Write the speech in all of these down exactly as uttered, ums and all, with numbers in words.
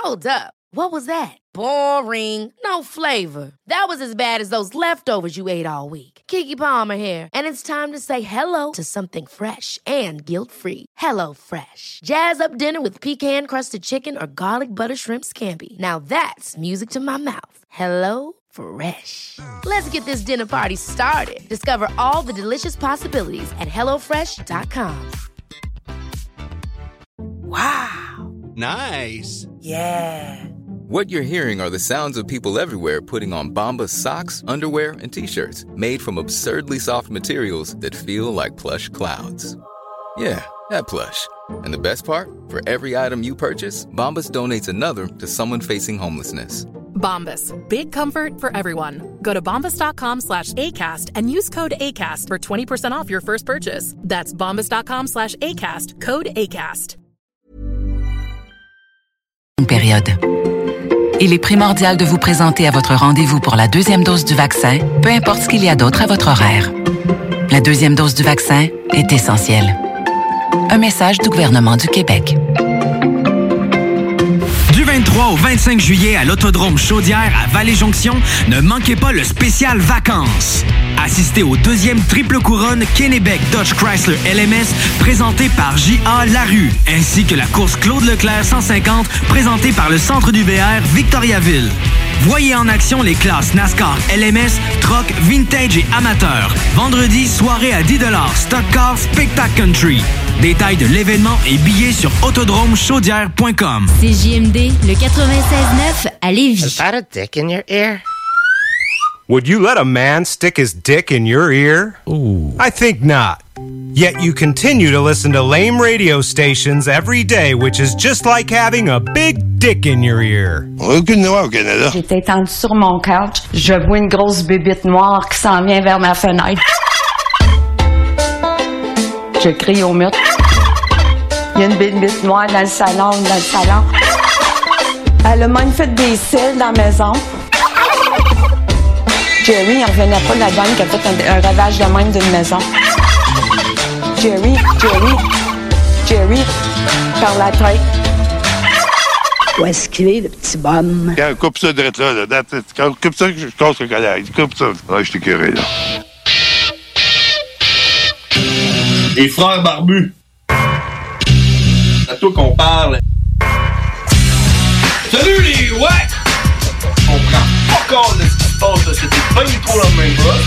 Hold up. What was that? Boring. No flavor. That was as bad as those leftovers you ate all week. Keke Palmer here, and it's time to say hello to something fresh and guilt-free. Hello Fresh. Jazz up dinner with pecan-crusted chicken or garlic butter shrimp scampi. Now that's music to my mouth. Hello Fresh. Let's get this dinner party started. Discover all the delicious possibilities at hello fresh dot com. Wow. Nice. Yeah. What you're hearing are the sounds of people everywhere putting on Bombas socks, underwear, and T-shirts made from absurdly soft materials that feel like plush clouds. Yeah, that plush. And the best part? For every item you purchase, Bombas donates another to someone facing homelessness. Bombas. Big comfort for everyone. Go to bombas.com slash ACAST and use code ACAST for twenty percent off your first purchase. That's bombas.com slash ACAST. Code ACAST. Une période. Il est primordial de vous présenter à votre rendez-vous pour la deuxième dose du vaccin, peu importe ce qu'il y a d'autre à votre horaire. La deuxième dose du vaccin est essentielle. Un message du gouvernement du Québec. Du vingt-trois au vingt-cinq juillet à l'Autodrome Chaudière à Vallée-Jonction, ne manquez pas le spécial vacances. Assistez au deuxième triple couronne Kennebec Dodge Chrysler L M S présenté par J A Larue, ainsi que la course Claude Leclerc cent cinquante présentée par le Centre du V R Victoriaville. Voyez en action les classes NASCAR L M S, Truck, Vintage et Amateur. Vendredi, soirée à dix dollars, Stock Car, Spectacle Country. Détails de l'événement et billets sur autodrome chaudière point com. C J M D, le quatre-vingt-seize neuf à Lévis. Is that a dick in your ear? Would you let a man stick his dick in your ear? Ooh. I think not. Yet you continue to listen to lame radio stations every day, which is just like having a big dick in your ear. Aucune loi au Canada. J'étais étendue sur mon couch. Je vois une grosse bébite noire qui s'en vient vers ma fenêtre. Je crie au mur. Il y a une bébite noire dans le salon, dans le salon. Elle a même fait des cils dans la maison. Jerry, il ne revenait pas de la dame qui a fait un, un ravage de même d'une maison. Jerry, Jerry, Jerry, par la tête. Où est-ce qu'il est, le petit bonhomme? Quand coupe ça de là, là. Quand coupe ça, je casse le collègue. Coupe ça. Ouais, je t'ai curé, là. Les frères barbus. C'est à toi qu'on parle. Salut les ouais! On prend pas compte de ce qui se passe, là. C'était pas du tout la même chose.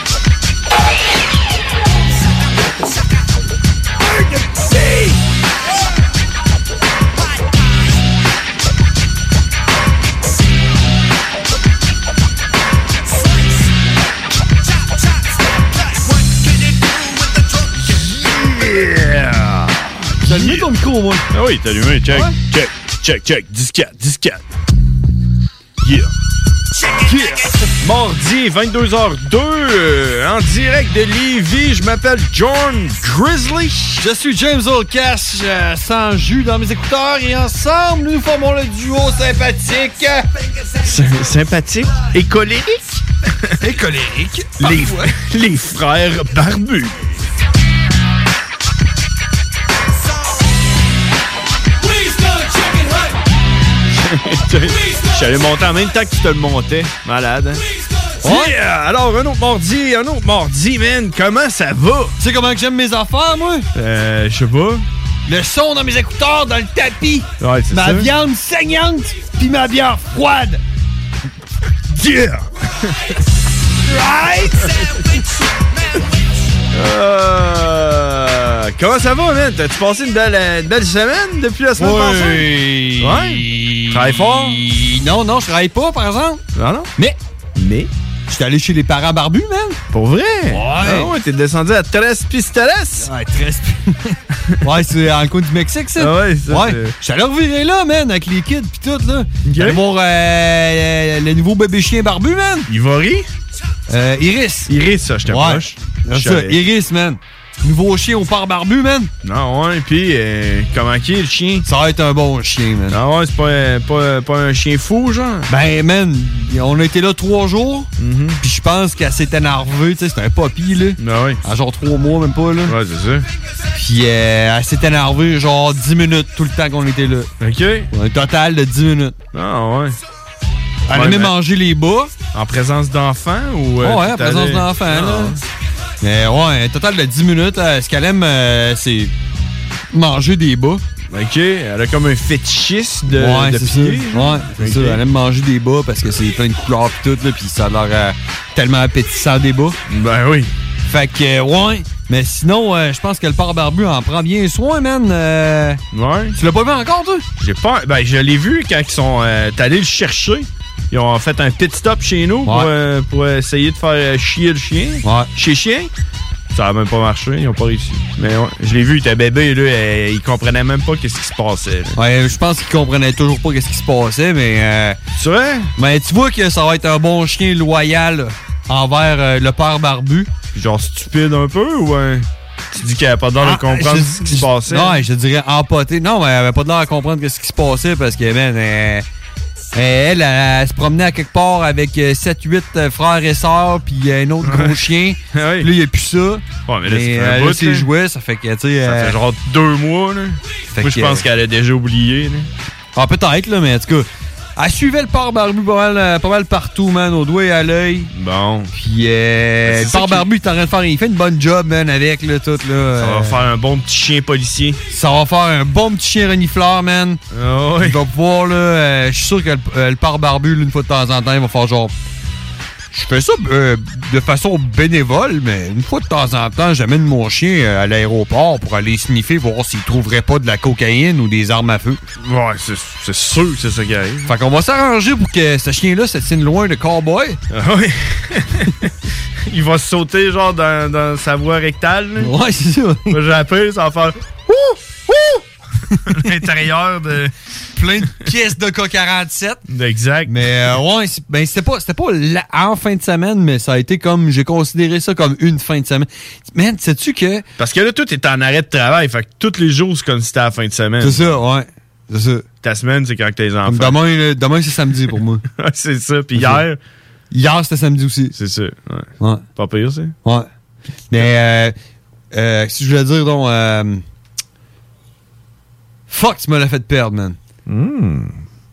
Yeah! T'as allumé ton micro, moi? Ah oui, t'as allumé. Check, ouais. check, check, check. dix-quatre, dix-quatre. Yeah! Yeah! Mardi, vingt-deux heures deux, euh, en direct de Lévis, je m'appelle John Grizzly. Je suis James Olcash, euh, sans jus dans mes écouteurs, et ensemble, nous formons le duo sympathique. Sy- sympathique et colérique. Et colérique. Les, les frères barbus. J'allais monter en même temps que tu te le montais. Malade, hein? Ouais. Yeah! Alors, un autre mardi, un autre mardi, man. Comment ça va? Tu sais comment que j'aime mes affaires, moi? Euh, je sais pas. Le son dans mes écouteurs, dans le tapis. Ouais, c'est ma ça. Ma viande saignante, puis ma bière froide. Yeah! Right? euh, comment ça va, man? T'as-tu passé une belle, une belle semaine depuis la semaine oui. passée? Ouais. Travaille fort? Non, non, je travaille pas, par exemple. Non, non. Mais. Mais. J'étais allé chez les parents barbus, man. Pour vrai? Ouais. Ah ouais, t'es descendu à Tres Pistoles? Ouais, Tres Ouais, c'est dans le coin du Mexique, ça. Ah ouais, ça. Ouais. J'étais allé revirer là, man, avec les kids pis tout, là. Okay. Allé voir euh, le nouveau bébé chien barbu, man. Ivory? Euh, Iris. Iris, ça, je t'approche. Ouais. Ça, Iris, man. Nouveau chien au pare barbu, man. Non, ouais, pis euh, comment qui est le chien? Ça va être un bon chien, man. Non, ouais, c'est pas, euh, pas, pas un chien fou, genre? Ben, man, on a été là trois jours, mm-hmm. pis je pense qu'elle s'est énervée, tu sais, c'était un papy, là. Ben oui. À genre trois mois, même pas, là. Ouais, c'est ça. Pis euh, elle s'est énervée, genre dix minutes tout le temps qu'on était là. OK. Un total de dix minutes. Ah, ouais. Elle ouais, aimait mais... manger les bas. En présence d'enfants ou... Euh, oh, ouais, en présence d'enfants, là. Mais ouais, un total de dix minutes, euh, ce qu'elle aime, euh, c'est manger des bas. OK, elle a comme un fétichiste de, ouais, de c'est pieds. Ça. Ouais, c'est okay. ça. Elle aime manger des bas parce que c'est plein de couleurs pis tout, là, pis ça a l'air euh, tellement appétissant des bas. Ben oui. Fait que, euh, ouais. Mais sinon, euh, je pense que le pare barbu en prend bien soin, man. Euh, ouais. Tu l'as pas vu encore, toi? J'ai pas... Ben, je l'ai vu quand ils sont euh, allés le chercher. Ils ont fait un pit stop chez nous ouais. pour, euh, pour essayer de faire chier le chien. Ouais. Chier chien. Ça a même pas marché, ils ont pas réussi. Mais ouais, je l'ai vu, il était bébé, là, et il comprenait même pas qu'est-ce qui se passait. Là. Ouais, je pense qu'il comprenait toujours pas qu'est-ce qui se passait, mais... Euh, c'est vrai? Mais tu vois que ça va être un bon chien loyal envers euh, le père barbu. Genre stupide un peu, ou... Euh, tu dis qu'elle avait pas l'air de comprendre je, ce qui se passait? Non, je dirais empoté. Non, mais elle avait pas l'air de comprendre qu'est-ce qui se passait, parce que, man... Euh, Elle, elle, elle se promenait à quelque part avec sept huit frères et sœurs, puis un autre gros chien. Oui. Puis là, il n'y a plus ça. Ouais, mais là, mais ça fait un bout, ses jouets, ça fait que, tu sais... Ça euh, fait genre deux mois, là. Moi, je pense euh, qu'elle a déjà oublié, là. Ah, peut-être, là, mais en tout cas... Elle suivait le pare barbu pas mal, pas mal partout, man, au doigt et à l'œil. Bon. Puis, euh, le pare barbu, il est en train de faire... Il fait une bonne job, man, avec, là, tout, là. Ça euh, va faire un bon petit chien policier. Ça va faire un bon petit chien renifleur, man. Ah oui. Il va pouvoir, là... Euh, je suis sûr que le, euh, le pare barbu, là, une fois de temps en temps, il va faire genre... Je fais ça euh, de façon bénévole, mais une fois de temps en temps, j'amène mon chien à l'aéroport pour aller sniffer, voir s'il trouverait pas de la cocaïne ou des armes à feu. Ouais, c'est, c'est sûr que c'est ça qui arrive. Fait qu'on va s'arranger pour que ce chien-là se tienne loin de cowboy. Ah oui. Il va sauter genre dans, dans sa voie rectale. Là. Ouais, c'est ça. Moi, j'ai appris, ça va faire ouh, ouh! L'intérieur de... Plein de pièces de K quarante-sept. Exact. Mais euh, ouais, c'est, ben c'était pas, c'était pas la, en fin de semaine, mais ça a été comme, j'ai considéré ça comme une fin de semaine. Man, sais-tu que... Parce que là, tout est en arrêt de travail, fait que tous les jours, c'est comme si c'était la fin de semaine. C'est ça, ouais. C'est ça. Ta semaine, c'est quand t'as les enfants. Comme demain, là, demain, c'est samedi pour moi. C'est ça. Puis c'est hier... Ça. Hier, c'était samedi aussi. C'est ça, ouais. Ouais. Pas pire, ça? Ouais. Mais, euh, euh, si je voulais dire, donc, euh, fuck, tu me l'as fait perdre, man. Hmm.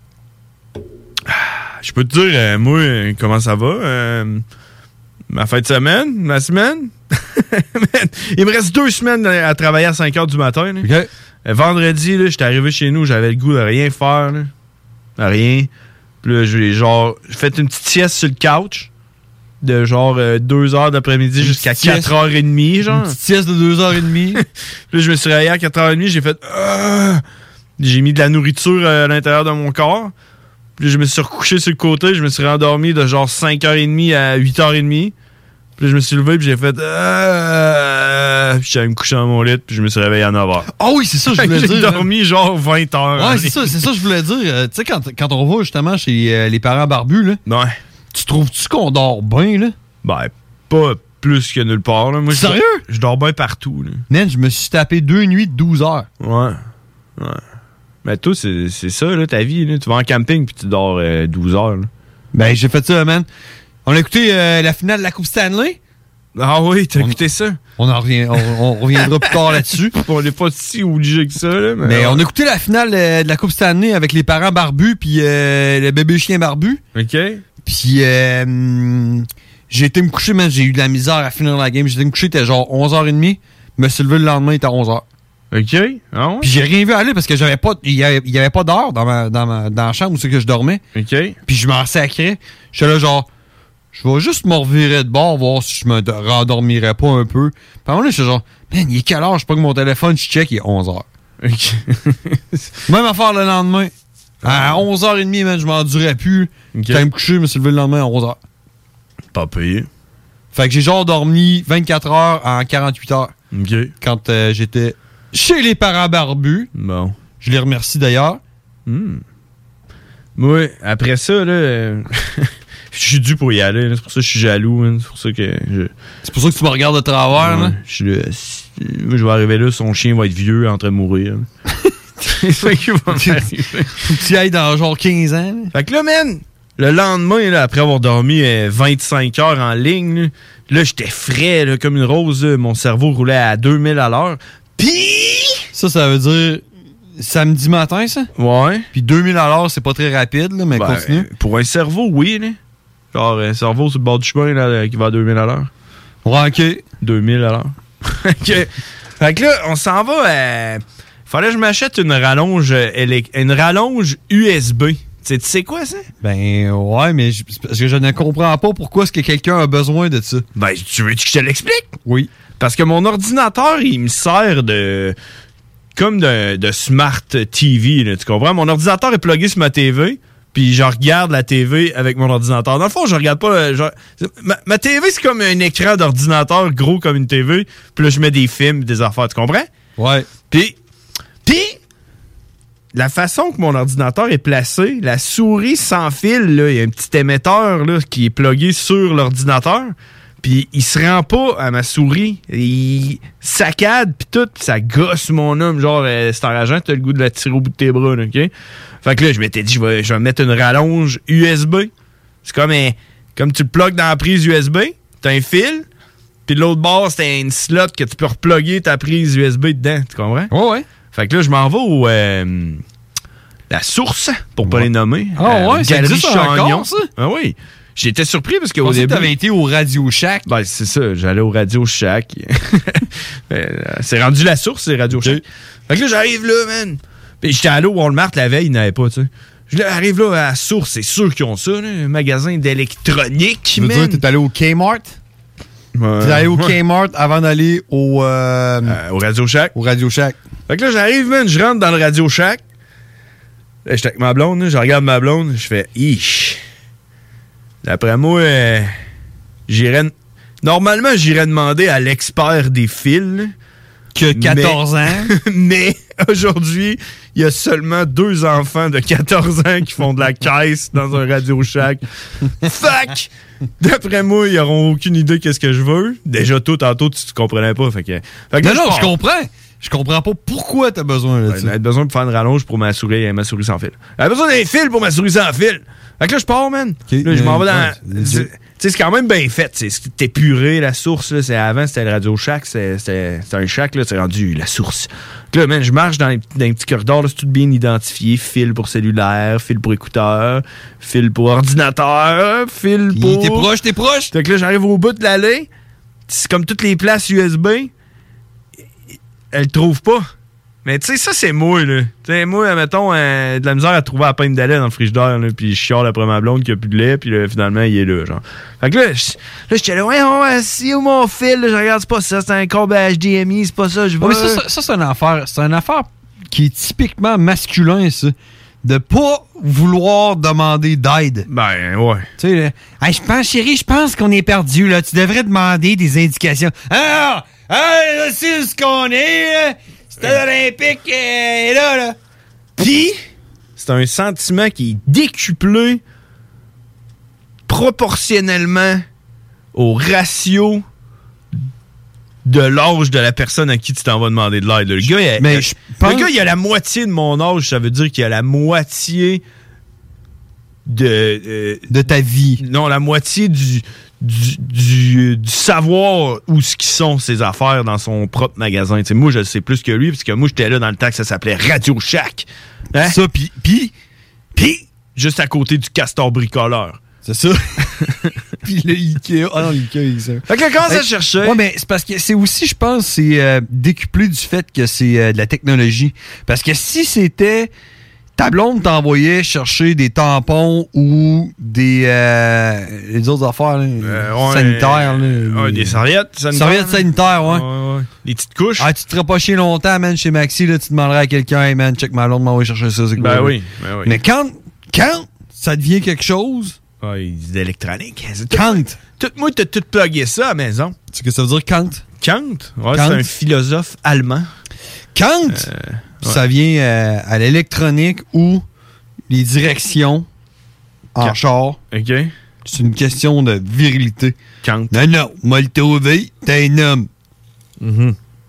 Je peux te dire, euh, moi, euh, comment ça va? Euh, ma fin de semaine? Ma semaine? Il me reste deux semaines à travailler à cinq heures du matin. Là. Okay. Euh, vendredi, là, j'étais arrivé chez nous, j'avais le goût de rien faire. Là. Rien. Puis là, j'ai genre fait une petite sieste sur le couch de genre euh, deux heures d'après-midi jusqu'à quatre heures trente, genre. Une petite sieste de deux heures trente. Puis là, je me suis réveillé à quatre heures trente, j'ai fait... Euh, j'ai mis de la nourriture à l'intérieur de mon corps. Puis là, je me suis recouché sur le côté, je me suis rendormi de genre cinq heures trente à huit heures trente. Puis là, je me suis levé, puis j'ai fait... Euh, puis j'allais me coucher dans mon lit, puis je me suis réveillé à neuf heures. Ah oh oui, c'est ça, je voulais j'ai dire. J'ai dormi hein. genre vingt heures. Ouais, c'est ça, c'est ça, je voulais dire. Euh, tu sais, quand, quand on va justement chez euh, les parents barbus, là, ouais. Tu trouves-tu qu'on dort bien, là? Ben, pas plus que nulle part, là. Moi, sérieux? Je dors bien partout, là. Man, je me suis tapé deux nuits de douze heures. Ouais. Ouais. Mais toi, c'est, c'est ça, là, ta vie, là. Tu vas en camping, puis tu dors euh, douze heures, là. Ben, j'ai fait ça, man. On a écouté euh, la finale de la Coupe Stanley. Ah oui, t'as on, écouté ça? On, en revient, on, on reviendra plus tard là-dessus. On n'est pas si obligé que ça, là. Mais, mais ouais. on a écouté la finale euh, de la Coupe Stanley avec les parents barbus puis euh, le bébé chien barbu. OK. Puis euh, j'ai été me coucher, man. J'ai eu de la misère à finir la game. J'ai été me coucher, c'était genre onze heures trente. Je me suis levé le lendemain, il était onze heures. OK. Ah ouais? Puis j'ai rien vu aller parce que j'avais pas, il y avait, il y avait pas d'heure dans ma, dans ma, dans la chambre où c'est que je dormais. OK. Puis je m'en sacrais. J'étais là genre, je vais juste me revirer de bord, voir si je me rendormirais pas un peu. Puis à un moment donné, j'étais genre, man, il est quelle heure? Je prends mon téléphone, je check, il est onze heures. OK. Même affaire le lendemain. À onze heures trente, man, je m'endurais plus. Okay. J'étais me coucher, je me suis levé le lendemain à onze heures. Pas payé. Fait que j'ai genre dormi vingt-quatre heures en quarante-huit heures. OK. Quand euh, j'étais chez les parents barbus. Bon. Je les remercie d'ailleurs. Hmm. Moi, après ça, là, euh, je suis dû pour y aller. Là. C'est pour ça que je suis jaloux. Hein. C'est pour ça que je... C'est pour ça que tu me regardes de travers. Ouais, là. Je suis là. Moi, je vais arriver là, son chien va être vieux, en train de mourir. C'est ça qui va m'arriver. Faut que tu ailles dans genre quinze ans. Là. Fait que là, man, le lendemain, là, après avoir dormi euh, vingt-cinq heures en ligne, là, là j'étais frais là, comme une rose. Là, mon cerveau roulait à deux mille à l'heure. Puis... Ça, ça veut dire samedi matin, ça? Ouais. Puis deux mille à l'heure, c'est pas très rapide, là, mais ben, continue. Pour un cerveau, oui. Là. Genre, un cerveau sur le bord du chemin là, qui va à deux mille à l'heure. Ouais, OK. deux mille à l'heure. OK. Fait que là, on s'en va à... Fallait que je m'achète une rallonge, une rallonge U S B. Tu sais quoi, ça? Ben, ouais, mais je, parce que je ne comprends pas pourquoi est-ce que quelqu'un a besoin de ça. Ben, tu veux que je te l'explique? Oui. Parce que mon ordinateur, il me sert de... comme de, de Smart T V, là, tu comprends? Mon ordinateur est plugué sur ma T V, puis je regarde la T V avec mon ordinateur. Dans le fond, je regarde pas... Je, ma, ma T V, c'est comme un écran d'ordinateur gros comme une T V, puis là, je mets des films, des affaires, tu comprends? Ouais. Puis... Puis... La façon que mon ordinateur est placé, la souris sans fil, là, il y a un petit émetteur là, qui est plugué sur l'ordinateur, puis il se rend pas à ma souris. Il saccade, puis tout, pis ça gosse mon homme. Genre, euh, c'est enrageant, t'as le goût de la tirer au bout de tes bras, là, OK? Fait que là, je m'étais dit, je vais, je vais mettre une rallonge U S B. C'est comme un, comme tu le plugues dans la prise U S B, t'as un fil, puis de l'autre bord, c'est une slot que tu peux repluguer ta prise U S B dedans, tu comprends? Oh ouais. Fait que là, je m'en vais au... Euh, la source, pour pas ouais. les nommer. Ah euh, ouais, ça existe encore, ça? Ah oui. J'étais surpris parce qu'au début... début... que t'avais été au Radio Shack. Ben, c'est ça. J'allais au Radio Shack. C'est rendu la source, c'est Radio Shack. Fait que là, j'arrive là, man. Puis j'étais allé au Walmart la veille, ils n'avaient pas, tu sais. J'arrive là à la source, c'est sûr qu'ils ont ça, là, un magasin d'électronique, tu veux man. dire, t'es allé au Kmart? Ouais. T'es allé au Kmart avant d'aller au... Euh, euh, au Radio Shack. Au Radio Shack. Fait que là, j'arrive, man, je rentre dans le Radio Shack. Là, j'étais avec ma blonde, là, je regarde ma blonde, je fais « Ish! » D'après moi, euh, j'irais... Normalement, j'irais demander à l'expert des fils. Là, que quatorze mais, ans. Mais aujourd'hui, il y a seulement deux enfants de quatorze ans qui font de la caisse dans un Radio Shack. Fuck! D'après moi, ils n'auront aucune idée qu'est-ce que je veux. Déjà, toi, tantôt, tu ne comprenais pas. Fait que, fait que non, là, non, je, je comprends. Je comprends pas pourquoi t'as besoin de ça. J'ai besoin de faire une rallonge pour ma souris et ma souris sans fil. J'ai besoin d'un fil pour ma souris sans fil. Fait que là, je pars, man. Okay. Là, je m'en vais dans... Ouais, tu sais, c'est quand même bien fait. C'est épuré, la source. Là, c'est, avant, c'était le Radio Shack. C'était, c'était, c'était un shack. Là, c'est rendu la source. Là, man, je marche dans, les, dans un petit corridor. Là, c'est tout bien identifié. Fil pour cellulaire, fil pour écouteur, fil pour ordinateur, fil pour... T'es proche, t'es proche. Fait que là, j'arrive au bout de l'allée. C'est comme toutes les places U S B. Elle le trouve pas. Mais tu sais, ça, c'est moi, là. Tu sais, moi, mettons, euh, de la misère à trouver la pinte de lait dans le frigidaire, là, puis je chiale après ma blonde qui a plus de lait, puis là, finalement, il est là, genre. Fait que là, là, j'étais là, ouais, ouais, si où mon fil, là, je regarde, c'est pas ça, c'est un câble H D M I, c'est pas ça, je veux. Ouais, mais ça, ça, ça, c'est une affaire, c'est une affaire qui est typiquement masculin, ça. De pas vouloir demander d'aide. Ben, ouais. Tu sais, là, hey, je pense, chérie, je pense qu'on est perdu, là. Tu devrais demander des indications. Ah! Hey, là, c'est ce qu'on est, là. Stade olympique euh, est là, là. Puis, c'est un sentiment qui est décuplé proportionnellement au ratio de l'âge de la personne à qui tu t'en vas demander de l'aide. Le gars, il a, Mais le, je pense... le gars, il a la moitié de mon âge, ça veut dire qu'il a la moitié de... Euh, de ta vie. Non, la moitié du... Du, du, du savoir où ce qu'ils sont ces affaires dans son propre magasin. T'sais, moi, je le sais plus que lui, parce que moi, j'étais là dans le temps que ça s'appelait Radio Shack. Hein? Ça, pis, pis, pis, juste à côté du Castor Bricoleur. C'est ça. Puis le Ikea. Ah non, l'Ikea, il ça. Fait que là, comment ça chercher? Ouais, mais c'est parce que c'est aussi, je pense, c'est euh, décuplé du fait que c'est euh, de la technologie. Parce que si c'était... Ta blonde t'envoyait chercher des tampons ou des euh, les autres affaires là, euh, ouais, sanitaires. Là, ouais, les... des serviettes sanitaires. Serviettes sanitaires, ouais. ouais, ouais. Les petites couches. Ah, tu te ferais pas chier longtemps, man, chez Maxi, là, tu demanderais à quelqu'un, hey, man, check ma blonde, m'envoie chercher ça, c'est quoi? Ben oui, ben oui. Mais quand, quand ça devient quelque chose... Ouais, c'est d'électronique. Quand? Tout, moi, t'as tout plugué ça à la maison. Tu sais que ça veut dire quand? Kant? Ouais, Kant. C'est un philosophe allemand. Kant? Euh, ça ouais. vient euh, à l'électronique ou les directions en Kant. char. OK. C'est une question de virilité. Kant. Non, non, moi le trouvé, t'es un homme. Mm-hmm.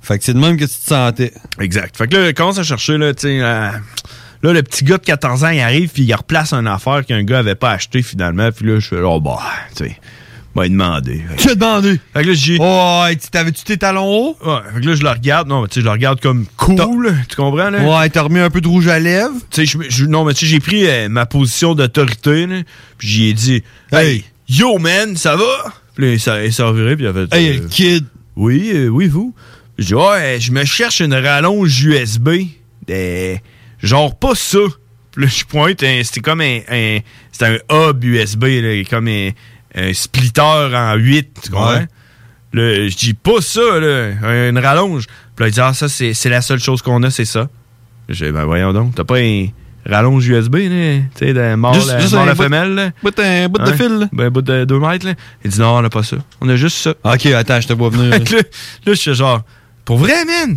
Fait que c'est de même que tu te sentais. Exact. Fait que là, il commence à chercher, là, tu sais... Euh, là, le petit gars de quatorze ans, il arrive, puis il replace une affaire qu'un gars avait pas acheté, finalement. Puis là, je fais, oh, bah, tu sais... m'a demandé. Tu as demandé? Fait que là, j'ai... Oh, t'avais-tu tes talons hauts? Ouais, fait que là, je le regarde. Non, mais tu sais, je le regarde comme cool. Tu comprends, là? Ouais, t'as remis un peu de rouge à lèvres. Tu sais, je, je, non, mais tu sais, j'ai pris euh, ma position d'autorité, là. Puis j'ai dit, hey, yo, man, ça va? Puis là, ça, il s'est reviré, puis il a fait... Hey, euh, kid. Oui, euh, oui, vous? J'ai dit, ouais, je me cherche une rallonge U S B. Euh, genre, pas ça. Puis là, je pointe, hein, c'était comme un... un c'était un hub U S B, là, comme un... un splitter en huit, tu comprends? Ouais. Là, je dis pas ça, là, une rallonge. Puis là, il dit, ah, ça, c'est, c'est la seule chose qu'on a, c'est ça. J'ai dit, ben voyons donc, t'as pas un rallonge U S B, là, tu sais, de mort, juste, la, juste mort la femelle, là? Bout un bout hein? de fil, là. Ben, un bout de deux mètres, là. Il dit, non, on a pas ça. On a juste ça. Ok, attends, je te vois venir. là, là, je suis genre, pour vrai, man?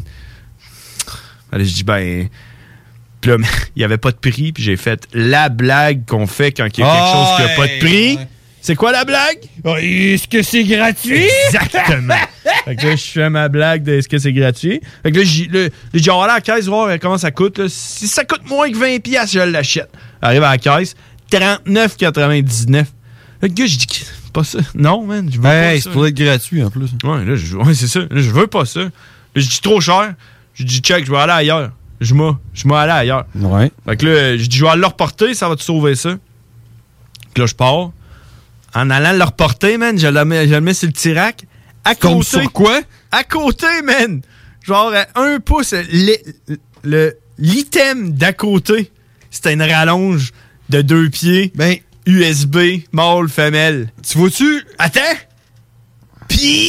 Allez, je dis, ben... Puis là, il y avait pas de prix, puis j'ai fait la blague qu'on fait quand il y a quelque oh, chose qui a pas de prix. Ouais. C'est quoi la blague? Oh, est-ce que c'est gratuit? Exactement. Fait que là, je fais ma blague de est-ce que c'est gratuit. Fait que là, j'ai dit, on va aller à la caisse, voir comment ça coûte. Là. Si ça coûte moins que vingt piastres, je l'achète. Arrive à la caisse, trente-neuf quatre-vingt-dix-neuf. Fait que là, je dis, pas ça. Non, man, je veux hey, pas ça. C'est pour être gratuit, en plus. Ouais, là, je, ouais, c'est ça. Là, je veux pas ça. Là, je dis trop cher. Je dis, check, je vais aller ailleurs. Je m'en, je m'en aller ailleurs. Ouais. Fait que là, je dis, je vais aller le reporter, ça va te sauver ça. Puis là, je pars. En allant le reporter, man, je le mets, je le mets sur le tirac. À Comme côté. Sur quoi? À côté, man. Genre, un pouce. Le, le, l'item d'à côté, c'était une rallonge de deux pieds. Ben, U S B, mâle, femelle. Tu vois-tu? Attends. Puis,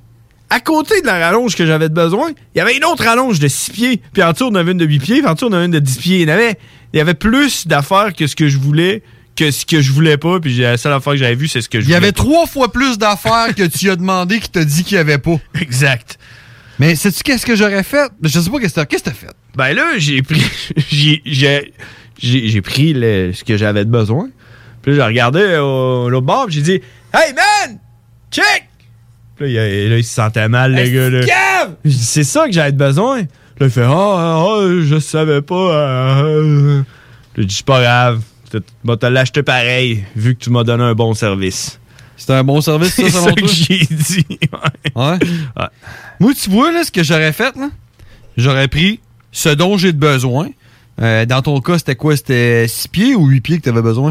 à côté de la rallonge que j'avais besoin, il y avait une autre rallonge de six pieds. Puis en dessous, on avait une de huit pieds. Puis en dessous, on avait une de dix pieds. Il y avait, il y avait plus d'affaires que ce que je voulais. Que ce que je voulais pas, puis la seule affaire que j'avais vue, c'est ce que je voulais. Il y avait pas. trois fois plus d'affaires que tu as demandé qu'il t'a dit qu'il y avait pas. Exact. Mais sais-tu qu'est-ce que j'aurais fait? Je sais pas qu'est-ce que t'as, qu'est-ce que t'as fait. Ben là, j'ai pris j'ai, j'ai, j'ai, j'ai pris le, ce que j'avais de besoin. Puis là, j'ai regardé au, l'autre bord, puis j'ai dit « Hey, man! Check! » Puis là, il, là, il se sentait mal, le gars. Là. J'ai dit « C'est ça que j'avais de besoin? » Là, il fait « Ah, oh, oh, je savais pas. Euh, euh. » J'ai dit « C'est pas grave. Tu vas te l'acheter pareil, vu que tu m'as donné un bon service. » C'était un bon service, ça, selon toi? C'est ça que j'ai dit. Ouais. Ouais. ouais. Moi, tu vois, là, ce que j'aurais fait, là, j'aurais pris ce dont j'ai de besoin. Euh, dans ton cas, c'était quoi? C'était six pieds ou huit pieds que tu avais besoin?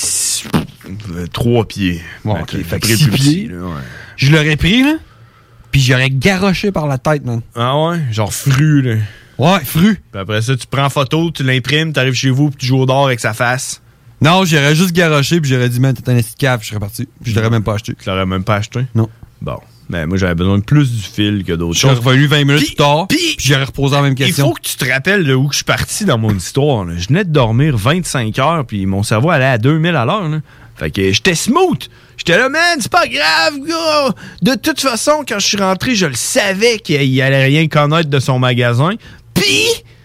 trois pieds. Bon, ben, ok. Fait que six pieds. Là, ouais. Je l'aurais pris, là, puis j'aurais garoché par la tête, man. Ah ouais? Genre fru, là. Ouais, fru. Puis après ça, tu prends photo, tu l'imprimes, t'arrives chez vous, puis tu joues au dehors avec sa face. Non, j'aurais juste garoché, puis j'aurais dit, man, t'es un esti de cave, je serais parti. Puis je l'aurais même pas acheté. Tu l'aurais même pas acheté? Non. Bon. Mais moi, j'avais besoin de plus du fil que d'autres choses. Je suis revenu vingt minutes pis, plus tard, puis j'aurais reposé la même question. Il faut que tu te rappelles de où je suis parti dans mon histoire. Là. Je venais de dormir vingt-cinq heures, puis mon cerveau allait à deux mille à l'heure. Là. Fait que j'étais smooth. J'étais là, man, c'est pas grave, gars. De toute façon, quand je suis rentré, je le savais qu'il allait rien connaître de son magasin. Puis,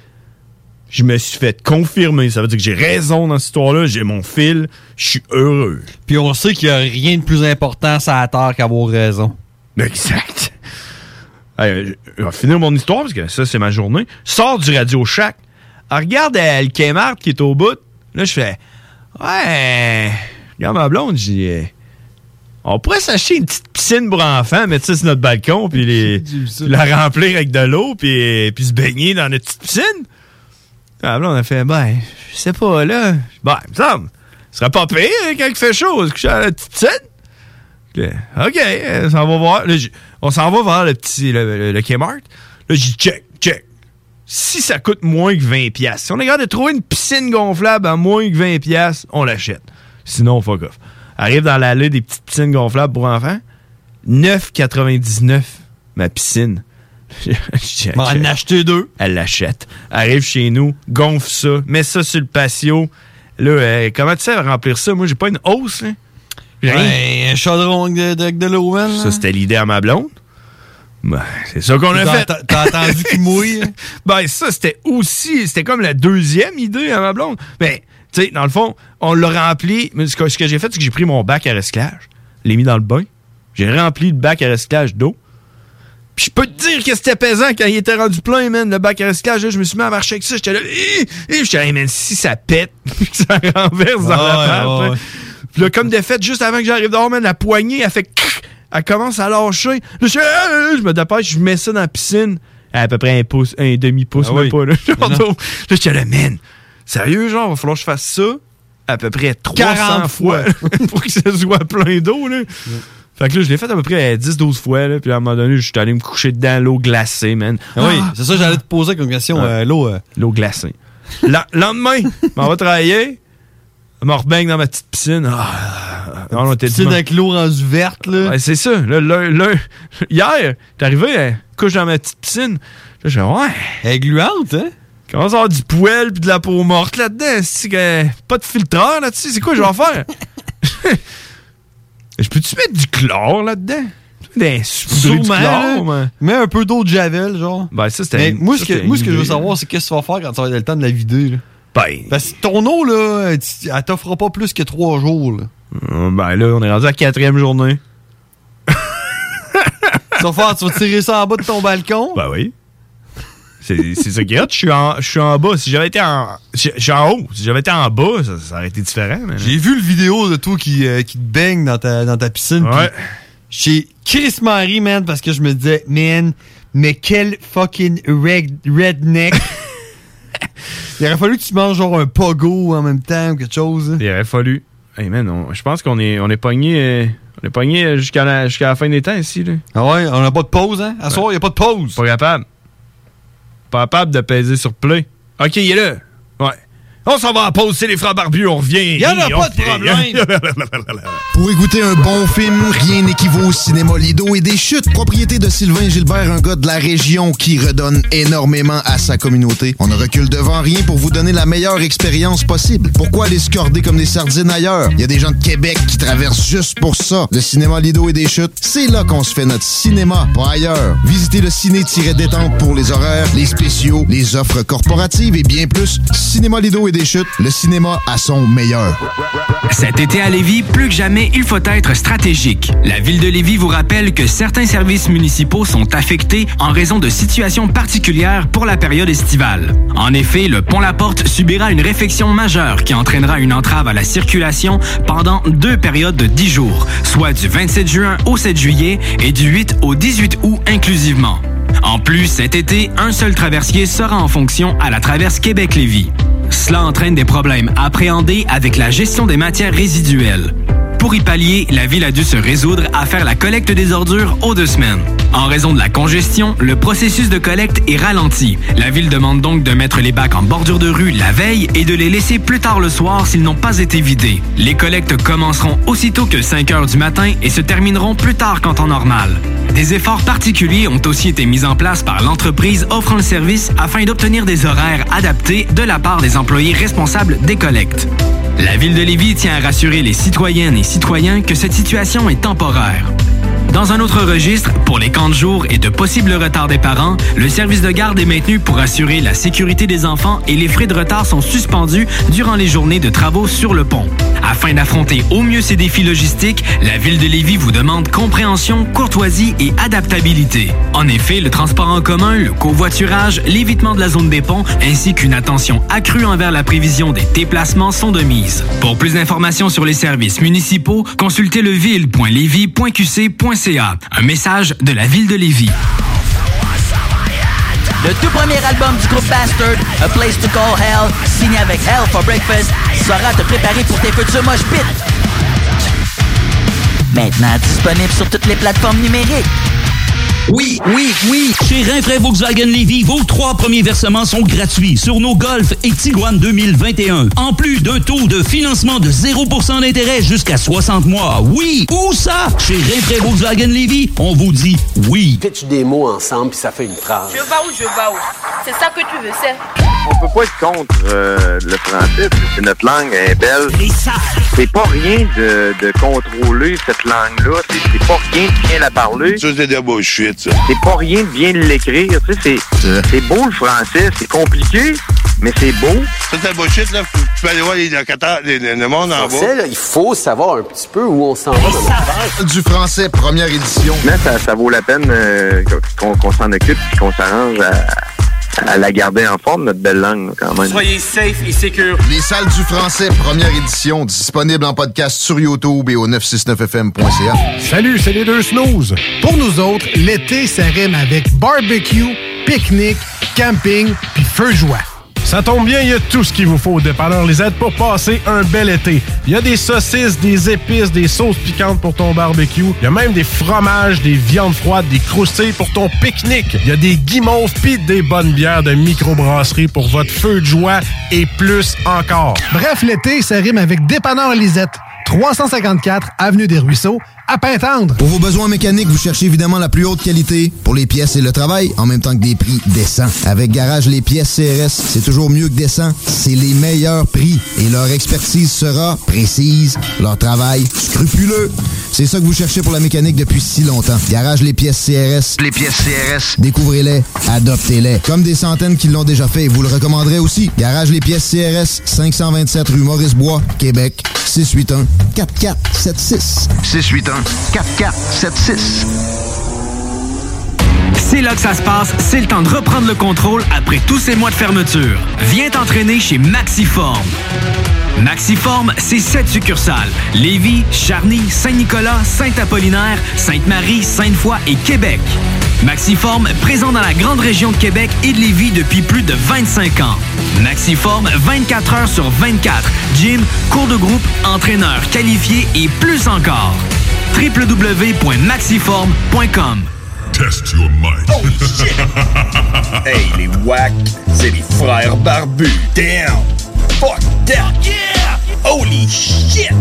je me suis fait confirmer. Ça veut dire que j'ai raison dans cette histoire-là. J'ai mon fil. Je suis heureux. Puis on sait qu'il n'y a rien de plus important sur la terre qu'avoir raison. Exact. Allez, je vais finir mon histoire parce que ça, c'est ma journée. Sors du Radio Shack. Alors, regarde euh, le Kmart qui est au bout. Là, je fais ouais. Regarde ma blonde. Je dis on pourrait s'acheter une petite piscine pour enfants, mettre ça sur notre balcon, puis les, la remplir avec de l'eau, puis, puis se baigner dans notre petite piscine. Ah, là, on a fait, ben, je sais pas, là. Ben, il me semble, ce serait pas pire hein, quand il fait chaud, se coucher à la petite piscine. OK, on s'en va voir. Là, on s'en va voir le petit, le, le, le Kmart. Là, j'ai dit, check, check. Si ça coûte moins que vingt piastres, si on est capable de trouver une piscine gonflable à moins que vingt piastres, on l'achète. Sinon, fuck off. Arrive dans l'allée des petites piscines gonflables pour enfants. neuf quatre-vingt-dix-neuf, ma piscine. On en a acheté deux. Elle l'achète. Arrive chez nous, gonfle ça, met ça sur le patio. Là, euh, comment tu sais remplir ça? Moi, j'ai pas une hausse, là. Ouais, un chaudron de, de, de l'eau. Ça, c'était l'idée à ma blonde. Ben, c'est ça qu'on a t'as, fait. T'as, t'as entendu qu'il mouille? Ben, ça, c'était aussi... C'était comme la deuxième idée à ma blonde. Ben, tu sais, dans le fond, on l'a rempli. Mais ce que, ce que j'ai fait, c'est que j'ai pris mon bac à recyclage, l'ai mis dans le bain. J'ai rempli le bac à recyclage d'eau. Je peux te dire que c'était pesant quand il était rendu plein, man. Le bac à recyclage, là, je me suis mis à marcher avec ça. J'étais là, et j'étais là, hey, man, si ça pète, puis que ça renverse dans ah, la pâte. ouais, ouais. Puis là, comme de fait, juste avant que j'arrive dehors, man, la poignée, elle fait... Elle commence à lâcher. Là, je, ah, je me dépêche, je mets ça dans la piscine. À peu près un pouce, un demi-pouce, ah, même oui. pas. Là, là j'étais là, man, sérieux, genre, il va falloir que je fasse ça à peu près trois cents fois pour que ça soit plein d'eau, là. Ouais. Fait que là, je l'ai fait à peu près dix douze fois, là. Puis à un moment donné, je suis allé me coucher dedans, l'eau glacée, man. Ah, oui, c'est ça, j'allais te poser comme question, ah, euh, l'eau. Euh... L'eau glacée. La, lendemain, on va travailler. Je me rebaigne dans ma petite piscine. Ah, non, on était piscine avec l'eau rendue verte, là. Ouais, c'est ça. Là, là, là, hier, t'es arrivé, hein, couche dans ma petite piscine. Là, je fais, ouais. Elle est gluante, hein? Comment ça avoir du poêle pis de la peau morte là-dedans? C'est que, pas de filtreur là-dessus. C'est quoi je vais faire? Je peux-tu mettre du chlore là-dedans? Des Sûrement, du chlore, mais... Mets un peu d'eau de javel, genre. Ben, ça, c'était. Moi, ce que, moi, ce que je veux savoir, c'est qu'est-ce que tu vas faire quand tu vas avoir le temps de la vider, là. Ben. Parce que ton eau, là, elle t'offrira pas plus que trois jours, là. Ben, là, on est rendu à la quatrième journée. Tu vas faire, tu vas tirer ça en bas de ton balcon? Ben oui. C'est, c'est ça qui est hot. Je suis en, je suis en bas. Si j'avais été en. Je suis en haut. Si j'avais été en bas, ça, ça aurait été différent. Mais... J'ai vu le vidéo de toi qui, euh, qui te baigne dans ta, dans ta piscine. Ouais. J'ai Chris Marie, man, parce que je me disais, man, mais quel fucking red, redneck. Il aurait fallu que tu manges genre un pogo en même temps ou quelque chose. Hein. Il aurait fallu. Hey man, on, je pense qu'on est, on est pogné. Euh, on est pogné jusqu'à la, jusqu'à la fin des temps ici. Là. Ah ouais, on n'a pas de pause, hein? À ouais. soir, il n'y a pas de pause. Pas capable. Pas capable de peser sur play. Ok, il est là. Ouais. On s'en va en pause, c'est les frères barbus, on revient. Il n'y en a pas de problème. Pour écouter un bon film, rien n'équivaut au cinéma Lido et des chutes. Propriété de Sylvain Gilbert, un gars de la région qui redonne énormément à sa communauté. On ne recule devant rien pour vous donner la meilleure expérience possible. Pourquoi aller se corder comme des sardines ailleurs? Il y a des gens de Québec qui traversent juste pour ça. Le cinéma Lido et des chutes, c'est là qu'on se fait notre cinéma, pas ailleurs. Visitez le ciné-détente pour les horaires, les spéciaux, les offres corporatives et bien plus. Cinéma Lido et des chutes, le cinéma à son meilleur. Cet été à Lévis, plus que jamais, il faut être stratégique. La Ville de Lévis vous rappelle que certains services municipaux sont affectés en raison de situations particulières pour la période estivale. En effet, le pont La Porte subira une réfection majeure qui entraînera une entrave à la circulation pendant deux périodes de dix jours, soit du vingt-sept juin au sept juillet et du huit au dix-huit août inclusivement. En plus, cet été, un seul traversier sera en fonction à la traverse Québec-Lévis. Cela entraîne des problèmes appréhendés avec la gestion des matières résiduelles. Pour y pallier, la Ville a dû se résoudre à faire la collecte des ordures aux deux semaines. En raison de la congestion, le processus de collecte est ralenti. La Ville demande donc de mettre les bacs en bordure de rue la veille et de les laisser plus tard le soir s'ils n'ont pas été vidés. Les collectes commenceront aussitôt que cinq heures du matin et se termineront plus tard qu'en temps normal. Des efforts particuliers ont aussi été mis en place par l'entreprise offrant le service afin d'obtenir des horaires adaptés de la part des employés responsables des collectes. La Ville de Lévis tient à rassurer les citoyennes et citoyens que cette situation est temporaire. Dans un autre registre, pour les camps de jour et de possibles retards des parents, le service de garde est maintenu pour assurer la sécurité des enfants et les frais de retard sont suspendus durant les journées de travaux sur le pont. Afin d'affronter au mieux ces défis logistiques, la Ville de Lévis vous demande compréhension, courtoisie et adaptabilité. En effet, le transport en commun, le covoiturage, l'évitement de la zone des ponts, ainsi qu'une attention accrue envers la prévision des déplacements sont de mise. Pour plus d'informations sur les services municipaux, consultez le ville point lévis point q c point c a. Un message de la Ville de Lévis. Le tout premier album du groupe Bastard, A Place to Call Hell, signé avec Hell for Breakfast, sera te préparer pour tes futurs mosh pits. Maintenant disponible sur toutes les plateformes numériques. Oui, oui, oui! Chez Rinfraie Volkswagen Lévis, vos trois premiers versements sont gratuits sur nos Golf et Tiguan deux mille vingt et un. En plus d'un taux de financement de zéro pour cent d'intérêt jusqu'à soixante mois. Oui! Où ça? Chez Rinfraie Volkswagen Lévis, on vous dit oui. Fais-tu des mots ensemble puis ça fait une phrase? Je vais où, je vais où? C'est ça que tu veux, c'est? On peut pas être contre euh, le français, c'est notre langue, elle est belle. C'est pas rien de, de contrôler cette langue-là, c'est, c'est pas rien de bien la parler. Ça, c'est de la bullshit, ça. C'est pas rien de bien l'écrire, tu sais, c'est, c'est beau le français, c'est compliqué, mais c'est beau. Ça, c'est la bullshit, là. tu peux aller voir les locataires, les- les- le monde en bas. Français, là, il faut savoir un petit peu où on s'en va dans l'affaire. Du français, première édition. Mais ça, ça vaut la peine euh, qu'on qu'on s'en occupe et qu'on s'arrange à, à la garder en forme, notre belle langue, là, quand même. Soyez safe et secure. Les salles du français, première édition, disponible en podcast sur YouTube et au neuf cent soixante-neuf F M point C A. Salut, c'est les deux snooze. Pour nous autres, l'été, ça rime avec barbecue, pique-nique, camping puis feu de joie. Ça tombe bien, il y a tout ce qu'il vous faut au Dépanneur Lisette pour passer un bel été. Il y a des saucisses, des épices, des sauces piquantes pour ton barbecue. Il y a même des fromages, des viandes froides, des croustilles pour ton pique-nique. Il y a des guimauves pis des bonnes bières de microbrasserie pour votre feu de joie et plus encore. Bref, l'été, ça rime avec Dépanneur Lisette. trois cent cinquante-quatre Avenue des Ruisseaux, à Pintendre. Pour vos besoins mécaniques, vous cherchez évidemment la plus haute qualité pour les pièces et le travail, en même temps que des prix décents. Avec Garage Les Pièces C R S, c'est toujours mieux que décent. C'est les meilleurs prix et leur expertise sera précise, leur travail scrupuleux. C'est ça que vous cherchez pour la mécanique depuis si longtemps. Garage Les Pièces C R S. Les pièces C R S. Découvrez-les, adoptez-les. Comme des centaines qui l'ont déjà fait et vous le recommanderez aussi. Garage Les Pièces C R S, cinq cent vingt-sept rue Maurice-Bois, Québec, six huit un quatre quatre sept six. six huit un quatre quatre sept six. C'est là que ça se passe, c'est le temps de reprendre le contrôle après tous ces mois de fermeture. Viens t'entraîner chez Maxiform. Maxiform, c'est sept succursales. Lévis, Charny, Saint-Nicolas, Saint-Apollinaire, Sainte-Marie, Sainte-Foy et Québec. Maxiform, présent dans la grande région de Québec et de Lévis depuis plus de vingt-cinq ans. Maxiform, vingt-quatre heures sur vingt-quatre. Gym, cours de groupe, entraîneur qualifié et plus encore. w w w point maxiform point com. Test your might. Oh shit! Hey, les wack, c'est les frères barbus. Damn! Fuck that! Yeah! Holy shit!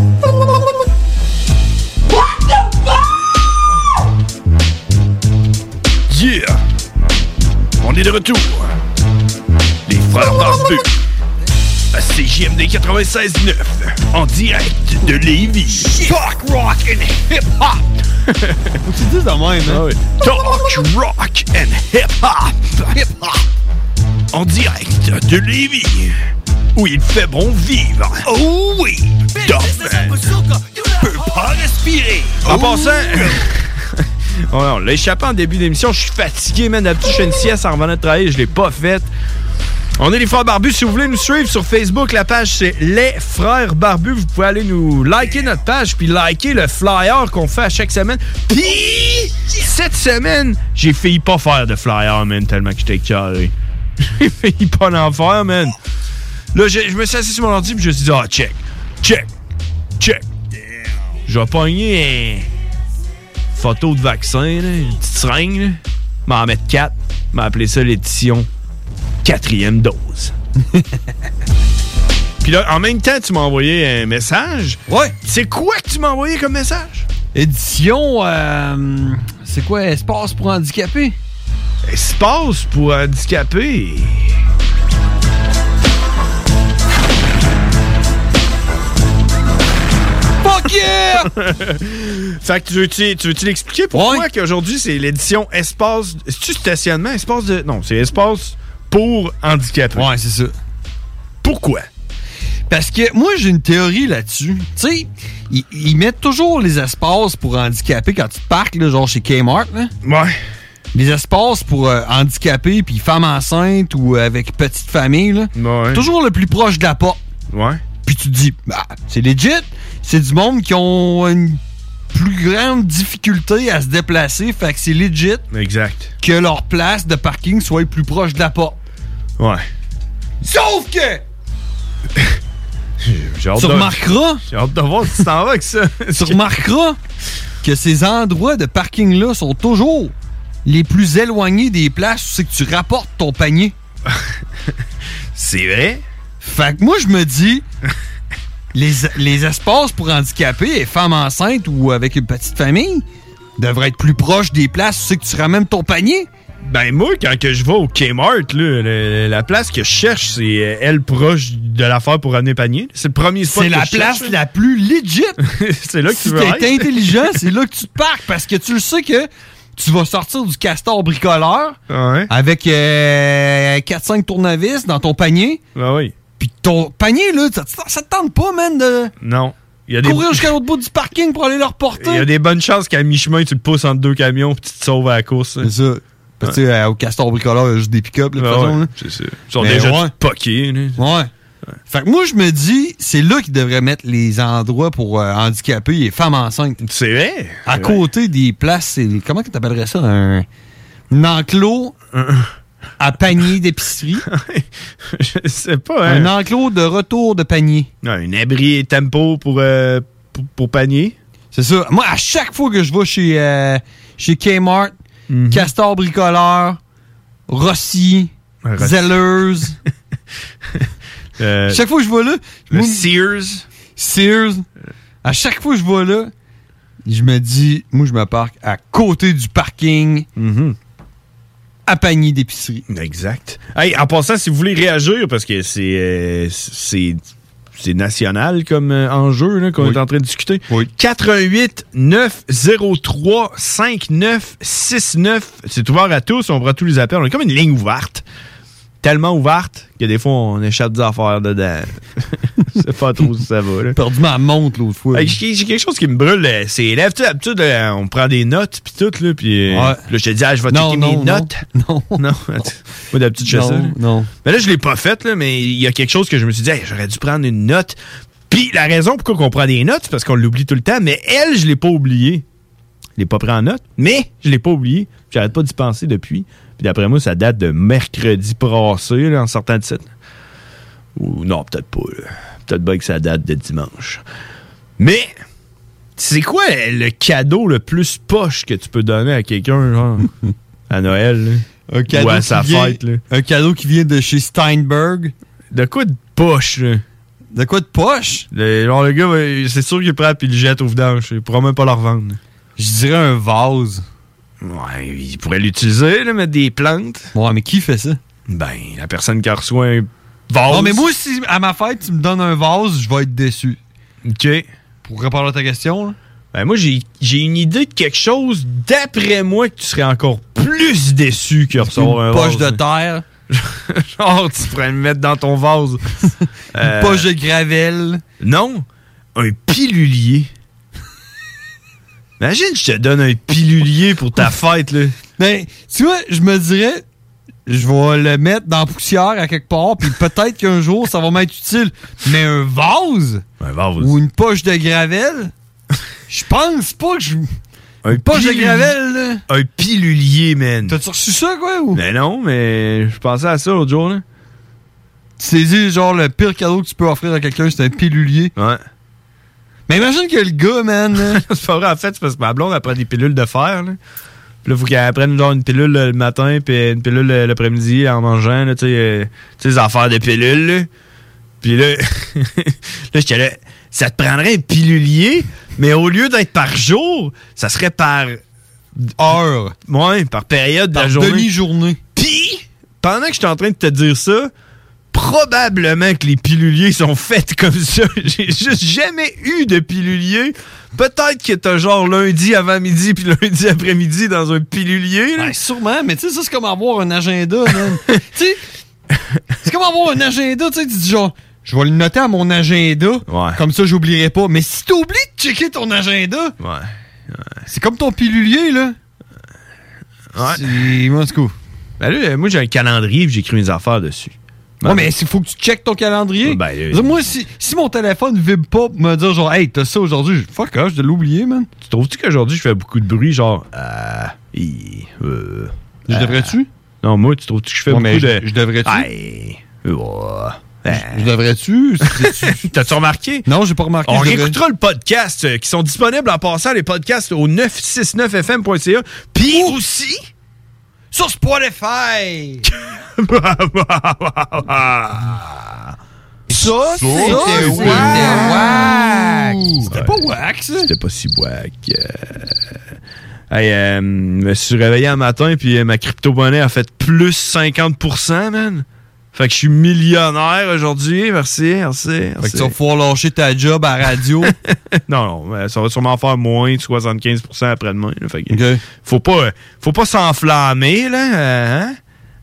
Yeah! On est de retour. Les frères barbus. À C J M D quatre-vingt-seize neuf. En direct de Lévis. Talk, rock and hip-hop. Faut que tu dises de même, hein? Ah oui. Talk, rock and hip-hop. Hip-hop. En direct de Lévis. Où il fait bon vivre. Oh oui! Dogman peut pas respirer. En passant... Oh non, on l'a échappé en début d'émission. Je suis fatigué, man. D'habitude, je fais une sieste en revenant de travailler. Je l'ai pas faite. On est les Frères Barbus. Si vous voulez nous suivre sur Facebook, la page, c'est Les Frères Barbus. Vous pouvez aller nous liker notre page puis liker le flyer qu'on fait à chaque semaine. Puis, cette semaine, j'ai failli pas faire de flyer, man, tellement que j'étais carré. J'ai failli pas en faire, man. Là, je, je me suis assis sur mon ordi puis je me suis dit, ah, check, check, check. Je vais pogner un photo de vaccin, là, une petite seringue, là. M'en mettre quatre. M'en appeler ça l'édition quatrième dose. Puis là, en même temps, tu m'as envoyé un message. Ouais. C'est quoi que tu m'as envoyé comme message? Édition, euh, c'est quoi, espace pour handicapés? Espace pour handicapés? Fuck yeah! Fait que tu veux-tu, tu veux-tu l'expliquer pourquoi ouais. qu'aujourd'hui c'est l'édition espace... C'est-tu stationnement? Espace de... Non, c'est espace pour handicapés. Ouais, c'est ça. Pourquoi? Parce que moi, j'ai une théorie là-dessus. Tu sais, ils, ils mettent toujours les espaces pour handicapés quand tu te parques, là, genre chez Kmart. Là. Ouais. Les espaces pour euh, handicapés, puis femmes enceintes ou euh, avec petite famille. Là. Ouais. Toujours le plus proche de la porte. Ouais. Puis tu te dis, bah, c'est legit. C'est du monde qui ont une plus grande difficulté à se déplacer. Fait que c'est legit. Exact. Que leur place de parking soit plus proche de la porte. Ouais. Sauf que... J'ai hâte tu de... remarqueras... J'ai hâte de voir si tu t'en vas avec ça. Tu remarqueras que ces endroits de parking-là sont toujours les plus éloignés des places où c'est que tu rapportes ton panier. C'est vrai? Fait que moi, je me dis... les, les espaces pour handicapés et femmes enceintes ou avec une petite famille devraient être plus proches des places où c'est que tu ramènes ton panier. Ben moi, quand que je vais au Kmart, là, la, la place que je cherche, c'est elle proche de l'affaire pour ramener panier. C'est le premier spot c'est que la je place cherche, la plus legit. C'est là que si tu veux être. Si t'es intelligent, c'est là que tu te parques parce que tu le sais que tu vas sortir du castor bricoleur ouais. avec euh, quatre cinq tournevis dans ton panier. Ben oui. Puis ton panier, là, ça, ça te tente pas, man, de Non. Il y a courir des... jusqu'à l'autre bout du parking pour aller le reporter. Il y a des bonnes chances qu'à mi-chemin, tu le pousses entre deux camions puis tu te sauves à la course. C'est ça. Parce que, tu sais, au Castor Bricoleur, il y a juste des pick-up, là, de toute ouais, façon. Là. C'est ça. Ils sont Mais déjà ouais. tous poqués. Là. Ouais. ouais. Fait que moi, je me dis, c'est là qu'ils devraient mettre les endroits pour euh, handicapés et femmes enceintes. C'est vrai. À c'est côté vrai. des places, c'est, comment tu t'appellerais ça? Un, un enclos à panier d'épicerie. Je sais pas. Hein. Un enclos de retour de panier. Non, un abri tempo pour, euh, pour, pour panier. C'est ça. Moi, à chaque fois que je vais chez, euh, chez Kmart, mm-hmm. Castor Bricoleur, Rossi, Rossi. Zelleuse. euh, chaque fois que je vais là... Le moi, Sears. Sears. À chaque fois que je vais là, je me dis, moi, je me parque à côté du parking mm-hmm. à panier d'épicerie. Exact. Hey, en passant, si vous voulez réagir, parce que c'est... Euh, c'est C'est national comme euh, enjeu là, qu'on oui. est en train de discuter. Oui. quatre un huit neuf zéro trois cinq neuf six neuf. C'est ouvert à tous. On prend tous les appels. On est comme une ligne ouverte. Tellement ouverte que des fois, on échappe des affaires dedans. Je sais pas trop si ça va. J'ai perdu ma montre l'autre fois. Hey, j'ai, j'ai quelque chose qui me brûle. C'est élève. Tu sais, d'habitude, là, on prend des notes puis tout. Là, puis, ouais. là, je te dis, ah, je vais non, checker non, mes non. notes. Non. Non. Moi, d'habitude, je fais ça. Là. Non. Mais là, je l'ai pas fait, là, mais il y a quelque chose que je me suis dit, hey, j'aurais dû prendre une note. Puis la raison pourquoi on prend des notes, c'est parce qu'on l'oublie tout le temps. Mais elle, je l'ai pas oublié. Je l'ai pas pris en note, mais je l'ai pas oublié. J'arrête pas d'y penser depuis. Puis d'après moi, ça date de mercredi passé, là, en sortant de site. Ou non, peut-être pas. Là. Peut-être bien que ça date de dimanche. Mais, c'est quoi le cadeau le plus poche que tu peux donner à quelqu'un, genre, à Noël, là? Un cadeau ou à sa vient, fête, là? Un cadeau qui vient de chez Steinberg. De quoi de poche, là? De quoi de poche? Le, genre, le gars, c'est sûr qu'il le prend et il le jette au vidange. Il pourra même pas le revendre. Je dirais un vase. Ouais, il pourrait l'utiliser, là, mettre des plantes. Ouais, mais qui fait ça? Ben, la personne qui reçoit un vase. Non, mais moi, si à ma fête, tu me donnes un vase, je vais être déçu. OK. Pour répondre à ta question, là. Ben, moi, j'ai, j'ai une idée de quelque chose, d'après moi, que tu serais encore plus déçu que recevoir un vase. Une poche de terre. Genre, tu pourrais le mettre dans ton vase. euh, Une poche de gravelle. Non, un pilulier. Imagine, je te donne un pilulier pour ta fête, là. Ben, tu vois, je me dirais, je vais le mettre dans la poussière à quelque part, puis peut-être qu'un jour, ça va m'être utile. Mais un vase? Un vase. Ou une poche de gravelle? Je pense pas que je... Un poche pilulier. de gravelle, là. Un pilulier, man. T'as-tu reçu ça, quoi? Ou? Ben non, mais je pensais à ça l'autre jour, là. Tu t'es dit, genre, le pire cadeau que tu peux offrir à quelqu'un, c'est un pilulier. Ouais. Mais imagine que le gars, man... c'est pas vrai, en fait, c'est parce que ma blonde, elle prend des pilules de fer, là. Puis là, faut qu'elle prenne genre une pilule le matin, puis une pilule l'après-midi en mangeant, là, tu sais, euh, les affaires de pilules, là. Puis là, là, j'étais là, ça te prendrait un pilulier, mais au lieu d'être par jour, ça serait par heure. Ouais, par période par de la journée. demi-journée. Puis, pendant que j'étais en train de te dire ça, probablement que les piluliers sont faits comme ça. J'ai juste jamais eu de pilulier. Peut-être que t'as genre lundi avant-midi puis lundi après-midi dans un pilulier. Ouais, sûrement, mais tu sais, ça, c'est comme avoir un agenda, man. Tu sais, c'est comme avoir un agenda, tu sais, tu dis genre, je vais le noter à mon agenda, ouais. Comme ça, j'oublierai pas. Mais si t'oublies de checker ton agenda, ouais, ouais. C'est comme ton pilulier, là. Ouais. C'est... Moi, c'est cool. Ben là, moi, j'ai un calendrier et j'écris mes affaires dessus. Ouais, ouais, mais il faut que tu checkes ton calendrier. Ben, euh, moi, si, si mon téléphone vibre pas pour me dire genre, hey, t'as ça aujourd'hui, fuck off, je dois l'oublier, man. Tu trouves-tu qu'aujourd'hui, je fais beaucoup de bruit, genre, euh, euh, je euh, devrais-tu? Non, moi, tu trouves-tu que je fais ouais, beaucoup je, de. Je devrais-tu? Hey, euh, je, je devrais-tu? T'as-tu remarqué? Non, j'ai pas remarqué. On réécoutera le podcast euh, qui sont disponibles en passant les podcasts au neuf cent soixante-neuf f m point c a. Puis aussi. Sur Spotify! Ça, c'était wack! C'était pas wack, ça? C'était pas si wack. Euh... Hey, euh, je me suis réveillé un matin, puis ma crypto-monnaie a fait plus cinquante pour cent, man. Fait que je suis millionnaire aujourd'hui. Merci, merci, merci. Fait que tu vas pouvoir lâcher ta job à radio. non, non, ça va sûrement faire moins de soixante-quinze pour cent après-demain. Là. Fait que okay. faut pas, faut pas s'enflammer, là. Hein? Hein?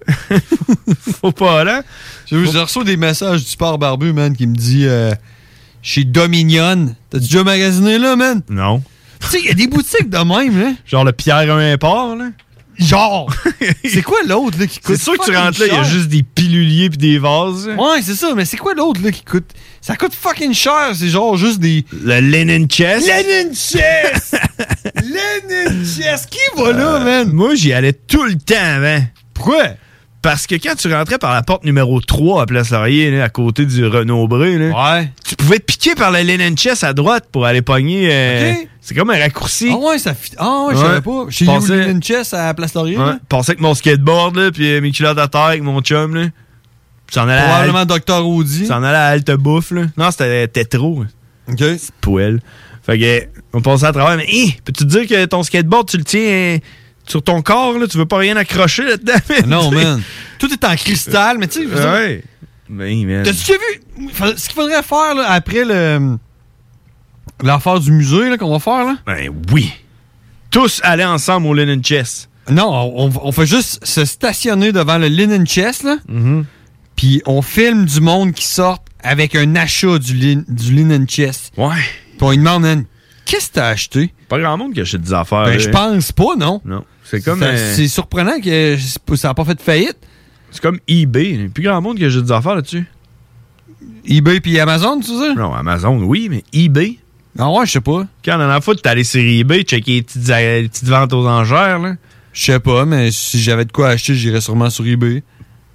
Faut pas, là. J'ai reçu des messages du sport barbu, man, qui me dit euh, chez Dominion. T'as-tu déjà magasiné là, man? Non. Tu sais, il y a des boutiques de même, là. Genre le Pierre un Import, là. Genre! C'est quoi l'autre, là, qui coûte? C'est sûr que tu rentres là, il y a juste des piluliers pis des vases. Ouais, c'est ça, mais c'est quoi l'autre, là, qui coûte? Ça coûte fucking cher, c'est genre juste des... Le Lennon Chest. Lennon Chest! Lennon Chest! Qui va là, Euh, man? Moi, j'y allais tout le temps avant. Pourquoi? Parce que quand tu rentrais par la porte numéro trois à Place Laurier, là, à côté du Renaud-Bré, là, ouais. tu pouvais te piquer par la Lennon Chest à droite pour aller pogner... Euh, OK. C'est comme un raccourci. Ah ouais, ça... Fit... Ah ouais, je savais pas. Chez Passais- You Lennon Chest à Place Laurier, Ouais. là? Passais avec mon skateboard, là, puis mes culottes à terre avec mon chum, là. Puis t'en allais à... Probablement Docteur Audi. T'en allais à Halte Bouffe, là. Non, c'était Tétro. OK. C'est poêle. Fait que, on passait à travers, mais, hé, peux-tu te dire que ton skateboard, tu le tiens euh, sur ton corps, là? Tu veux pas rien accrocher là-dedans? Non, man. Tout est en cristal, mais tu sais... je veux dire, Ouais. Ben, man. T'as-tu déjà vu? Fa- Ce qu'il faudrait faire, là, après le... L'affaire du musée, là, qu'on va faire, là? Ben oui. Tous aller ensemble au Lennon Chest. Non, on, on fait juste se stationner devant le Linen Chest, là. Mm-hmm. Puis on filme du monde qui sort avec un achat du, lin, du Linen Chest. Ouais. Puis on lui demande, man, qu'est-ce que t'as acheté? Pas grand monde qui achète des affaires. Ben, là. je pense pas, non. Non. C'est comme... Ça- euh, C'est surprenant que ça n'a pas fait de faillite. C'est comme eBay. Il y a plus grand monde qui achète des affaires là-dessus. eBay puis Amazon, tu sais? Non, Amazon, oui, mais eBay... Ah ouais, je sais pas. Quand la dernière fois, t'es allé sur eBay, checker les petites, les petites ventes aux enchères, là. Je sais pas, mais si j'avais de quoi acheter, j'irais sûrement sur eBay.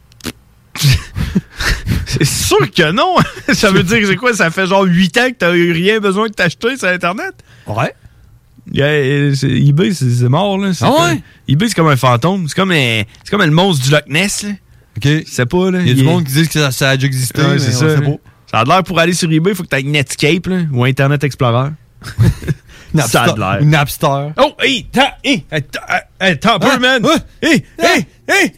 C'est sûr que non! Ça veut dire que c'est quoi? Ça fait genre huit ans que t'as eu rien besoin de t'acheter sur Internet? Ouais. Yeah, c'est- eBay, c'est c'est mort, là. C'est Ah comme- ouais? eBay, c'est comme un fantôme. C'est comme, un- c'est comme le monstre du Loch Ness, là. OK. Je sais pas, là. Il y a du est- monde qui dit que ça, ça a déjà existé, Ouais, mais c'est on ça. sait là. pas. Ça a l'air pour aller sur eBay, il faut que t'aies Netscape, là, ou Internet Explorer. Ça a de l'air. Une Napster. Oh, hey, t'as, hey, attends, attends un peu, Ah, man. ouais. Hey, hey, hey.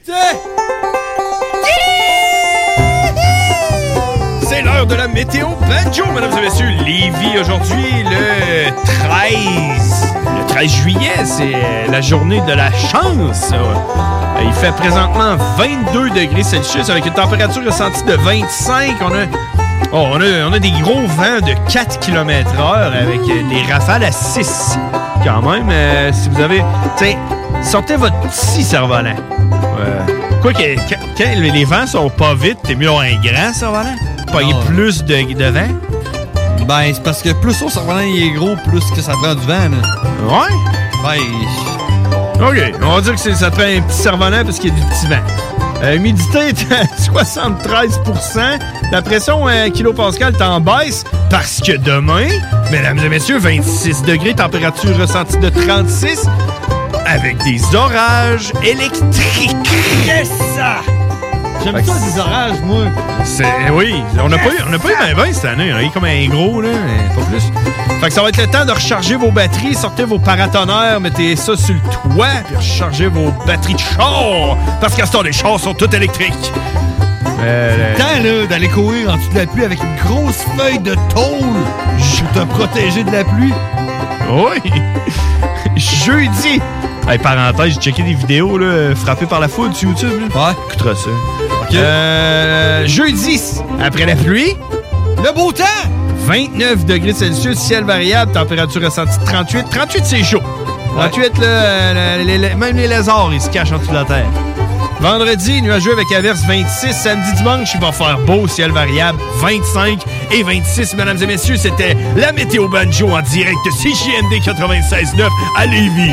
C'est l'heure de la météo banjo, mesdames et messieurs. Lévis, aujourd'hui, le treize. Le treize juillet, c'est la journée de la chance. Euh, Il fait présentement vingt-deux degrés Celsius avec une température ressentie de vingt-cinq. On a, oh, on a, on a des gros vents de quatre kilomètres heure avec des rafales à six. Quand même, euh, si vous avez... Tiens, sortez votre petit cerf-volant. Euh, quoi que quand, quand les vents sont pas vite, t'es mieux d'avoir un grand cerf-volant. Pogner Ah. plus de, de vent. Ben, c'est parce que plus son cerf-volant il est gros, plus que ça prend du vent, là. Ouais? Ben, OK, on va dire que c'est- ça te fait un petit cerf-volant parce qu'il y a du petit vent. Euh, humidité est à soixante-treize pour cent. La pression euh, kilopascal est en baisse parce que demain, mesdames et messieurs, vingt-six degrés, température ressentie de trente-six avec des orages électriques. Yes! J'aime Fait que ça, des orages, moi. C'est, oui, on n'a pas eu, on n'a pas eu ben ben cette année. On a eu comme un gros, là, mais pas plus. Fait que ça va être le temps de recharger vos batteries, sortez vos paratonnerres, mettez ça sur le toit, puis rechargez vos batteries de char. Parce qu'à ce temps, les chars sont tous électriques. Euh, C'est le temps, là, d'aller courir en dessous de la pluie avec une grosse feuille de tôle pour te protéger de la pluie. Oui! Jeudi! Hey, parenthèse, j'ai checké des vidéos là, frappées par la foudre sur YouTube. Là. Ouais. Écoutera ça. Euh, jeudi, après la pluie, le beau temps! vingt-neuf degrés Celsius, ciel variable, température ressentie de trente-huit. trente-huit, c'est chaud. trente-huit, là, euh, les- les- même les lézards, ils se cachent en dessous de la terre. Vendredi, nuageux avec averse vingt-six. Samedi, dimanche, il va faire beau, ciel variable vingt-cinq et vingt-six. Mesdames et messieurs, c'était la météo banjo en direct de C J M D quatre-vingt-seize neuf à Lévis.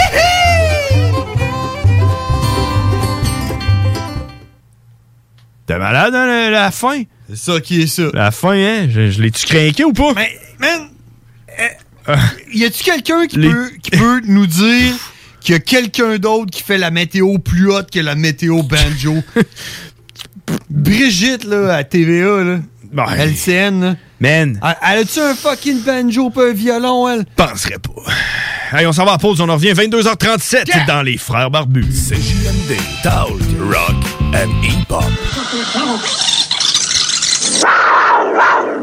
T'es malade, hein, la, la fin? C'est ça qui est ça. La fin, hein? Je, je l'ai-tu craqué ou pas? Mais, man, euh, y a-tu quelqu'un qui, Les- peut, qui peut nous dire qu'il y a quelqu'un d'autre qui fait la météo plus haute que la météo banjo? Brigitte, là, à T V A, là. Ben, L C N, là. Man. Elle, elle a-tu un fucking banjo pas un violon, elle? Penserais pas. Hey, on s'en va à pause, on en revient vingt-deux heures trente-sept yeah! dans Les Frères Barbus. C J M D, Talk, Rock and Hip-Hop.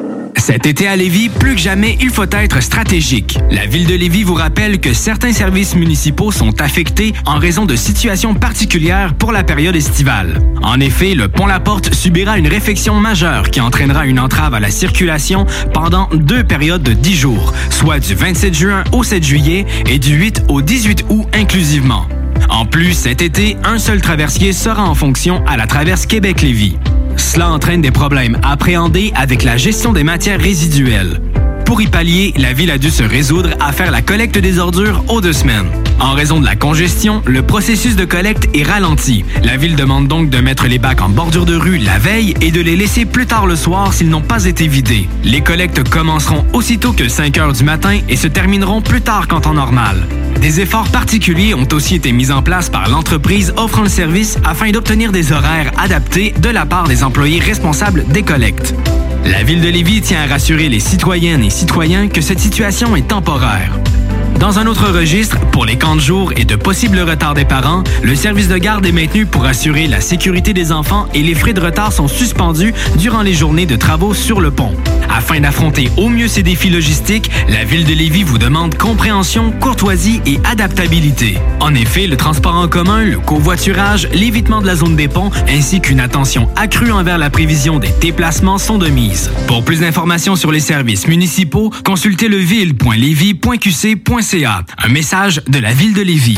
Cet été à Lévis, plus que jamais, il faut être stratégique. La Ville de Lévis vous rappelle que certains services municipaux sont affectés en raison de situations particulières pour la période estivale. En effet, le pont La Porte subira une réfection majeure qui entraînera une entrave à la circulation pendant deux périodes de dix jours, soit du vingt-sept juin au sept juillet et du huit au dix-huit août inclusivement. En plus, cet été, un seul traversier sera en fonction à la traverse Québec-Lévis. Cela entraîne des problèmes appréhendés avec la gestion des matières résiduelles. Pour y pallier, la Ville a dû se résoudre à faire la collecte des ordures aux deux semaines. En raison de la congestion, le processus de collecte est ralenti. La Ville demande donc de mettre les bacs en bordure de rue la veille et de les laisser plus tard le soir s'ils n'ont pas été vidés. Les collectes commenceront aussitôt que cinq heures du matin et se termineront plus tard qu'en temps normal. Des efforts particuliers ont aussi été mis en place par l'entreprise offrant le service afin d'obtenir des horaires adaptés de la part des employés responsables des collectes. La Ville de Lévis tient à rassurer les citoyennes et citoyens que cette situation est temporaire. Dans un autre registre, pour les camps de jour et de possibles retards des parents, le service de garde est maintenu pour assurer la sécurité des enfants et les frais de retard sont suspendus durant les journées de travaux sur le pont. Afin d'affronter au mieux ces défis logistiques, la Ville de Lévis vous demande compréhension, courtoisie et adaptabilité. En effet, le transport en commun, le covoiturage, l'évitement de la zone des ponts ainsi qu'une attention accrue envers la prévision des déplacements sont de mise. Pour plus d'informations sur les services municipaux, consultez le ville point lévis point q c point c a. Un message de la Ville de Lévis.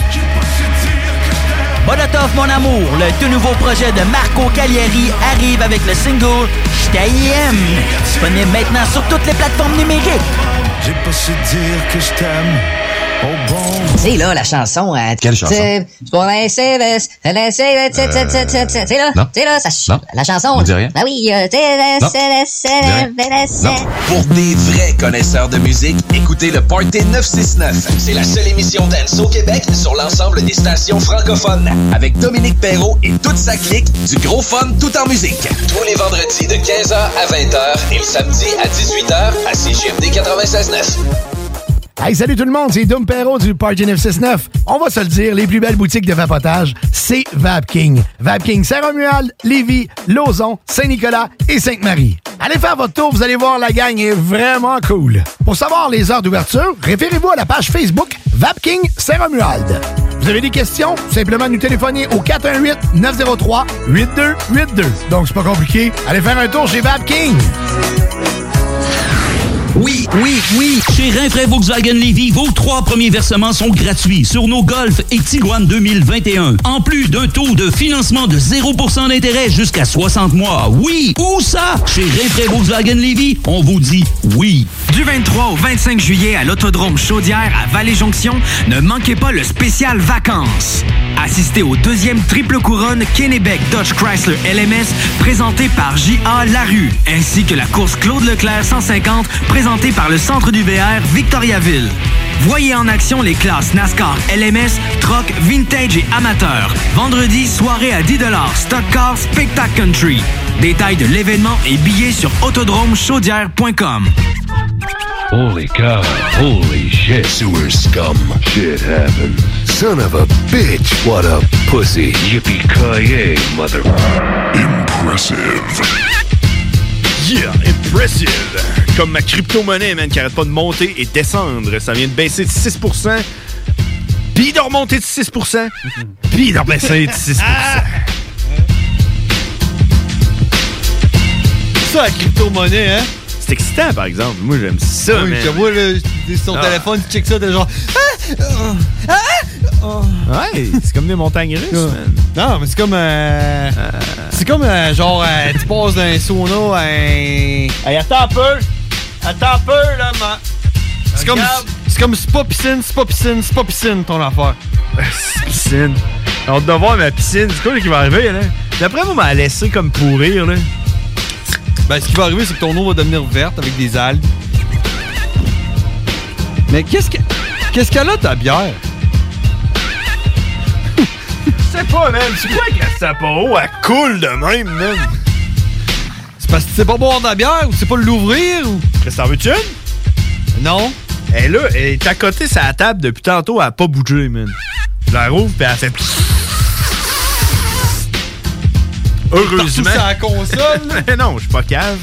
Molotov, mon amour, le tout nouveau projet de Marco Cagliari arrive avec le single « J't'aime ». Disponible maintenant sur toutes les plateformes numériques. J'ai pas su dire que je t'aime. Oh bon. Tu sais, là, la chanson... Euh, Quelle chanson? C'est pour laisser... C'est là, tu sais, là, ça... La chanson... On dit rien? Ben oui, euh, tu sais... Pour des vrais connaisseurs de musique, écoutez le Party neuf cent soixante-neuf. C'est la seule émission dance au Québec sur l'ensemble des stations francophones. Avec Dominique Perrault et toute sa clique, du gros fun tout en musique. Tous les vendredis de quinze heures à vingt heures et le samedi à dix-huit heures à C G M D quatre-vingt-seize neuf. Hey, salut tout le monde, c'est Dom Perrault du Party neuf cent soixante-neuf. On va se le dire, les plus belles boutiques de vapotage, c'est Vapking. Vapking Saint-Romuald, Lévis, Lauson, Saint-Nicolas et Sainte-Marie. Allez faire votre tour, vous allez voir, la gang est vraiment cool. Pour savoir les heures d'ouverture, référez-vous à la page Facebook Vapking Saint-Romuald. Vous avez des questions? Simplement nous téléphoner au quatre un huit, neuf zéro trois, huit deux huit deux. Donc c'est pas compliqué, allez faire un tour chez Vapking. Oui, oui, oui. Chez Rinfraie Volkswagen Lévis, vos trois premiers versements sont gratuits sur nos Golf et Tiguan deux mille vingt et un. En plus d'un taux de financement de zéro pour cent d'intérêt jusqu'à soixante mois. Oui, où ça? Chez Rinfraie Volkswagen Lévis, on vous dit oui. Du vingt-trois au vingt-cinq juillet à l'Autodrome Chaudière à Vallée-Jonction, ne manquez pas le spécial vacances. Assistez au deuxième triple couronne Kennebec Dodge Chrysler L M S présenté par J A Larue, ainsi que la course Claude Leclerc cent cinquante présentée par le Centre du V R Victoriaville. Voyez en action les classes NASCAR L M S, Truck, Vintage et Amateur. Vendredi, soirée à dix dollars, Stock Car, Spectacle Country. Détails de l'événement et billets sur autodrome chaudière point com. Holy cow, holy shit. Sewer scum. Shit happened. Son of a bitch. What a pussy. Yippee-ki-yay, mother... Impressive. Yeah, impressive. Comme ma crypto-monnaie, man, qui arrête pas de monter et descendre. Ça vient de baisser de six pour cent, puis de remonter de six pour cent, puis de rebaisser de six pour cent. Ça, la crypto-monnaie, hein? C'est excitant, par exemple. Moi, j'aime ça, oui, man. Je vois, là, t'es sur ton ah. téléphone, tu checkes ça, t'es genre... Ah! Ah! Oh. Ouais, c'est comme des montagnes russes, man. Non, mais c'est comme... Euh, euh... C'est comme, euh, genre, euh, tu passes d'un sauna à un... Hey, attends un peu! Attends un peu, là, man! C'est comme... C'est comme c'est pas piscine, c'est pas piscine, c'est pas piscine, ton affaire. C'est piscine. On doit voir ma piscine. C'est quoi qui va arriver, là? D'après moi, m'a laissé comme pourrir, là. Ben, ce qui va arriver, c'est que ton eau va devenir verte avec des algues. Mais qu'est-ce que... Qu'est-ce qu'elle a, ta bière? Je sais pas, man. C'est quoi que la Sapporo, elle coule de même, man? C'est parce que tu sais pas boire de la bière ou tu sais pas l'ouvrir ou... Qu'est-ce que t'en veux-tu une? Non. Elle est là, elle est à côté sur la table depuis tantôt, elle a pas bougé, man. Je la rouvre, pis elle fait... Heureusement. C'est la console. Non, je suis pas cave.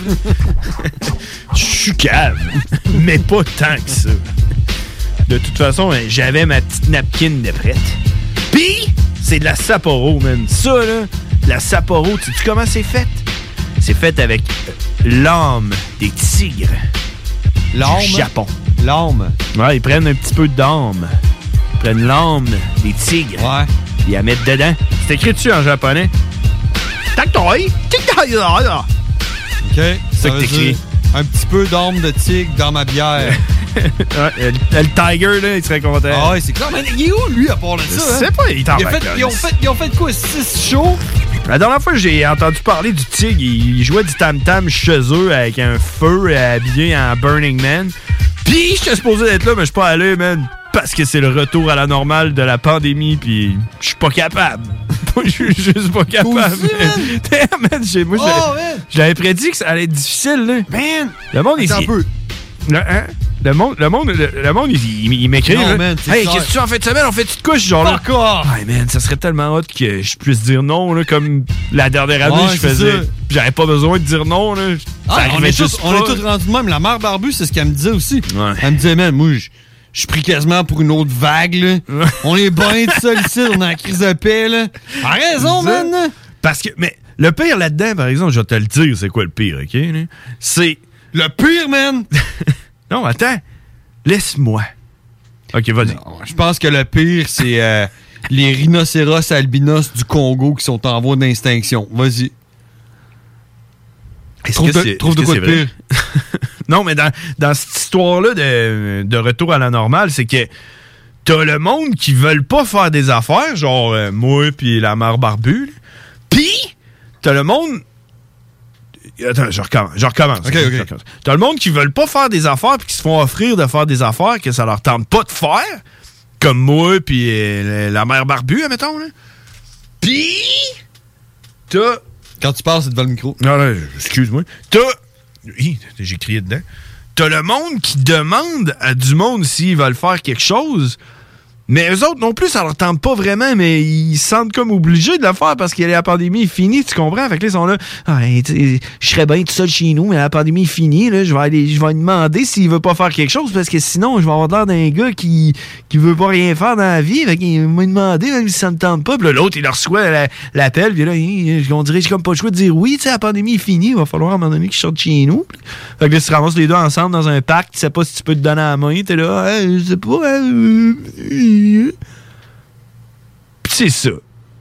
Je suis cave, mais pas tant que ça. De toute façon, j'avais ma petite napkin de prête. Pis, c'est de la Sapporo, man. Ça, là, de la Sapporo, tu sais comment c'est fait? C'est fait avec l'âme des tigres. L'âme? Du Japon. L'âme. Ouais, ils prennent un petit peu d'âme. Ils prennent l'âme des tigres. Ouais. Ils la mettent dedans. C'est écrit dessus en japonais. Taktoi! Taktoi! OK. Ça, ça que veut t'écris. dire un petit peu d'âme de tigre dans ma bière. Ouais, le, le Tiger, là, il serait content. Ah ouais, c'est clair. Mais il est où, lui, à part de ça? Je sais hein? pas, il est en il a fait, vacances. ils, ont fait, ils ont fait quoi? six shows? La dernière fois que j'ai entendu parler du Tigre, il jouait du tam-tam chez eux avec un feu habillé en Burning Man. Pis j'étais supposé être là, mais je suis pas allé, man. Parce que c'est le retour à la normale de la pandémie, puis je suis pas capable. Je suis juste pas capable. Aussi, man. Damn, man, j'ai- moi, Oh, j'avais- man. j'avais prédit que ça allait être difficile, là. Man! Le monde, il Attends un peu. Le, hein? le monde, le monde, le, le monde, il, il, il m'écrit. Non, là. man, c'est Hey, clair. qu'est-ce que tu fais en fin de semaine? On fait-tu de couche, genre là? Fuck off! Hey, man, ça serait tellement hot que je puisse dire non, là, comme la dernière année, Ouais, je c'est faisais. ça. J'avais pas besoin de dire non, là. Ça Ah, on arrivait est tous juste on pas. est tous rendus de même. La mère Barbu, c'est ce qu'elle me disait aussi. Ouais. Elle me disait, man, moi, je je suis pris quasiment pour une autre vague, là. On est bien tout seul ici, on est en la crise de paix, là. A raison, Ça. man! Parce que, mais le pire là-dedans, par exemple, je vais te le dire, c'est quoi le pire, OK? là? C'est. Le pire, man! Non, attends. Laisse-moi. OK, vas-y. Je pense que le pire, c'est euh, les rhinocéros albinos du Congo qui sont en voie d'extinction. Vas-y. Est-ce Trouve que de, c'est- trouve de est-ce quoi que de c'est pire? Non, mais dans, dans cette histoire-là de, de retour à la normale, c'est que t'as le monde qui veulent pas faire des affaires, genre euh, moi puis la mère barbue, là. Puis t'as le monde... Attends, je recommence. Je recommence. Ok, Je ok. recommence. T'as le monde qui veulent pas faire des affaires puis qui se font offrir de faire des affaires que ça leur tente pas de faire, comme moi puis euh, la mère barbue, admettons. Là. Puis t'as... Quand tu parles, c'est devant le micro. Non, non, excuse-moi. T'as... Hi, j'ai crié dedans. T'as le monde qui demande à du monde s'ils veulent faire quelque chose, mais eux autres non plus, ça leur tente pas vraiment, mais ils se sentent comme obligés de le faire parce que la pandémie est finie, tu comprends? Fait que là, ils sont là, ah, hey, tu sais, je serais bien tout seul chez nous, mais la pandémie est finie, là, je vais aller, je vais lui demander s'il veut pas faire quelque chose parce que sinon, je vais avoir l'air d'un gars qui, qui veut pas rien faire dans la vie, fait qu'il m'a demandé même si ça me tente pas, puis là, l'autre, il leur reçoit la- l'appel, puis là, hi, on dirait que j'ai comme pas le choix de dire oui, tu sais, la pandémie est finie, il va falloir à un moment donné que je sorte chez nous. Fait que là, tu te ramasses les deux ensemble dans un parc, tu sais pas si tu peux te donner la main, t'es là, hey, je sais pas, hein, euh, Pis c'est ça.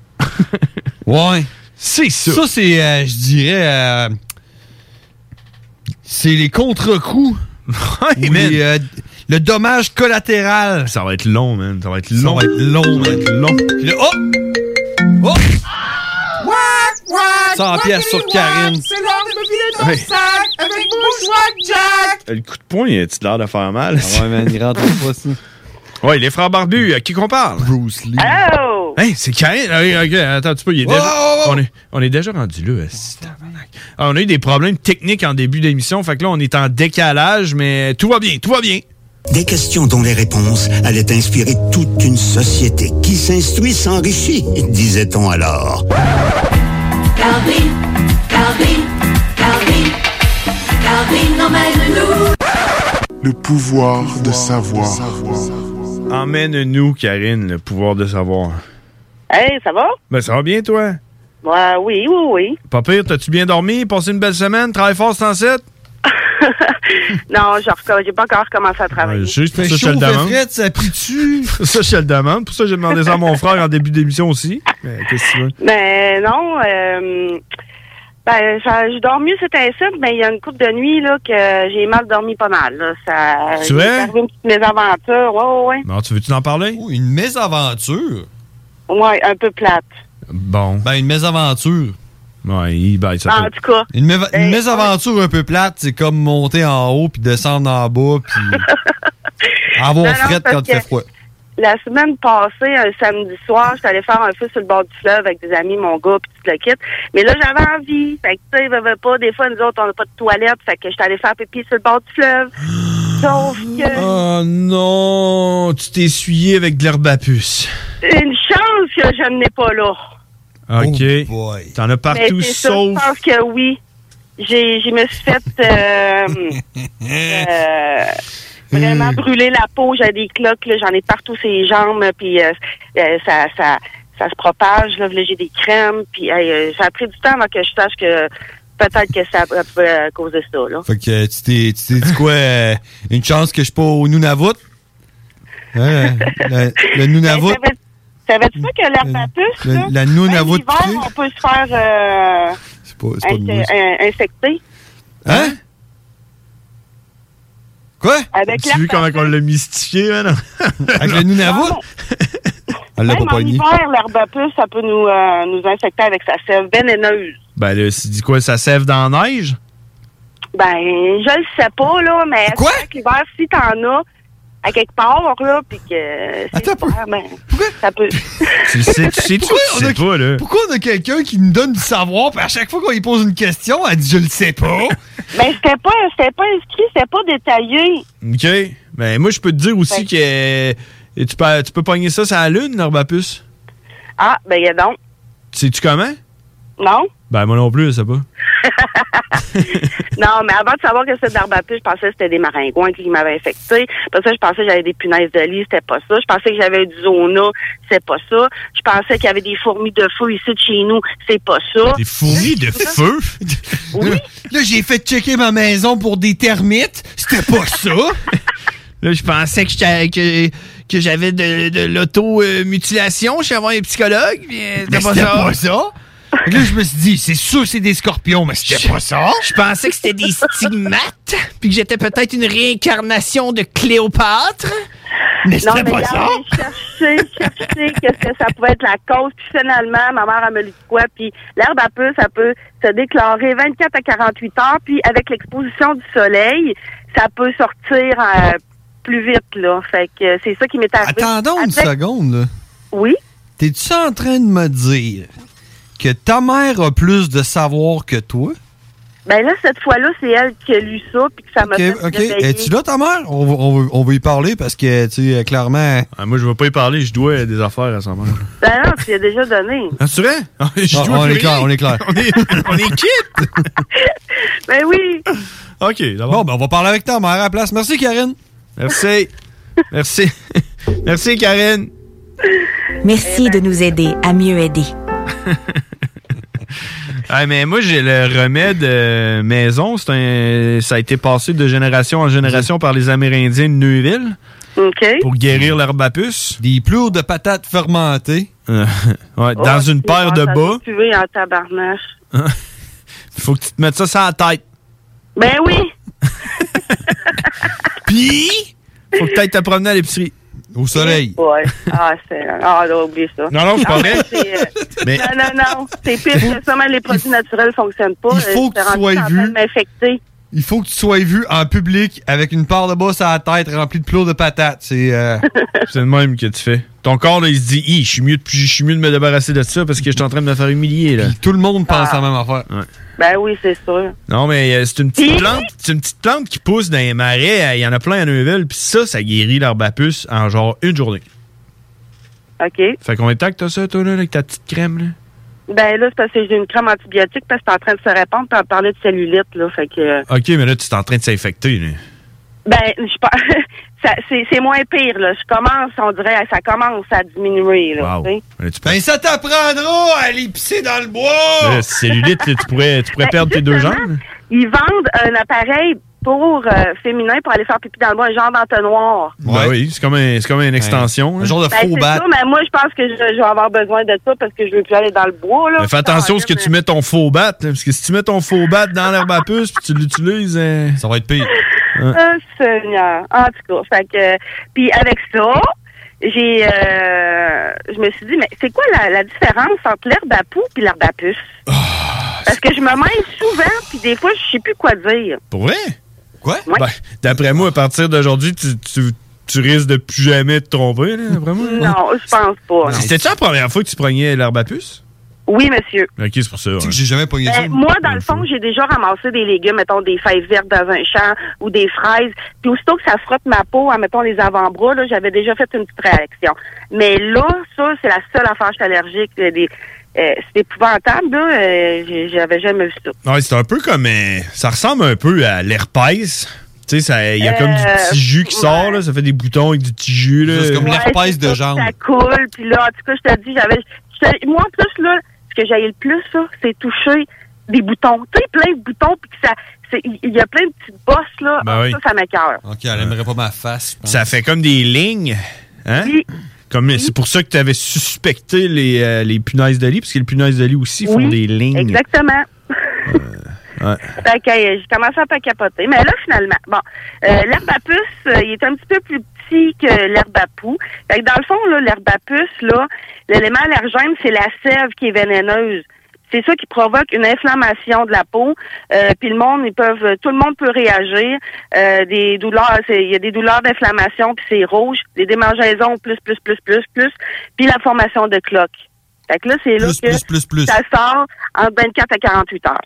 Ouais. C'est ça. Ça, c'est, euh, je dirais, euh, c'est les contre-coups. Ouais, ou man. les, euh, le dommage collatéral. Ça va être long, man. Ça va être Ça long. va être long, Ça va être long. Puis là, oh! Oh! cent pièces sur Karine. C'est l'heure de me filer ton Ouais. sac avec Bushwack Jack. Le coup de poing, a-tu l'air de faire mal? Ah ouais, man, il rentre pas, ça. Ouais, les frères barbus, à qui qu'on parle? Bruce Lee. Oh! Hey, c'est Karine. Ah oui, ok, attends un petit peu. Il est Oh, déjà... oh, oh. On, est, on est déjà rendu là. esti, tabarnak. Ah, on a eu des problèmes techniques en début d'émission. Fait que là, on est en décalage, mais tout va bien, tout va bien. Des questions dont les réponses allaient inspirer toute une société qui s'instruit s'enrichit, disait-on alors. Calvin, Calvin, Calvin, Calvin emmène-nous. Le pouvoir de savoir. Emmène-nous, Karine, le pouvoir de savoir. Hey, ça va? Ben, ça va bien, toi? Ouais, oui, oui, oui. Pas pire, t'as-tu bien dormi? Passé une belle semaine? Travaille fort, c'est en site? Non, j'ai recom- j'ai pas encore commencé à travailler. Ouais, je sais, c'est pour Fait ça que je te chaud, le fait demande. frais, ça plie-tu? C'est pour ça que je te le demande. Pour ça que j'ai demandé ça à mon frère en début d'émission aussi. Mais qu'est-ce que tu veux? Mais non, euh, ben, ça, je dors mieux cet incite, mais il y a une couple de nuits là, que j'ai mal dormi pas mal. Là. Ça, Tu il es? m'est arrivé une petite mésaventure. Ouais, ouais, ouais. Bon, tu veux-tu en parler? Oh, une mésaventure? Ouais, un peu plate. Bon. Ben, une mésaventure. Ouais, il ben, ça En peut... tout cas. Une, méva- une Ben, mésaventure un peu plate, c'est comme monter en haut puis descendre en bas puis avoir Non, non, frette parce quand il fait que- froid. La semaine passée, un samedi soir, j'étais allée faire un feu sur le bord du fleuve avec des amis, mon gars, puis tout le kit. Mais là, j'avais envie. Fait que, tu sais, veut, veut pas, des fois, nous autres, on n'a pas de toilette. Fait que j'étais allée faire pipi sur le bord du fleuve. Sauf que... Oh non! Tu t'es essuyé avec de l'herbe à puce. Une chance que je n'ai pas là. OK. Oh boy. T'en as partout, Mais c'est ça, sauf... je pense que oui. J'ai, je me suis fait euh, euh, vraiment brûler la peau. J'ai des cloques, là, j'en ai partout sur les jambes, puis euh, euh, ça, ça, ça se propage. Là, là j'ai des crèmes, puis euh, ça a pris du temps avant que je sache que peut-être que ça pouvait causer ça. Là. Fait que tu t'es, tu t'es dit quoi? euh, une chance que je suis pas au Nunavut? Hein, le, le Nunavut? Ben, savais-tu pas que l'herbe à puce, Le- là, la Nunavut même l'hiver, on peut se faire euh, C'est pas, c'est pas de inse- mousse. in- infecter? Hein? Quoi? Avec Tu as vu comment on l'a mystifié, hein? Avec le Nunavut? Elle l'a Même pas en pogné. hiver, l'herbe à puce, ça peut nous, euh, nous infecter avec sa sève vénéneuse. Ben là, c'est dit quoi, ça sève dans la neige? Ben, je le sais pas, là, mais Quoi? c'est vrai que l'hiver, si t'en as à quelque part, là, puis que c'est l'hiver, ben, ça peut... Tu le sais, tu sais, tu Pourquoi on sais a- pas, là. Pourquoi on a quelqu'un qui nous donne du savoir, puis à chaque fois qu'on lui pose une question, elle dit « je le sais pas Ben, c'était pas, c'était pas inscrit, c'était pas détaillé. OK. Ben moi, je peux te dire aussi que euh, tu peux, tu peux pogner ça sur la lune, l'herbe à puce. Ah, ben, y a donc. Sais-tu comment? Non? Ben moi non plus, je sais pas. Non, mais avant de savoir que c'était de l'herbe à puce, je pensais que c'était des maringouins qui m'avaient infecté. Après ça, je pensais que j'avais des punaises de lit, c'était pas ça. Je pensais que j'avais du zona, c'est pas ça. Je pensais qu'il y avait des fourmis de feu ici de chez nous, c'est pas ça. Des fourmis de feu? Oui. Là, j'ai fait checker ma maison pour des termites, c'était pas ça. Là, je pensais que j'étais- que, que j'avais de, de l'auto-mutilation chez un psychologue, puis euh, Mais c'était pas ça. Fait que là, je me suis dit, c'est sûr c'est des scorpions, mais c'était pas ça. Je pensais que c'était des stigmates, puis que j'étais peut-être une réincarnation de Cléopâtre. Mais Non, mais regarde, j'ai cherché, cherché que ça pouvait être la cause. Puis finalement, ma mère a me dit de quoi. Puis l'herbe à puce, ça peut se déclarer vingt-quatre à quarante-huit heures. Puis avec l'exposition du soleil, ça peut sortir euh, plus vite, là. Fait que c'est ça qui m'est arrivé. Attendons une Avec- seconde, là. Oui? T'es-tu en train de me dire que ta mère a plus de savoir que toi? Ben là, cette fois-là, c'est elle qui a lu ça, puis que ça m'a OK, fait OK. réveiller. Es-tu là, ta mère? On va, on va- on va y parler parce que, tu sais, clairement... Ah, moi, je vais pas y parler, je dois des affaires à sa mère. Ben non, tu l'as déjà donné. Ah, tu vrai? Je Ah, dois on plus est clair, rien. on est clair. on est, on est quitte! Ben oui! OK, d'abord. Bon, ben, on va parler avec ta mère à la place. Merci, Karine. Merci. Merci. Merci, Karine. Merci de nous aider à mieux aider. Ah, mais moi, j'ai le remède euh, maison. C'est un, ça a été passé de génération en génération par les Amérindiens de Neuville. OK. Pour guérir l'herbe à puce. Des plures de patates fermentées. Euh, ouais, Oh, dans une paire de ça bas. doit puer en tabarnache. Il faut que tu te mettes ça sur la tête. Ben oui! Puis, faut que tu ailles te promener à l'épicerie. Au soleil. Ouais. Ah, c'est... Ah, là, oublie ça. Non, non, c'est pas Ah, vrai. c'est, euh, Mais- Non, non, non. C'est pire que ça, même les produits naturels fonctionnent pas. il faut Euh, que j'étais tu rendue sois en vu. train de m'infecter. Il faut que tu sois vu en public avec une part de bosse à la tête remplie de plures de patates. C'est... euh, C'est le même que tu fais. Ton corps, là, il se dit, Hi, je suis mieux, de- je suis mieux de me débarrasser de ça parce que je suis en train de me faire humilier, là. Tout le monde pense Ah. à la même affaire. Ouais. Ben oui, c'est sûr. Non, mais euh, c'est une petite Puis- plante. C'est une petite plante qui pousse dans les marais. euh, Il y en a plein à Neuville. Puis ça, ça guérit l'herbe à puce en genre une journée. OK. Fait combien de temps que t'as ça, toi, là, avec ta petite crème, là? Ben là, c'est parce que j'ai une crème antibiotique parce que c'est en train de se répandre puis on parlait de cellulite, là. Fait que... OK, mais là, tu es en train de s'infecter, là. Ben, je pense... ça- c'est, c'est moins pire, là. Je commence, on dirait, ça commence à diminuer, là. Wow. tu sais. Là, tu peux- Ben, ça t'apprendra à aller pisser dans le bois! Là, cellulite, là, tu pourrais, tu pourrais Ben, perdre tes deux justement, jambes. Ils vendent un appareil pour euh, féminin pour aller faire pipi dans le bois, un genre d'entonnoir. Ben oui, c'est comme, un, c'est comme une extension. Un là. genre de Ben, faux c'est bat. ça, mais moi, je pense que je, je vais avoir besoin de ça parce que je veux plus aller dans le bois, là. Mais fais attention à ce que tu mets ton faux bat, là, parce que si tu mets ton faux bat dans l'herbe à puce puis tu l'utilises... euh, Ça va être pire. Oh, Seigneur. En tout cas, fait que... Puis avec ça, j'ai... euh, je me suis dit, mais c'est quoi la, la différence entre l'herbe à poux et l'herbe à puce? Parce que je me mêle souvent, puis des fois, je sais plus quoi dire. Pour vrai? Quoi? Ouais. Ben, d'après moi, à partir d'aujourd'hui, tu, tu, tu risques de plus jamais te tromper, là, d'après moi. Non, je pense pas. C'était-tu la première fois que tu prenais l'herbe à puce? Oui, monsieur. OK, c'est pour ça. Tu sais ouais. que j'ai jamais pogné ça. Ben, moi, dans le fond, j'ai déjà ramassé des légumes, mettons des feuilles vertes dans un champ ou des fraises. Puis aussitôt que ça frotte ma peau, en mettons les avant-bras, là, j'avais déjà fait une petite réaction. Mais là, ça, c'est la seule affaire, je suis allergique. Des, euh, c'est épouvantable, là. Euh, j'ai- j'avais jamais vu ça. Ouais, c'est un peu comme... euh, ça ressemble un peu à l'herpès. Tu sais, ça- il y a comme du Euh, petit jus qui sort, là. Ça fait des boutons avec du petit jus, là. Ouais, c'est ça, Ça coule, puis là, en tout cas, je te dis, j'avais... j'étais- Moi, en plus, là, ce que j'aille le plus, ça, c'est toucher des boutons. Tu sais, plein de boutons, puis que ça... c'est- il y a plein de petites bosses, là. Ben oui. Ça, ça m'écoeure. OK, elle aimerait pas ma face. je pense. Ça fait comme des lignes. Hein? Comme, C'est pour ça que tu avais suspecté les, euh, les punaises de lit, parce que les punaises de lit aussi font Oui, des lignes. Exactement. Ouais. Fait que euh, j'ai commencé un peu à capoter. Mais là, finalement, bon, euh, l'herbe à puce, euh, il est un petit peu plus petit que l'herbe à poux. Fait que dans le fond, là, l'herbe à puce, là, l'élément allergène, c'est la sève qui est vénéneuse. C'est ça qui provoque une inflammation de la peau. Euh, puis le monde, ils peuvent, tout le monde peut réagir. Euh, des douleurs, c'est- il y a des douleurs d'inflammation, puis c'est rouge. Des démangeaisons, plus, plus, plus, plus, plus. Puis la formation de cloques. Fait que là, c'est là Plus, que plus, plus, plus. ça sort entre vingt-quatre à quarante-huit heures.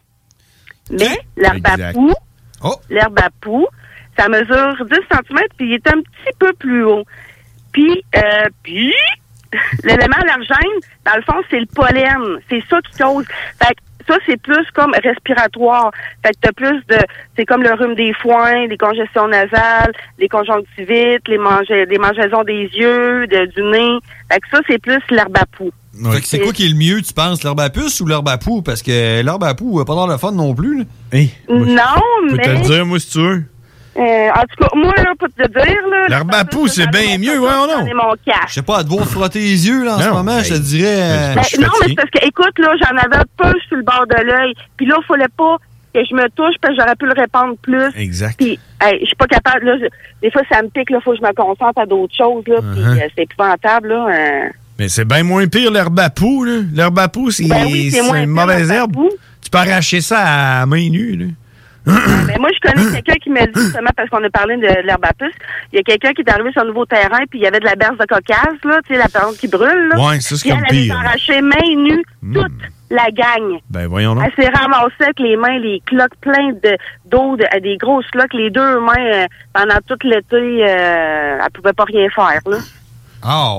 Mais l'herbe à Exact. poux, Oh. l'herbe à poux, ça mesure dix centimètres, puis il est un petit peu plus haut. Puis, euh, puis, l'élément allergène, dans le fond, c'est le pollen. C'est ça qui cause. Fait que ça, c'est plus comme respiratoire. Fait que t'as plus de... C'est comme le rhume des foins, les congestions nasales, les conjonctivites, les, mange, les mangeaisons des yeux, de- du nez. Fait que ça, c'est plus l'herbe à poux. Fait que c'est quoi qui est le mieux, tu penses, l'herbe à puce ou l'herbe à poux? Parce que l'herbe à poux, pas dans le fun non plus. Là. Non, Je peux mais... te le dire, moi, si tu veux. Euh, en tout cas, moi, là, pour te dire, là... L'herbe à poux, c'est bien mieux, ouais, ou non? J'en ai mon cash. Je sais pas, à devoir frotter les yeux là, en Non, ce moment, je te hey. dirais. euh, Ben, non, mais c'est parce que, écoute, là, j'en avais un peu sur le bord de l'œil. Puis là, il fallait pas que je me touche parce que j'aurais pu le répandre plus. Exact. Puis, hey, je suis pas capable, là. je- des fois, ça me pique, là. Faut que je me concentre à d'autres choses, là. Puis, Uh-huh. euh, c'est épouvantable, là. euh. Mais c'est bien moins pire l'herbe à poux, là. L'herbe à poux, c'est Ben oui, c'est c'est moins une pire, mauvaise l'herbe à herbe. poux. Tu peux arracher ça à main nue, là. Mais moi, je connais quelqu'un qui m'a dit, justement, parce qu'on a parlé de, de l'herbe à puce, il y a quelqu'un qui est arrivé sur un nouveau terrain, puis il y avait de la berce de cocasse, là, tu sais, la plante qui brûle, là. Ouais, ça, c'est Puis comme elle, elle pire, s'est là. arrachée main nue, toute la gang. Ben, voyons donc. Elle s'est ramassée avec les mains, les cloques pleines de, d'eau, de, des grosses cloques, les deux mains, euh, pendant tout l'été, euh, elle pouvait pas rien faire, là. Ah,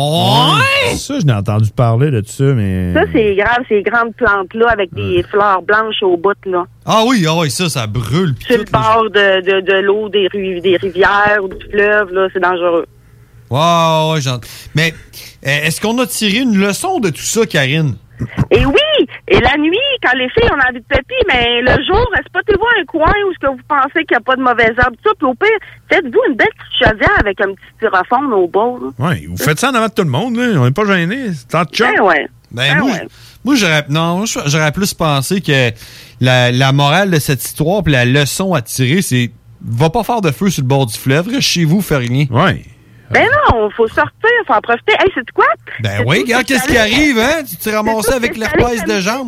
ouais! Ça, je n'ai entendu parler de ça, mais... Ça, c'est grave, ces grandes plantes-là, avec des fleurs blanches au bout, là. Ah oui, ah oui, ça, ça brûle. pis Sur le tout, là. bord de, de, de l'eau, des, ru- des rivières ou du fleuve, là, c'est dangereux. Ouais, ouais, j'entends. Mais euh, est-ce qu'on a tiré une leçon de tout ça, Karine? Et oui! Et la nuit, quand les filles ont envie de pépi, mais le jour, spottez-vous un coin où ce que vous pensez qu'il n'y a pas de mauvaise herbe, tout ça, puis au pire, faites-vous une belle petite chaudière avec un petit styrofoam au bord, là. Ouais, vous faites ça en avant de tout le monde, là. On n'est pas gênés. C'est tant de chum. Ben ouais. Ben, Ben moi, ouais. moi j'aurais non, moi, j'aurais plus pensé que la, la morale de cette histoire puis la leçon à tirer, c'est va pas faire de feu sur le bord du fleuve, reste chez vous, fais rien. Ouais. Ben non, faut sortir, faut en profiter. Hey, c'est quoi? Ben oui, regarde qu'est-ce qui arrive, hein? Tu t'es ramassé avec l'herpès de jambes.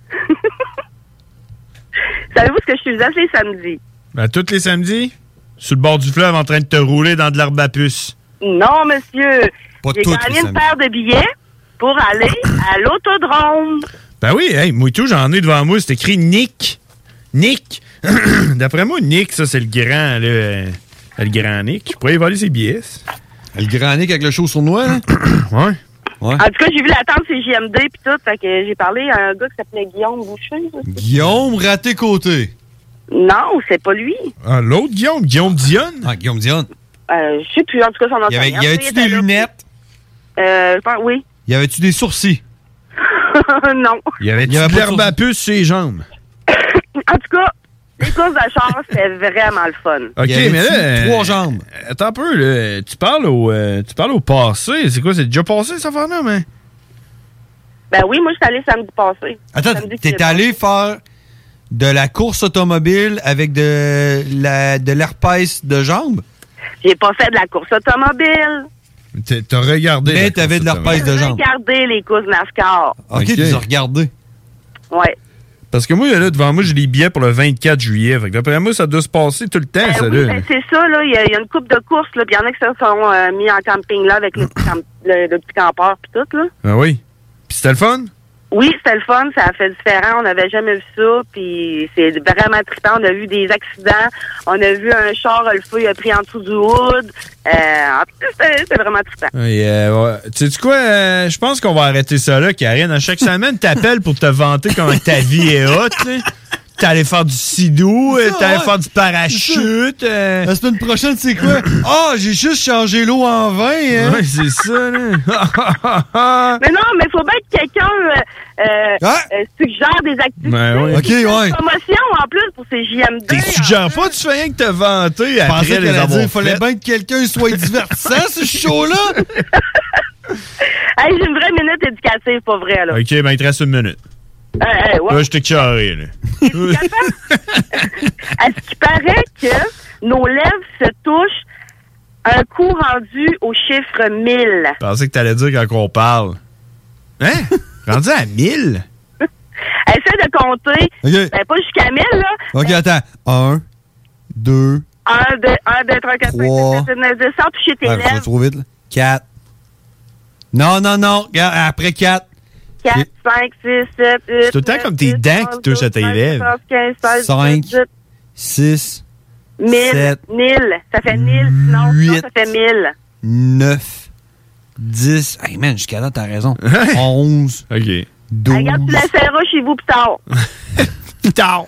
Savez-vous ce que je suis assez samedi? Ben, tous les samedis, sur le bord du fleuve, en train de te rouler dans de l'herbe à puce. Non, monsieur. Pas J'ai toutes les gagné une samedis. paire de billets pour aller à l'autodrome. Ben oui, hey, moi tout, j'en ai devant moi, c'est écrit Nick. Nick. D'après moi, Nick, ça, c'est le grand, là. euh, Le grand Nick. Je pourrais y voler ses billets. Le grand Nick avec le chaud sur noix, là? Ouais. Ouais. En tout cas, j'ai vu la tente C J M D puis tout, fait que j'ai parlé à un gars qui s'appelait Guillaume Boucher. là. Guillaume raté côté. Non, c'est pas lui. Ah, l'autre Guillaume, Guillaume Dionne. Ah, Guillaume Dionne. Euh, je sais plus, en tout cas, son nom. Y avait- y avait-tu des lunettes? Euh, je pense, oui. Y avait-tu des sourcils? non. Il y avait, Il y avait de pas de l'herbe à puce sur les jambes. En tout cas, les courses de char, c'était vraiment le fun. OK, Y avait-tu mais là... euh, trois jambes? Attends un peu, là. Tu parles au, euh, tu parles au passé. C'est quoi, c'est déjà passé, cette affaire-là, mais... Ben oui, moi, je suis allée samedi passé. Attends, Samedi qui t'es est allé faire de la course automobile avec de la de l'herpès de jambes? J'ai pas fait de la course automobile. T'as- T'as regardé... Mais la t'avais de course l'herpès de J'ai jambes. regardé les courses NASCAR. OK, Ok. tu les as regardés. Ouais. Parce que moi, là, devant moi, j'ai les billets pour le vingt-quatre juillet. Fait que d'après moi, ça doit se passer tout le temps, Ben ça, oui, là. ben c'est ça, là. Il y, a- il y a une coupe de courses, là. Puis il y en a qui se sont euh, mis en camping, là, avec le petit, camp- le, le petit campeur, puis tout, là. Ah oui. Puis c'était le fun? Oui, c'était le fun, ça a fait différent, on n'avait jamais vu ça, puis c'est vraiment trippant, on a vu des accidents, on a vu un char, le feu il a pris en dessous du hood, euh, en tout cas, c'était, c'était vraiment trippant. Oui, euh, ouais. Tu sais quoi, euh, je pense qu'on va arrêter ça là, Karine. À chaque semaine, t'appelles pour te vanter comment ta vie est hot, là. T'es allé faire du sidou, t'es allé ouais. faire du parachute. Euh... La semaine prochaine, c'est quoi? Ah, oh, j'ai juste changé l'eau en vin, hein? Ouais, c'est ça, là. Mais non, mais il faut bien que quelqu'un euh, euh, Ah. euh, suggère des activités. Ben oui. C'est Ok, une ouais. promotion en plus pour ces J M D. Tu suggères pas, tu fais rien que te vanter Je pensais après qu'elle les allait avoir dire, fallait faites. bien que quelqu'un soit divertissant, ce show-là. Hey, j'ai une vraie minute éducative, pas vrai, là. OK, ben il te reste une minute. Hey, hey, ouais. Là, je t'ai carré, là. Est-ce qu'il paraît que nos lèvres se touchent un coup rendu au chiffre mille? Je pensais que t'allais dire quand on parle. Hein? Rendu à mille? Essaie de compter. OK. Ben, pas jusqu'à mille, là. OK, attends. Un, deux, un, deux, un, deux, trois, quatre, cinq, Trois. six, sept, huit, neuf, dix, sans toucher tes ah, faut lèvres. trop vite, là. Quatre. Non, non, non. Regarde, après quatre. quatre, cinq, six, sept, huit, C'est tout le temps comme tes dents qui touchent à tes lèvres. quinze, seize, Cinq. dix-huit, Six. mille, Sept. mille. Ça fait mille, sinon, sinon ça fait mille. Neuf. Dix. Hey, man, jusqu'à là, t'as raison. Onze. OK. Douze. Regarde, tu l'essaieras chez vous plus tard. Plus tard.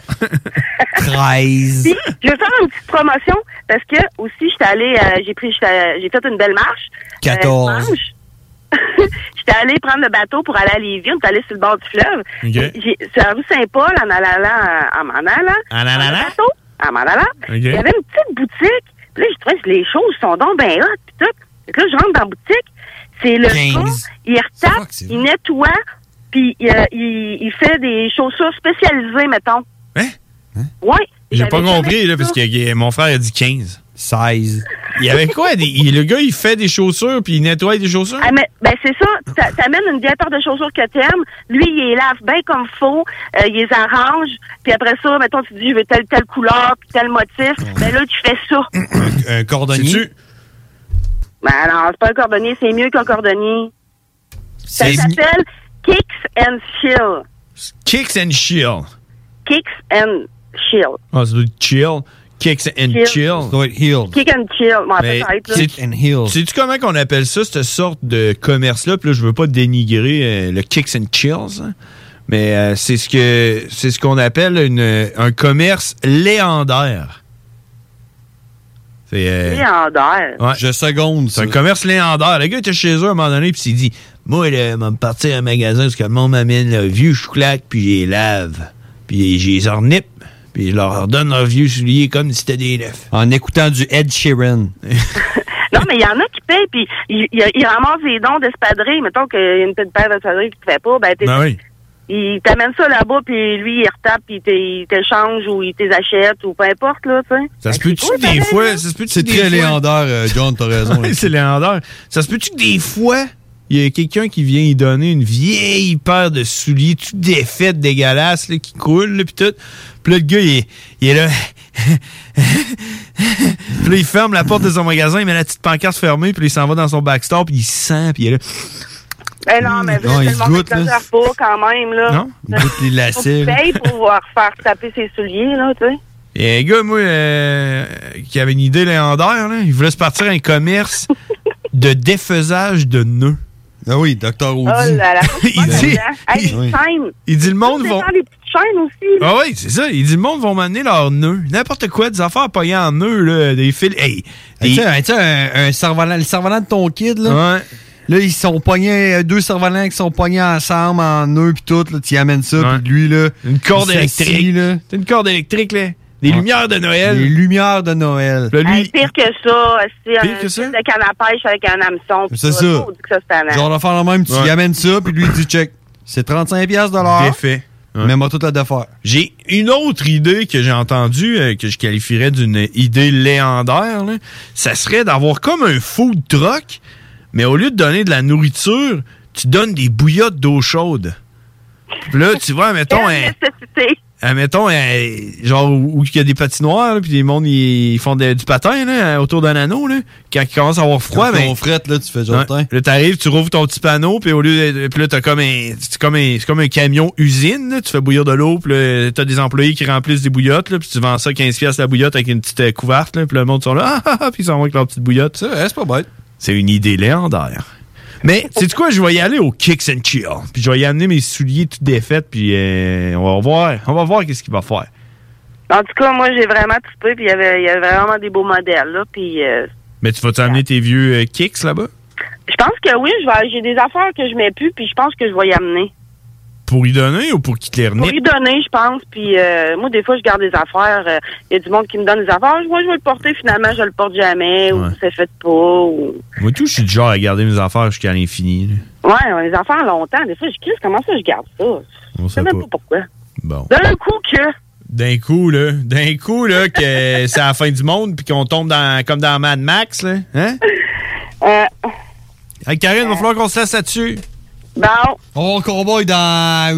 Treize. Puis, je vais faire une petite promotion parce que aussi, j'étais allée, euh, j'ai pris, j'étais- j'ai fait une belle marche. Quatorze. Euh, dimanche. J'étais allée prendre le bateau pour aller à Lévis. On est allé sur le bord du fleuve. OK. J'ai, sur la rue Saint-Paul, en allant, en m'en allant. En allant? dans le bateau, en m'en allant. OK. Il y avait une petite boutique. Puis là, je trouvais que les choses sont donc bien hot. Puis tout. Fait que là, je rentre dans la boutique. C'est le quinze. gars, il retape, il nettoie, puis euh, il, il fait des chaussures spécialisées, mettons. Hein? Ouais. J'ai pas J'avais compris, jamais là, vu parce ça. que euh, mon frère a dit quinze. seize. Il y avait quoi? Des, il- le gars, il fait des chaussures puis il nettoie des chaussures? Ah, mais, ben c'est ça. Ça t'amène une vieille paire de chaussures que t'aimes. Lui, il les lave bien comme faut. Euh, il les arrange. Puis après ça, mettons, tu dis, je veux telle, telle couleur, puis tel motif. Ben là, tu fais ça. Un cordonnier. Sais-tu? Ben non, c'est pas un cordonnier. C'est mieux qu'un cordonnier. Ça C'est- s'appelle Kicks and Chill. Kicks and chill. Kicks and Chill. Ah, ça doit être chill. Kicks and Chill. chill. Ça doit être healed. Kick and Chill. Bon, Mais peut-être, là. sais- And healed. sais-tu comment qu'on appelle ça, cette sorte de commerce-là? Puis là, je veux pas dénigrer euh, le Kicks and Chills, hein, mais euh, c'est ce que c'est ce qu'on appelle une, un commerce légendaire. C'est euh, Légendaire. ouais. Je seconde, C'est ça. un commerce légendaire. Le gars était chez eux à un moment donné, puis il s'est dit, moi, là, m'a me partir à un magasin parce que le monde m'amène le vieux chouclac, puis je les lave. Puis je les ornippe, puis je leur donne leurs vieux souliers comme si c'était des neufs. En écoutant du Ed Sheeran. Non, mais il y en a qui payent, puis ils il, il ramassent des dons d'espadrilles. Mettons qu'il y a une petite paire d'espadrilles qui te fait pas, ben, t'es- Ben oui. il t'amène ça là-bas, puis lui, il retape, puis il t'é- il t'échange ou il t'achète ou peu importe, là, tu sais. Ça se Fait que peut-tu c'est que des cool, fois... pareil, Ça se peut-tu C'est que des très fois- légendaire, euh, John, t'as raison. Ouais, c'est légendaire. Ça se peut-tu que des fois, il y a quelqu'un qui vient y donner une vieille paire de souliers tout défaite, dégueulasse, là, qui coule, là, pis tout. Puis là, le gars, il est, il est là... puis là, il ferme la porte de son magasin, il met la petite pancarte fermée, puis il s'en va dans son backstore, puis il sent, puis il est là... Ben non, mais Non, il le monde goûte, là. n'exagère pas quand même, là. Non? Il goûte les Faut lacets. qu'il là. paye pour pouvoir faire taper ses souliers, là, tu sais. Il y a un gars, moi, euh, qui avait une idée légendaire, là. Il voulait se partir un commerce de défaisage de nœuds. Ah oui, docteur Oh Audi. là là. Il dit- Hey, les Oui. chaînes. Il dit le monde Ça vont... dépend des petites chaînes aussi, là. Ah oui, c'est ça. Il dit le monde vont m'amener leurs nœuds. N'importe quoi, des affaires poignées en nœuds, là, des fils. Hey, Hey, des- tu sais, un- tu sais, un, un cerf-volant, le cerf-volant de ton kid, là. Ouais. Là, ils sont poignés, euh, deux cerfs-volants qui sont poignés ensemble en nœuds pis tout, là. Tu y amènes ça, Ouais. pis lui, là. Une corde il s'assit, électrique. là. C'est une corde électrique, là. Des Ouais. lumières de Noël. Les lumières de Noël. Là, lui, Hey, pire que ça, c'est Pire un que ça? style de canne à pêche avec un hameçon. pis C'est tout. ça. Oh, dit que ça, c'est tannant. Genre de faire le même, tu Ouais. y amènes ça, puis lui, il dit check. C'est trente-cinq piastres de l'heure. défait. Ouais. Mais moi, tout la défaire. J'ai une autre idée que j'ai entendue, euh, que je qualifierais d'une idée légendaire, là. Ça serait d'avoir comme un food truck, mais au lieu de donner de la nourriture, tu donnes des bouillottes d'eau chaude. Puis là, tu vois, mettons, Quelle un, nécessité. admettons, euh, genre où il y a des patinoires, là, puis les mondes ils font de- du patin là, autour d'un anneau, là, quand il commence à avoir froid, Quand ben, on frette, là, tu fais genre ouais, là, t'arrives, tu rouvres ton petit panneau, puis au lieu de, puis là, t'as comme un, c'est comme un, c'est comme un camion usine, là, tu fais bouillir de l'eau, puis là, t'as des employés qui remplissent des bouillottes, là, puis tu vends ça quinze piastres la bouillotte avec une petite euh, couverte, là, puis le monde sont là, ah, ah, ah, puis ils s'en vont avec leur petite bouillotte. Ça, ouais, c'est pas bête. C'est une idée légendaire. Mais, sais-tu quoi, je vais y aller au Kicks and Chill. Puis je vais y amener mes souliers tout défaits, puis euh, on va voir, on va voir qu'est-ce qu'il va faire. En tout cas, moi, j'ai vraiment trippé, puis il y avait, il y avait vraiment des beaux modèles, là, puis... Euh, Mais tu vas-tu amener tes vieux euh, Kicks là-bas? je pense que oui, je vais, j'ai des affaires que je mets plus, puis je pense que je vais y amener. Pour y donner ou pour qu'ils te les Pour remettent? y donner, je pense, puis euh, moi, des fois, je garde des affaires. Il y a du monde qui me donne des affaires. Moi, je vais le porter, finalement, je le porte jamais, ou c'est fait pas, ou... Moi, tout, je suis du genre à garder mes affaires jusqu'à l'infini. là. Ouais, les affaires longtemps. Des fois, je crie, comment ça, je garde ça? On Je sais sait même pas. pas pourquoi. Bon. D'un coup que... D'un coup, là, d'un coup, là, que c'est la fin du monde, puis qu'on tombe dans, comme dans Mad Max, là. Hein? Euh... Hey, Karine, il va falloir qu'on se laisse là-dessus. Bon. On va cowboy dans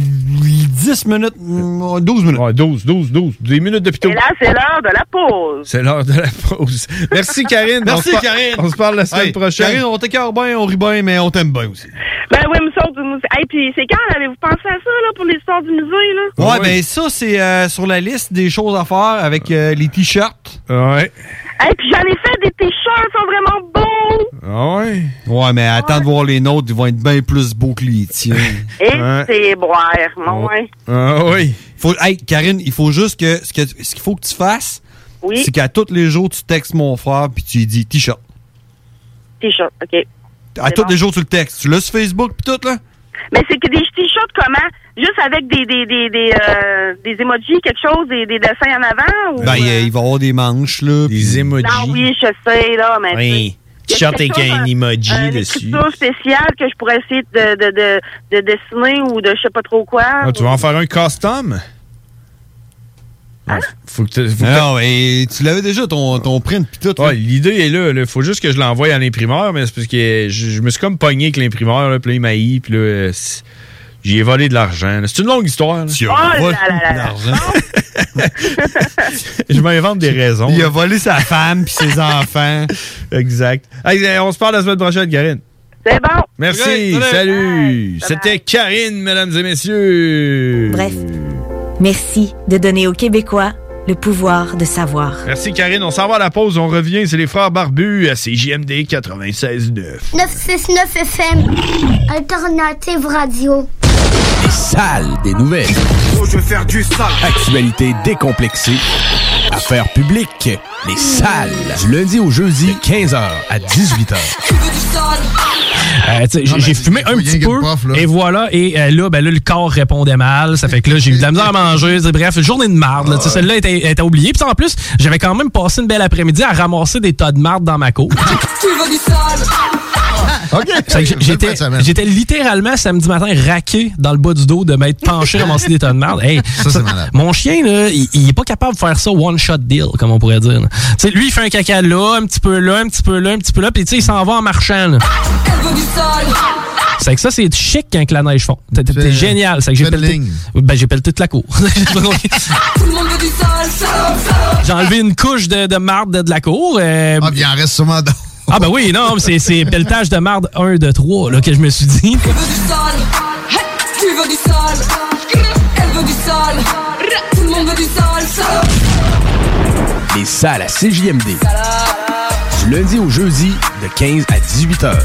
dix minutes, douze minutes. Ouais, douze, douze, douze. dix minutes de pito. Et là, c'est l'heure de la pause. C'est l'heure de la pause. Merci, Karine. Merci, On se par- Karine. On se parle la semaine Hey, prochaine. Karine, on t'écœure bien, on rit bien, mais on t'aime bien aussi. Ben oui, nous autres, nous... Hey, puis c'est quand avez-vous pensé à ça, là, pour l'histoire du musée, là? Ouais, ben ça, c'est euh, sur la liste des choses à faire avec euh, les t-shirts. Ouais. Hey, puis j'en ai fait des t-shirts, ils sont vraiment beaux! Ah ouais? Ouais, mais attends de voir les nôtres, ils vont être bien plus beaux que les tiens. Et c'est boire, mon ouais. Ah oui. Faut, hey, Karine, il faut juste que ce que- ce qu'il faut que tu fasses, Oui. c'est qu'à tous les jours, tu textes mon frère puis tu lui dis t-shirt. T-shirt, OK. À C'est tous bon. les jours, tu le textes. Tu l'as sur Facebook puis tout, là? Mais c'est que des t-shirts comment? Juste avec des des des des, euh, des emojis, quelque chose, des, des dessins en avant? Ou... Ben, il, il va y avoir des manches, là. Des emojis. Non, oui, je sais, là, mais... Oui. tu sais, T-shirt il y a avec quelque un chose, emoji un- dessus. Une écriture spéciale que je pourrais essayer de, de, de, de dessiner ou de je sais pas trop quoi. Ah, tu vas en faire un custom? Hein? Faut que tu- faut que Non, et tu l'avais déjà, ton, ton print pis tout. Ouais, l'idée est là. Il faut juste que je l'envoie à l'imprimeur, mais c'est parce que je, je me suis comme pogné avec l'imprimeur, là, puis là, il m'a haï, puis là, euh, c'est- j'y ai volé de l'argent. là. C'est une longue histoire. là. Tu Oh là là là. Je m'invente des raisons. Il a là. volé sa femme puis ses enfants. Exact. Hey, euh, on se parle la semaine prochaine, Karine. C'est bon. Merci. Ok, salut. salut. C'était Karine, mesdames et messieurs. Bref, merci de donner aux Québécois le pouvoir de savoir. Merci, Karine. On s'en va à la pause. On revient. C'est les frères barbus à C J M D quatre-vingt-seize neuf. neuf cent soixante-neuf F M, Alternative Radio. Les salles des nouvelles. Oh, je veux faire du sale. Actualité décomplexée. Affaires publiques. Les salles. Du lundi au jeudi, de quinze heures à dix-huit heures. Euh, tu sais, j'ai- j'ai fumé un petit peu, et voilà, et euh, là, ben là, le corps répondait mal, ça fait que là, j'ai eu de la misère à manger, c'est- bref, journée de marde, là, tu sais, celle-là était, était oubliée, puis en plus, j'avais quand même passé une belle après-midi à ramasser des tas de marde dans ma cour. Tu veux du sale? OK. J'étais, j'étais littéralement samedi matin raqué dans le bas du dos de m'être penché à ramasser des tas de marde. Hey, Ça, c'est malade. mon chien, là, il, il est pas capable de faire ça one-shot deal, comme on pourrait dire. là. Tu sais, lui, il fait un caca là, un petit peu là, un petit peu là, un petit peu là, puis tu sais, il s'en va en marchant. là. Elle veut du sale. C'est que ça, c'est chic quand que la neige fond. T'es- T'es Fais- génial. C'est que j'ai fais une pelleté. ligne. Ben, j'ai pelleté toute la cour. Tout le monde veut du sale, sale, sale. J'ai enlevé une couche de, de marde de, de la cour. euh, Ah, puis il en reste sûrement d'autres. Ah, ben oui, non, mais c'est, c'est pelletage de marde un, de trois, là, que je me suis dit. Tu veux du sale. Tu veux du sale. Elle veut du sale. Tout le monde veut du sale, sale. Les salles à C J M D. Du lundi au jeudi, de quinze à dix-huit heures.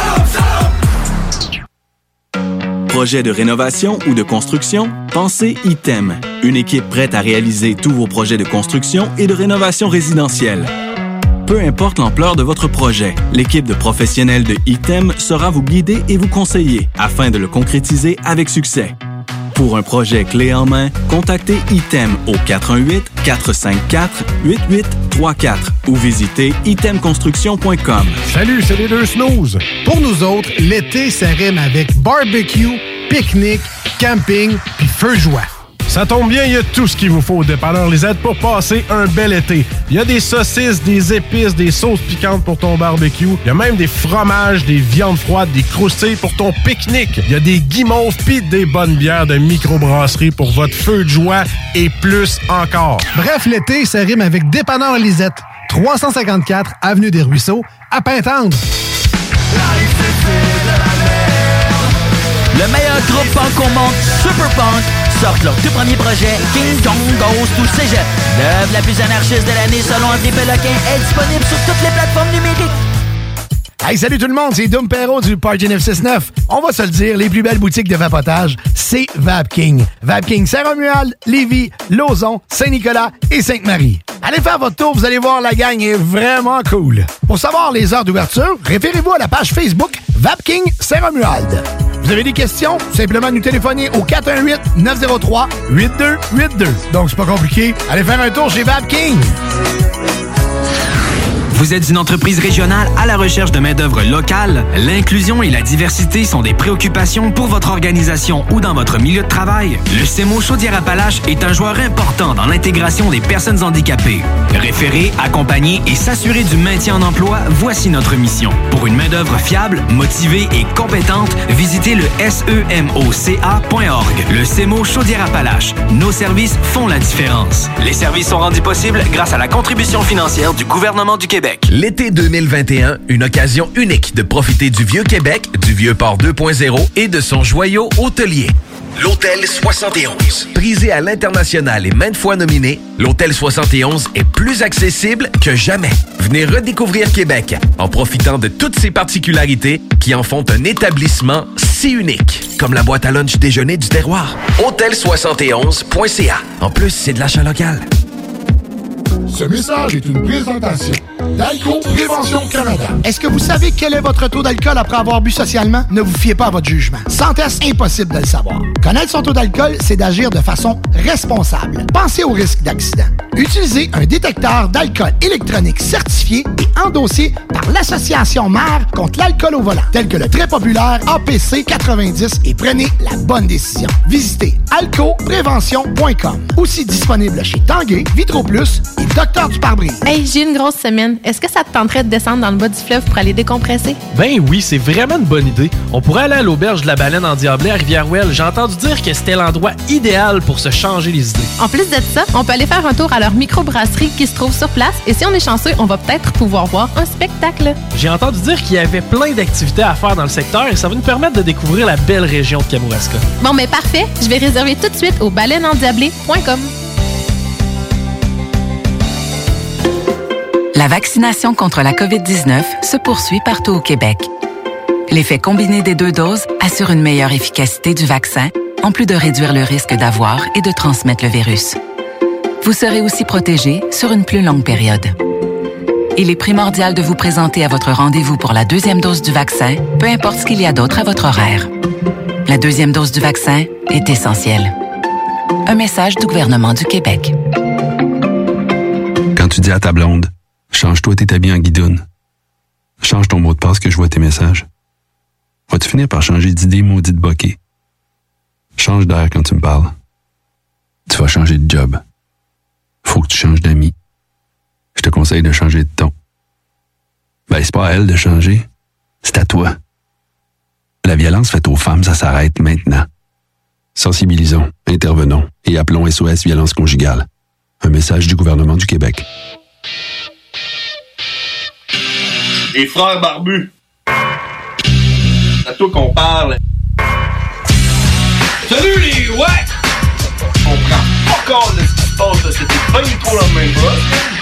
Projet de rénovation ou de construction? Pensez Item. Une équipe prête à réaliser tous vos projets de construction et de rénovation résidentielle. Peu importe l'ampleur de votre projet, l'équipe de professionnels de Item sera vous guider et vous conseiller afin de le concrétiser avec succès. Pour un projet clé en main, contactez Item au quatre un huit, quatre cinq quatre, huit huit trois quatre ou visitez item construction point com. Salut, c'est les deux snooze. Pour nous autres, l'été, ça rime avec barbecue, pique-nique, camping puis feu de joie. Ça tombe bien, il y a tout ce qu'il vous faut au dépanneur Lisette pour passer un bel été. Il y a des saucisses, des épices, des sauces piquantes pour ton barbecue. Il y a même des fromages, des viandes froides, des croustilles pour ton pique-nique. Il y a des guimauves pis des bonnes bières de microbrasserie pour votre feu de joie et plus encore. Bref, l'été, ça rime avec dépanneur Lisette. trois cent cinquante-quatre Avenue des Ruisseaux, à Pintendre. Le meilleur groupe punk au monde, Super Punk, sortent leur tout premier projet, King Kong Goes to Cégep. L'œuvre la plus anarchiste de l'année selon André Péloquin est disponible sur toutes les plateformes numériques. Hey, salut tout le monde, c'est Dom Perrault du Party neuf cent soixante-neuf. On va se le dire, les plus belles boutiques de vapotage, c'est Vapking. Vapking Saint-Romuald, Lévis, Lauson, Saint-Nicolas et Sainte-Marie. Allez faire votre tour, vous allez voir, la gang est vraiment cool. Pour savoir les heures d'ouverture, référez-vous à la page Facebook Vapking Saint-Romuald. Vous avez des questions? Simplement nous téléphoner au quatre un huit, neuf zéro trois, huit deux huit deux. Donc c'est pas compliqué, allez faire un tour chez Vapking. Vous êtes une entreprise régionale à la recherche de main-d'œuvre locale? L'inclusion et la diversité sont des préoccupations pour votre organisation ou dans votre milieu de travail? Le C E M O Chaudière-Appalaches est un joueur important dans l'intégration des personnes handicapées. Référer, accompagner et s'assurer du maintien en emploi, voici notre mission. Pour une main-d'œuvre fiable, motivée et compétente, visitez le S E M O C A point org. Le C E M O Chaudière-Appalaches. Nos services font la différence. Les services sont rendus possibles grâce à la contribution financière du gouvernement du Québec. L'été deux mille vingt et un, une occasion unique de profiter du Vieux-Québec, du Vieux-Port deux point zéro et de son joyau hôtelier. L'Hôtel soixante et onze. Prisé à l'international et maintes fois nominé, l'Hôtel soixante et onze est plus accessible que jamais. Venez redécouvrir Québec en profitant de toutes ses particularités qui en font un établissement si unique, comme la boîte à lunch déjeuner du terroir. hôtel soixante et onze point c a. En plus, c'est de l'achat local. Ce message est une présentation d'Alco Prévention Canada. Est-ce que vous savez quel est votre taux d'alcool après avoir bu socialement? Ne vous fiez pas à votre jugement. Sans test, impossible de le savoir. Connaître son taux d'alcool, c'est d'agir de façon responsable. Pensez au risque d'accident. Utilisez un détecteur d'alcool électronique certifié et endossé par l'Association Mère contre l'alcool au volant, tel que le très populaire A P C quatre-vingt-dix, et prenez la bonne décision. Visitez alco prévention point com. Aussi disponible chez Tanguay, Vitroplus et Docteur du pare-brise. Hey, j'ai une grosse semaine. Est-ce que ça te tenterait de descendre dans le bas du fleuve pour aller décompresser? Ben oui, c'est vraiment une bonne idée. On pourrait aller à l'auberge de la Baleine en Diablé à Rivière-Ouelle. J'ai entendu dire que c'était l'endroit idéal pour se changer les idées. En plus de ça, on peut aller faire un tour à leur microbrasserie qui se trouve sur place et si on est chanceux, on va peut-être pouvoir voir un spectacle. J'ai entendu dire qu'il y avait plein d'activités à faire dans le secteur et ça va nous permettre de découvrir la belle région de Kamouraska. Bon, ben parfait. Je vais réserver tout de suite au baleine en diablé point com. La vaccination contre la covid dix-neuf se poursuit partout au Québec. L'effet combiné des deux doses assure une meilleure efficacité du vaccin, en plus de réduire le risque d'avoir et de transmettre le virus. Vous serez aussi protégé sur une plus longue période. Il est primordial de vous présenter à votre rendez-vous pour la deuxième dose du vaccin, peu importe ce qu'il y a d'autre à votre horaire. La deuxième dose du vaccin est essentielle. Un message du gouvernement du Québec. Quand tu dis à ta blonde, change-toi tes habits en guidoune. Change ton mot de passe que je vois tes messages. Vas-tu finir par changer d'idée maudite bokeh? Change d'air quand tu me parles. Tu vas changer de job. Faut que tu changes d'amis. Je te conseille de changer de ton. Ben, c'est pas à elle de changer. C'est à toi. La violence faite aux femmes, ça s'arrête maintenant. Sensibilisons, intervenons et appelons S O S Violence Conjugale. Un message du gouvernement du Québec. Les frères barbus. C'est à toi qu'on parle. Salut les ouais! On prend pas compte de ce qui se passe là. C'était pas du tout la même chose.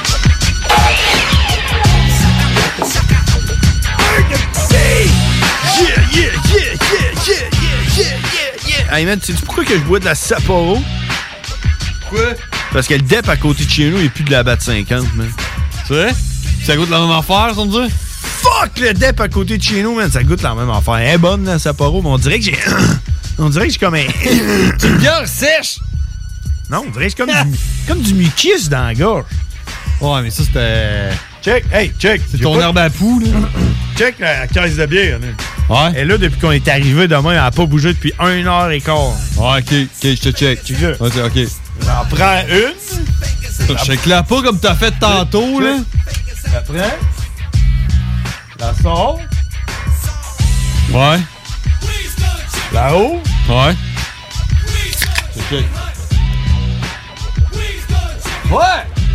Yeah, yeah, yeah, yeah, yeah, yeah, yeah, yeah. Hey man, tu sais pourquoi que je bois de la Sapporo? Pourquoi? Parce que le D E P à côté de chez nous, il n'y a plus de la Bat cinquante, man. C'est vrai? Ça goûte la même affaire, ça me dit? Fuck le D E P à côté de chez nous, man. Ça goûte la même affaire. Elle est bonne, la Sapporo, mais on dirait que j'ai... on dirait que j'ai comme un... C'est une bière sèche! Non, on dirait que j'ai comme du, comme du mucus dans la gorge. Ouais, mais ça, c'était... Check, hey, check. C'est ton herbe à poux, là. Check la caisse de bière, là. Ouais. Et là, depuis qu'on est arrivé demain, elle n'a pas bougé depuis une heure et quart. Ouais, ok, ok, je te check. Check ça. Ok, ok. J'en prends une. Je check-la pas comme t'as fait tantôt, là. La prends. La sors. Ouais. Là-haut. Ouais. Je check. Ouais!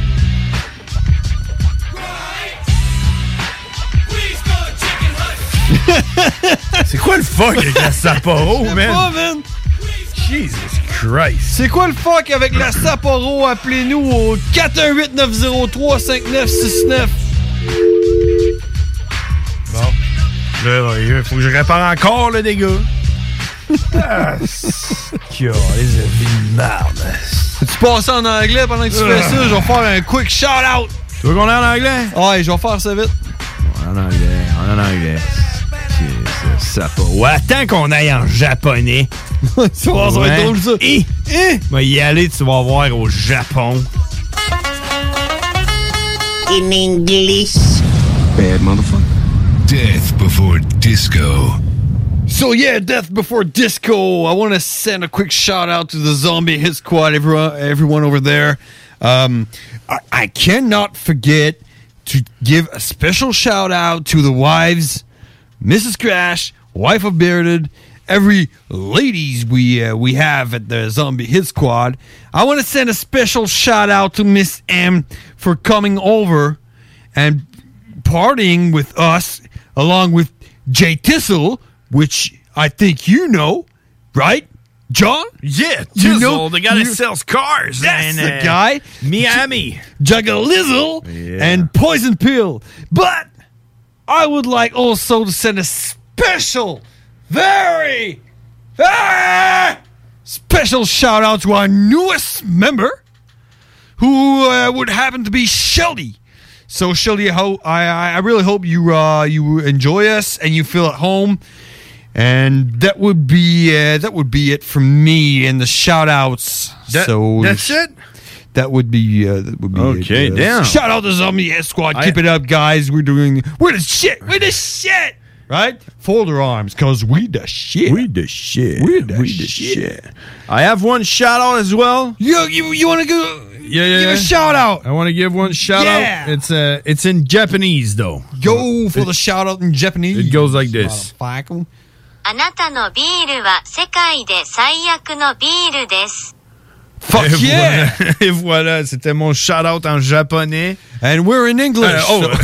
C'est quoi le fuck avec la Sapporo, man? Pas, man? Jesus Christ. C'est quoi le fuck avec la Sapporo? Appelez-nous au quatre un huit neuf zéro trois cinq neuf six neuf. Bon. Là, il faut que je répare encore, le dégât. Ah, c'est... les avis de merde. Tu passes en anglais pendant que tu fais ça? Je vais faire un quick shout-out. Tu veux qu'on aille en anglais? Ouais, je vais faire ça vite. En anglais, en anglais. Ça pas. Ouais, attends qu'on aille en japonais. Tu vas ça va être drôle, ça. Et, et, va y aller, tu vas voir au Japon. In English. Bad motherfucker. Death before disco. So yeah, Death Before Disco. I want to send a quick shout out to the Zombie Hit Squad, everyone, everyone over there. Um, I, I cannot forget to give a special shout out to the wives, Missus Crash, wife of Bearded, every ladies we uh, we have at the Zombie Hit Squad. I want to send a special shout out to Miss M for coming over and partying with us, along with Jay Tissel, which I think you know, right, John? Yeah, you Tizzle, know the guy that you- sells cars. That's and, the uh, guy. Miami. Juggalizzle Yeah. and Poison Pill. But I would like also to send a special, very, very special shout out to our newest member, who uh, would happen to be Shelly. So Shelly, I, ho- I I really hope you uh, you enjoy us and you feel at home. And that would be uh, that would be it from me and the shout outs. That- so that's it? That would be uh, that would be Okay, it. Uh, damn. Shout out to Zombie Hit Squad. I- Keep it up, guys. We're doing we're the shit. We're the shit. Right? Fold your arms, cause we the shit. We the shit. We the We the shit. I have one shout out as well. You you you want to go? Yeah, yeah. Give a yeah. shout out. I want to give one shout Yeah. out. It's uh, it's in Japanese though. Go for It- the shout out in Japanese. It goes like this. Motherfucker. あなたのビールは世界で最悪のビールです。 Fuck Et yeah! voilà. Et voilà, c'était mon shout out en japonais. And we're in English. Uh, oh,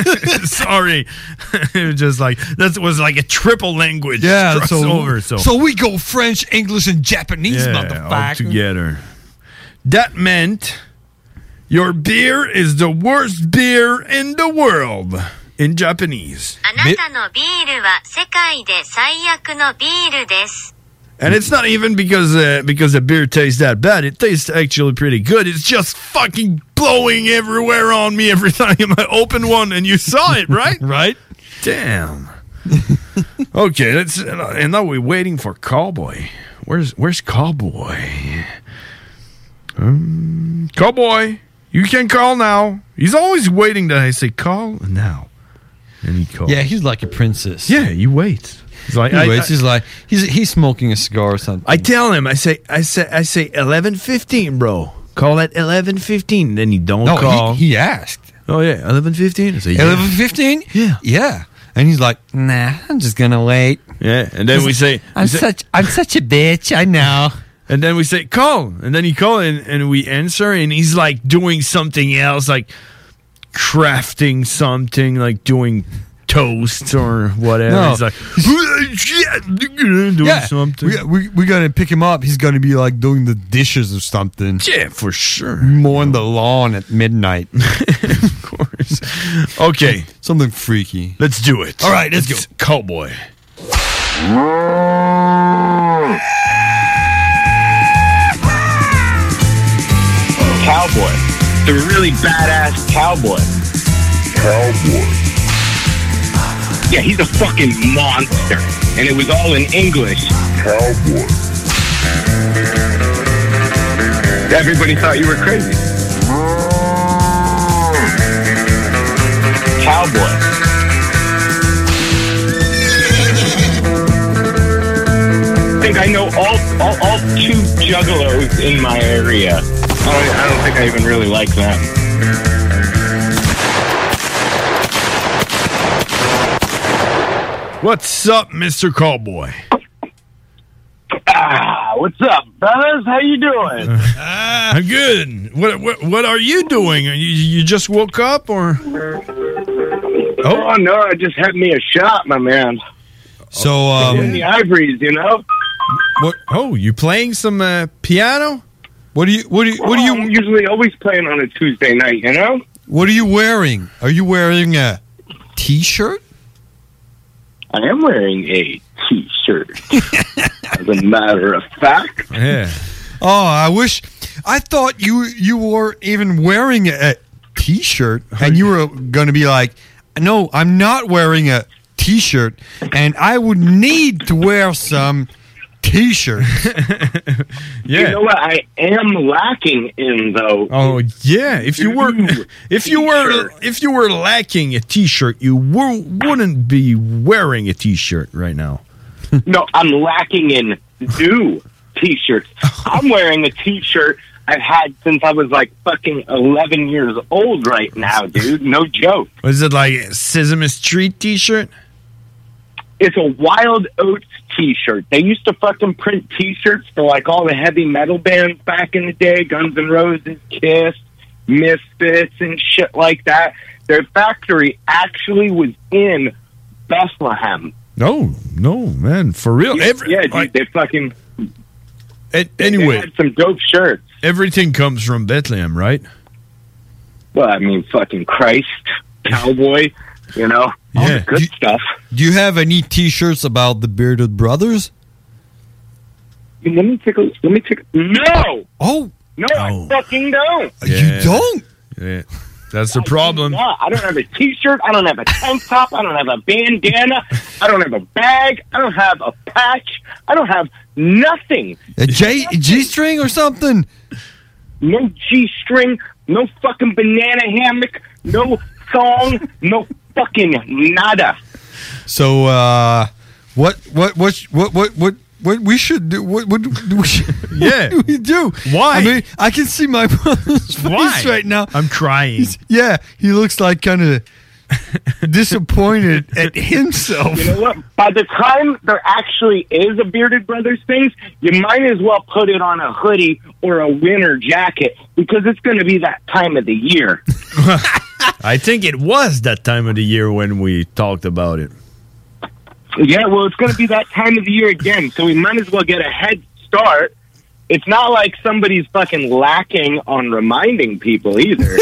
sorry. It was just like that was like a triple language Yeah, so, crossover. So, so we go French, English, and Japanese, yeah, all motherfucker. together. That meant your beer is the worst beer in the world in Japanese. あなたのビールは世界で最悪のビールです。 And it's not even because uh, because the beer tastes that bad. It tastes actually pretty good. It's just fucking blowing everywhere on me every time I open one, and you saw it, right? Right? Damn. Okay, let's. And now we're waiting for Cowboy. Where's Where's Cowboy? Um, Cowboy, you can call now. He's always waiting that I say call now, and he calls. Yeah, he's like a princess. Yeah, you wait. He's like, He I- waits, I- he's like he's he's smoking a cigar or something. I tell him, I say, I say, I say, eleven fifteen, bro. Call at eleven fifteen. Then he don't No, call. he, he asked. Oh yeah, eleven fifteen. I say, yeah. Eleven fifteen? Yeah, yeah. And he's like, nah, I'm just gonna wait. Yeah, and then we say, I'm we say- such I'm such a bitch. I know. and then we say, call, and then he call, and, and we answer, and he's like doing something else, like crafting something, like doing toast or whatever. No. He's like, doing yeah, something. We, we we gotta pick him up. He's gonna be like doing the dishes or something. Yeah, for sure. Mowing the lawn at midnight. Of course. Okay, something freaky. Let's do it. All right, let's It's go. Cowboy. Cowboy. The really badass cowboy. Cowboy. Yeah, he's a fucking monster. And it was all in English. Cowboy. Everybody thought you were crazy. Cowboy. know, all, all, all two juggalos in my area. I don't, I don't think I even really like them. What's up, Mister Cowboy? Ah, what's up, fellas? How you doing? I'm good. What, what what are you doing? You, you just woke up, or? Oh, no, I just had me a shot, my man. So, um, in the ivories, you know. What? Oh, you playing some uh, piano? What do you? What do you? What do you? I'm usually always playing on a Tuesday night, you know. What are you wearing? Are you wearing a T-shirt? I am wearing a T-shirt. As a matter of fact. Yeah. Oh, I wish. I thought you you were even wearing a T-shirt, and you were going to be like, "No, I'm not wearing a T-shirt, and I would need to wear some T-shirts." Yeah. You know what I am lacking in, though? Oh yeah. If you were, if you were, if you were lacking a T-shirt, you were, wouldn't be wearing a T-shirt right now. No, I'm lacking in new T-shirts. I'm wearing a T-shirt I've had since I was like fucking eleven years old right now, dude. No joke. Was it like a Sesame Street T-shirt? It's a Wild Oats T-shirt. They used to fucking print T-shirts for like all the heavy metal bands back in the day, Guns N' Roses, Kiss, Misfits, and shit like that. Their factory actually was in Bethlehem. No, no, man, for real. Every, yeah, dude, like, they fucking. It, anyway, they had some dope shirts. Everything comes from Bethlehem, right? Well, I mean, fucking Christ, cowboy, you know, all yeah. the good do, stuff. Do you have any T-shirts about the Bearded Brothers? Let me take a. Let me take. A, no. Oh no, I fucking don't. Yeah. You don't. Yeah. That's the I problem. Do I don't have a T-shirt. I don't have a tank top. I don't have a bandana. I don't have a bag. I don't have a patch. I don't have nothing. A J G-string or something? No G-string. No fucking banana hammock. No thong. No fucking nada. So, uh, what, what, what, what, what, what? What we should do? What, what, do we should, yeah. what do we do? Why? I mean, I can see my brother's face Why? right now. I'm crying. He's, yeah, he looks like kind of disappointed at himself. You know what? By the time there actually is a Bearded Brothers thing, you might as well put it on a hoodie or a winter jacket because it's going to be that time of the year. I think it was that time of the year when we talked about it. Yeah, well, it's going to be that time of the year again, so we might as well get a head start. It's not like somebody's fucking lacking on reminding people either.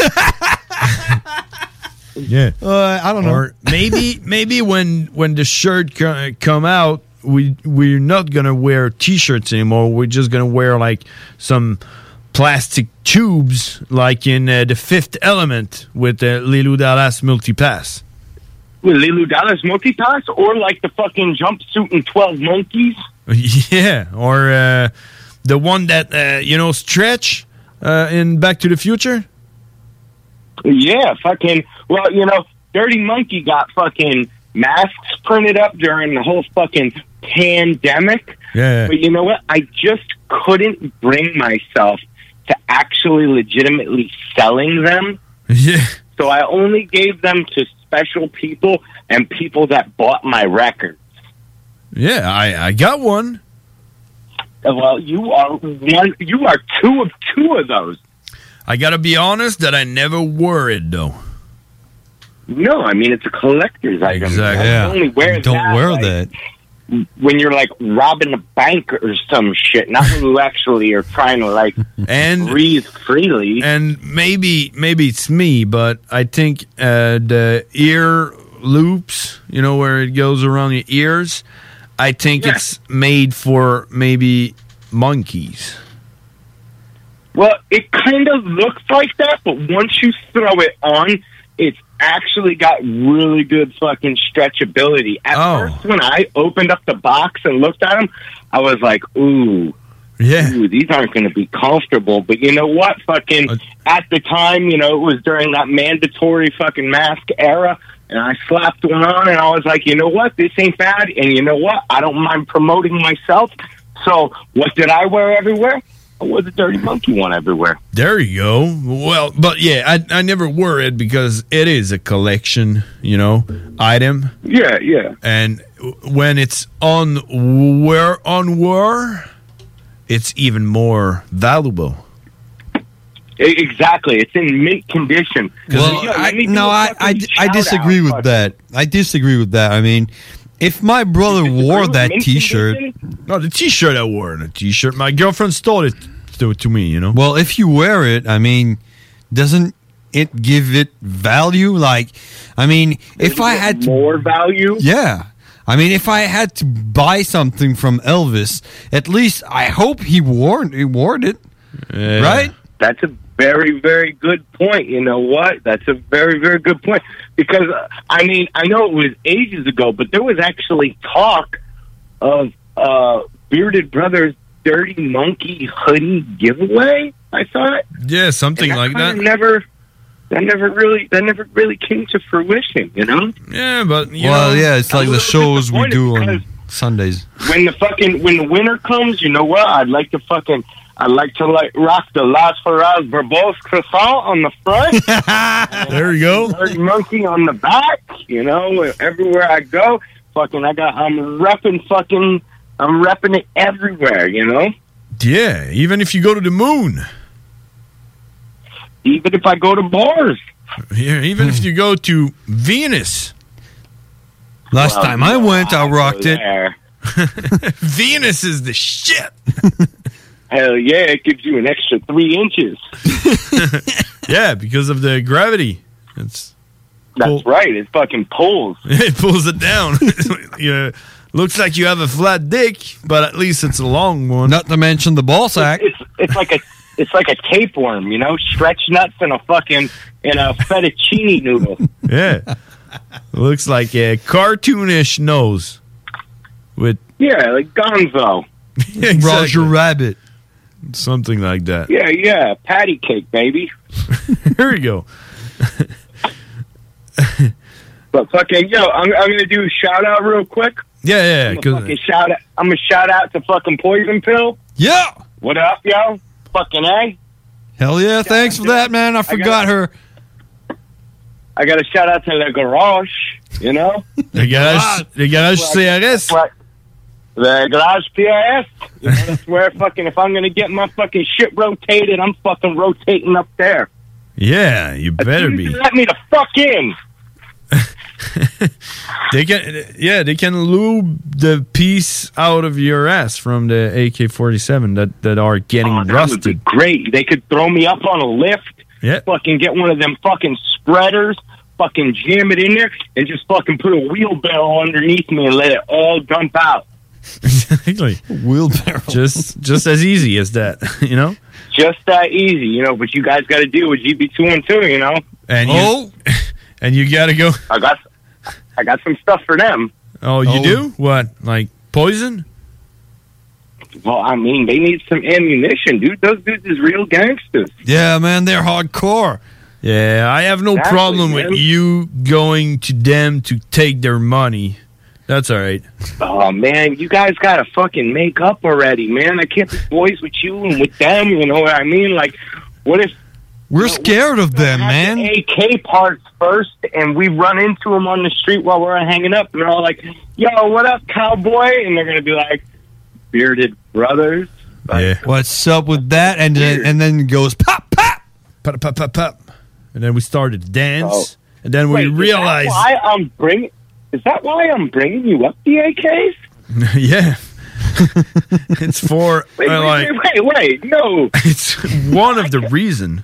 Yeah, uh, I don't know. Or maybe, maybe when when the shirt co- come out, we we're not gonna wear T-shirts anymore. We're just gonna wear like some plastic tubes, like in uh, the Fifth Element with the Leeloo Dallas Multipass. With Leeloo Dallas Multipass, or like the fucking jumpsuit in twelve Monkeys. Yeah, or uh, the one that uh, you know Stretch uh, in Back to the Future. Yeah, fucking. Well, you know, Dirty Monkey got fucking masks printed up during the whole fucking pandemic. Yeah. But you know what? I just couldn't bring myself to actually legitimately selling them. Yeah. So I only gave them to special people and people that bought my records. Yeah, I, I got one. Well, you are one. You are two of two of those. I gotta be honest that I never wore it though. No, I mean it's a collector's item. Exactly. You Yeah. only wear Don't that, wear like, that. when you're like robbing a bank or some shit, not when you actually are trying to like and breathe freely. And maybe maybe it's me, but I think uh, the ear loops, you know, where it goes around your ears, I think Yeah. it's made for maybe monkeys. Well, it kind of looks like that, but once you throw it on, it's actually got really good fucking stretchability. At Oh. first, when I opened up the box and looked at them, I was like, ooh. Yeah. Ooh, these aren't going to be comfortable. But you know what? Fucking, at the time, you know, it was during that mandatory fucking mask era, and I slapped one on, and I was like, you know what? This ain't bad, and you know what? I don't mind promoting myself. So what did I wear everywhere? I wore the Dirty Monkey one everywhere. There you go. Well, but yeah, I I never wore it because it is a collection, you know, item. Yeah, yeah. And when it's on wear on wear, it's even more valuable. E- Exactly. It's in mint condition. Well, Yeah, I, let me do no, a I, fucking I, I shout disagree out, with fuck. that. I disagree with that. I mean, if my brother wore that mint T-shirt, no, the T-shirt I wore, the T-shirt, my girlfriend stole it to, to me. You know. well, if you wear it, I mean, doesn't it give it value? Like, I mean, if I had to, more value, yeah. I mean, if I had to buy something from Elvis, at least I hope he wore he wore it, right? That's a very, very good point. You know what? That's a very, very good point. Because, uh, I mean, I know it was ages ago, but there was actually talk of uh, Bearded Brothers' Dirty Monkey hoodie giveaway, I thought. Yeah, something And like kinda that. Never, that never really, that never really came to fruition, you know? Yeah, but, you well, know, yeah, it's I'm like a the little shows we do disappointed on Sundays. When the fucking, when the winter comes, you know what? I'd like to fucking... I like to like rock the Las Faraz Verbose croissant on the front. There you go. Dirty Monkey on the back. You know, everywhere I go, fucking, I got. I'm repping fucking. I'm repping it everywhere. You know. Yeah, even if you go to the moon. Even if I go to bars. Yeah, even if you go to Venus. Last Well, time I went, I rocked it. There. Venus is the shit. Hell yeah! It gives you an extra three inches. Yeah, because of the gravity. It's That's Pull- right. It fucking pulls. it pulls it down. Yeah, looks like you have a flat dick, but at least it's a long one. Not to mention the ball sack. It's it's like a it's like a tapeworm, you know, stretch nuts in a fucking in a fettuccine noodle. Yeah, looks like a cartoonish nose with Yeah, like Gonzo. Yeah, exactly. Roger Rabbit. Something like that. Yeah, yeah, patty cake, baby. Here we go. But fucking yo, I'm I'm gonna do a shout out real quick. Yeah, yeah. I'm gonna fucking shout out. I'm gonna shout out to fucking Poison Pill. Yeah. What up, yo? Fucking A. Hell yeah! Thanks for that, man. I forgot her. I got to shout out to the garage. You know, Le garage, le garage C R S. the garage P R S. You know, that's where fucking if I'm gonna get my fucking shit rotated, I'm fucking rotating up there. Yeah, you better be. Let me the fuck in. They can, yeah, they can lube the piece out of your ass from the A K forty-seven that, that are getting Oh, that would be rusted. great. They could throw me up on a lift. Yeah. Fucking get one of them fucking spreaders. Fucking jam it in there and just fucking put a wheelbarrow underneath me and let it all dump out. Exactly. Wheelbarrow. Just, just as easy as that, you know. Just that easy, you know. But you guys got to deal with G B two and two, you know. And you, Oh. and you gotta go. I got, I got some stuff for them. Oh, you Oh. do? What? Like poison? Well, I mean, they need some ammunition, dude. Those dudes is real gangsters. Yeah, man, they're hardcore. Yeah, I have no Exactly, problem man. with you going to them to take their money. That's all right. Oh man, you guys got to fucking make up already, man. I can't be boys with you and with them. You know what I mean? Like, what if We're scared of them, man. A K parts first, and we run into them on the street while we're hanging up, and they're all like, "Yo, what up, cowboy?" And they're gonna be like, "Bearded Brothers." Yeah. What's up with that? And then and then it goes pop pop pop pop pop pop, and then we started to dance, Oh. and then we Wait, realized, Is that why I'm bringing? Is that why I'm bringing you up the A Ks? yeah, it's for Wait, uh, wait, like wait, wait, wait, no. it's one of the reason.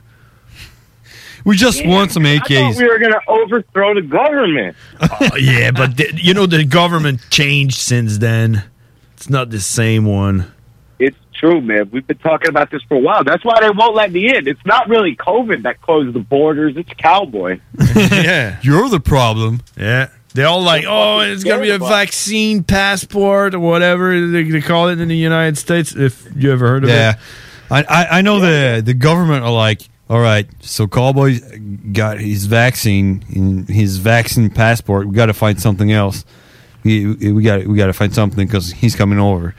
We just want some A I Ks. thought we were gonna overthrow the government. Oh, yeah, but the, you know the government changed since then. It's not the same one. It's true, man. We've been talking about this for a while. That's why they won't let me in. It's not really COVID that closed the borders. It's cowboy. Yeah, You're the problem. yeah. They're all like, oh, it's gonna be a vaccine passport or whatever they, they call it in the United States. If you ever heard of Yeah, it, I I, I know the the government are like, all right, so Cowboy got his vaccine, in his vaccine passport. We got to find something else. We we got we got to find something because he's coming over.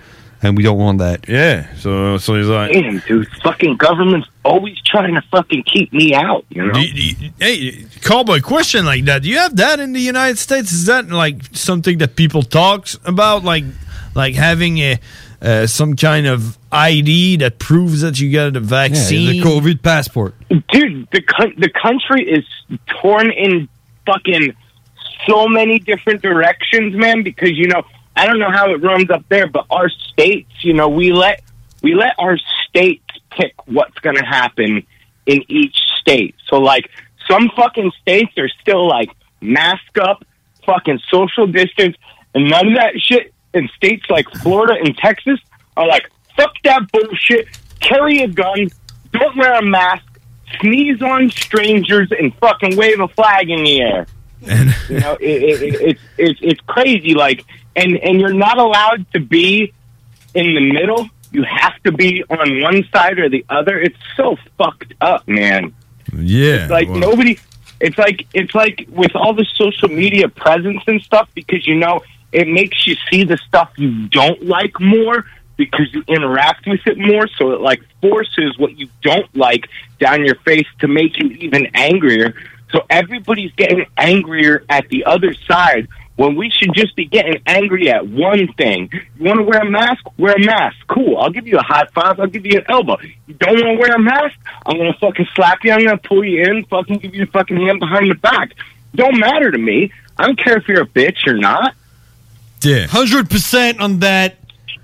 and we don't want that. Yeah, so so he's like, damn, dude, fucking government's always trying to fucking keep me out, you know? Do you- do you- hey, Cowboy, question like that. Do you have that in the United States? Is that like something that people talk about, like like having a uh, some kind of I D that proves that you got the vaccine? the COVID passport. Dude, the co- the country is torn in fucking so many different directions, man, because, you know, I don't know how it runs up there, but our states, you know, we let we let our states pick what's going to happen in each state. So, like, some fucking states are still, like, mask up, fucking social distance, and none of that shit. And states like Florida and Texas are like, fuck that bullshit, carry a gun, don't wear a mask, sneeze on strangers, and fucking wave a flag in the air. You know, it, it, it, it's it's it's crazy. Like, and and you're not allowed to be in the middle. You have to be on one side or the other. It's so fucked up, man. Yeah, It's like well, nobody. It's like it's like with all the social media presence and stuff, because, you know, it makes you see the stuff you don't like more because you interact with it more. So it like forces what you don't like down your face to make you even angrier. So everybody's getting angrier at the other side when we should just be getting angry at one thing. You want to wear a mask? Wear a mask. Cool. I'll give you a high five. I'll give you an elbow. You don't want to wear a mask? I'm going to fucking slap you. I'm going to pull you in, fucking give you a fucking hand behind the back. Don't matter to me. I don't care if you're a bitch or not. Yeah. one hundred percent on that.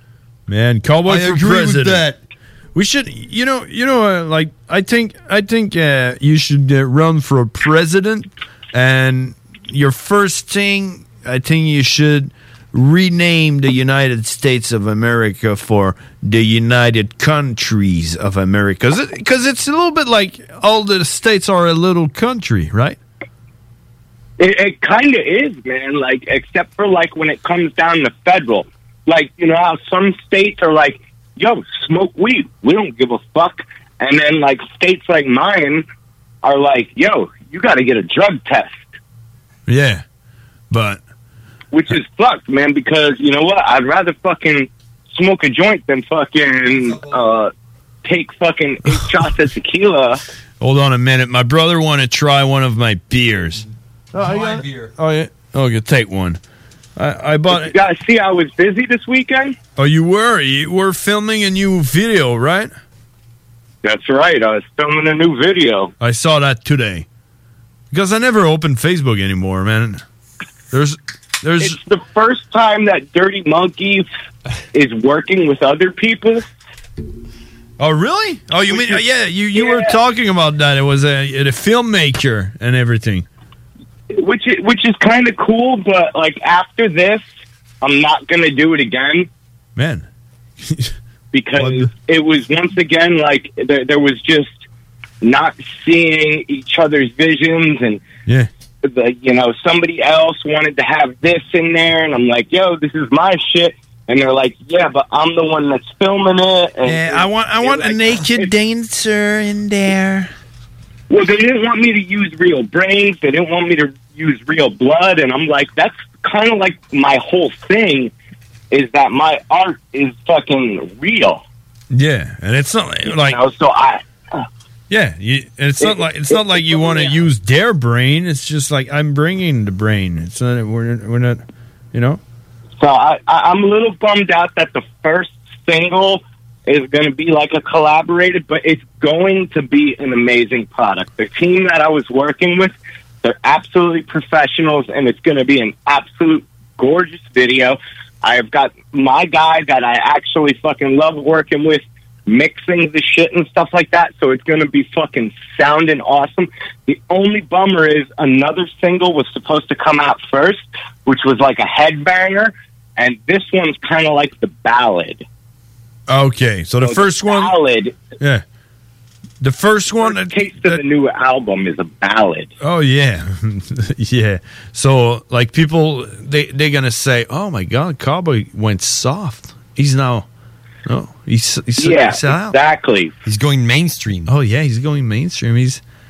Man, Cowboy I for agree with president. that. We should, you know, you know, uh, like I think, I think uh, you should uh, run for a president, and your first thing, I think you should rename the United States of America for the United Countries of America, because it's a little bit like all the states are a little country, right? It, it kind of is, man. Like, except for like when it comes down to federal, like, you know how some states are like, "Yo, smoke weed. We don't give a fuck," and then like states like mine are like, "Yo, you got to get a drug test," Yeah, but which is fucked, man. Because you know what? I'd rather fucking smoke a joint than fucking uh, take fucking eight shots of tequila. hold on a minute. My brother want to try one of my beers. Oh, I got- Oh yeah. Okay, take one. I, I bought You guys see, I was busy this weekend. Oh, you were? You were filming a new video, right? That's right. I was filming a new video. I saw that today. Because I never open Facebook anymore, man. There's, there's. It's the first time that Dirty Monkey is working with other people. Oh, really? Oh, you mean? Yeah, you, you were talking about that. It was a, a filmmaker and everything. Which is, which is kind of cool, but like after this, I'm not gonna do it again. Man, because it was once again like there, there was just not seeing each other's visions, and yeah, the, you know, somebody else wanted to have this in there, and I'm like, yo, this is my shit, and they're like, yeah, but I'm the one that's filming it. And Yeah, I want I want a naked dancer in there. Well, they didn't want me to use real brains. They didn't want me to use real blood. And I'm like, that's kind of like my whole thing, is that my art is fucking real. Yeah, and it's not like, You know, so I... yeah, you, and it's not It- like it's it- not like you want to yeah. use their brain. It's just like I'm bringing the brain. It's not we're we're not, you know. So I, I, I'm a little bummed out that the first single is going to be like a collaborated, but it's going to be an amazing product. The team that I was working with, they're absolutely professionals, and it's going to be an absolute gorgeous video. I've got my guy that I actually fucking love working with, mixing the shit and stuff like that, so it's going to be fucking sounding awesome. The only bummer is another single was supposed to come out first, which was like a headbanger, and this one's kind of like the ballad. Okay, so the So first one, ballad, yeah, the first one. First taste of the new album is a ballad. Oh yeah, yeah. So like people, they they're gonna say, "Oh my God, Cowboy went soft. He's now, no, he's he's, Yeah, he's out. exactly. He's going mainstream. Oh yeah, he's going mainstream. He's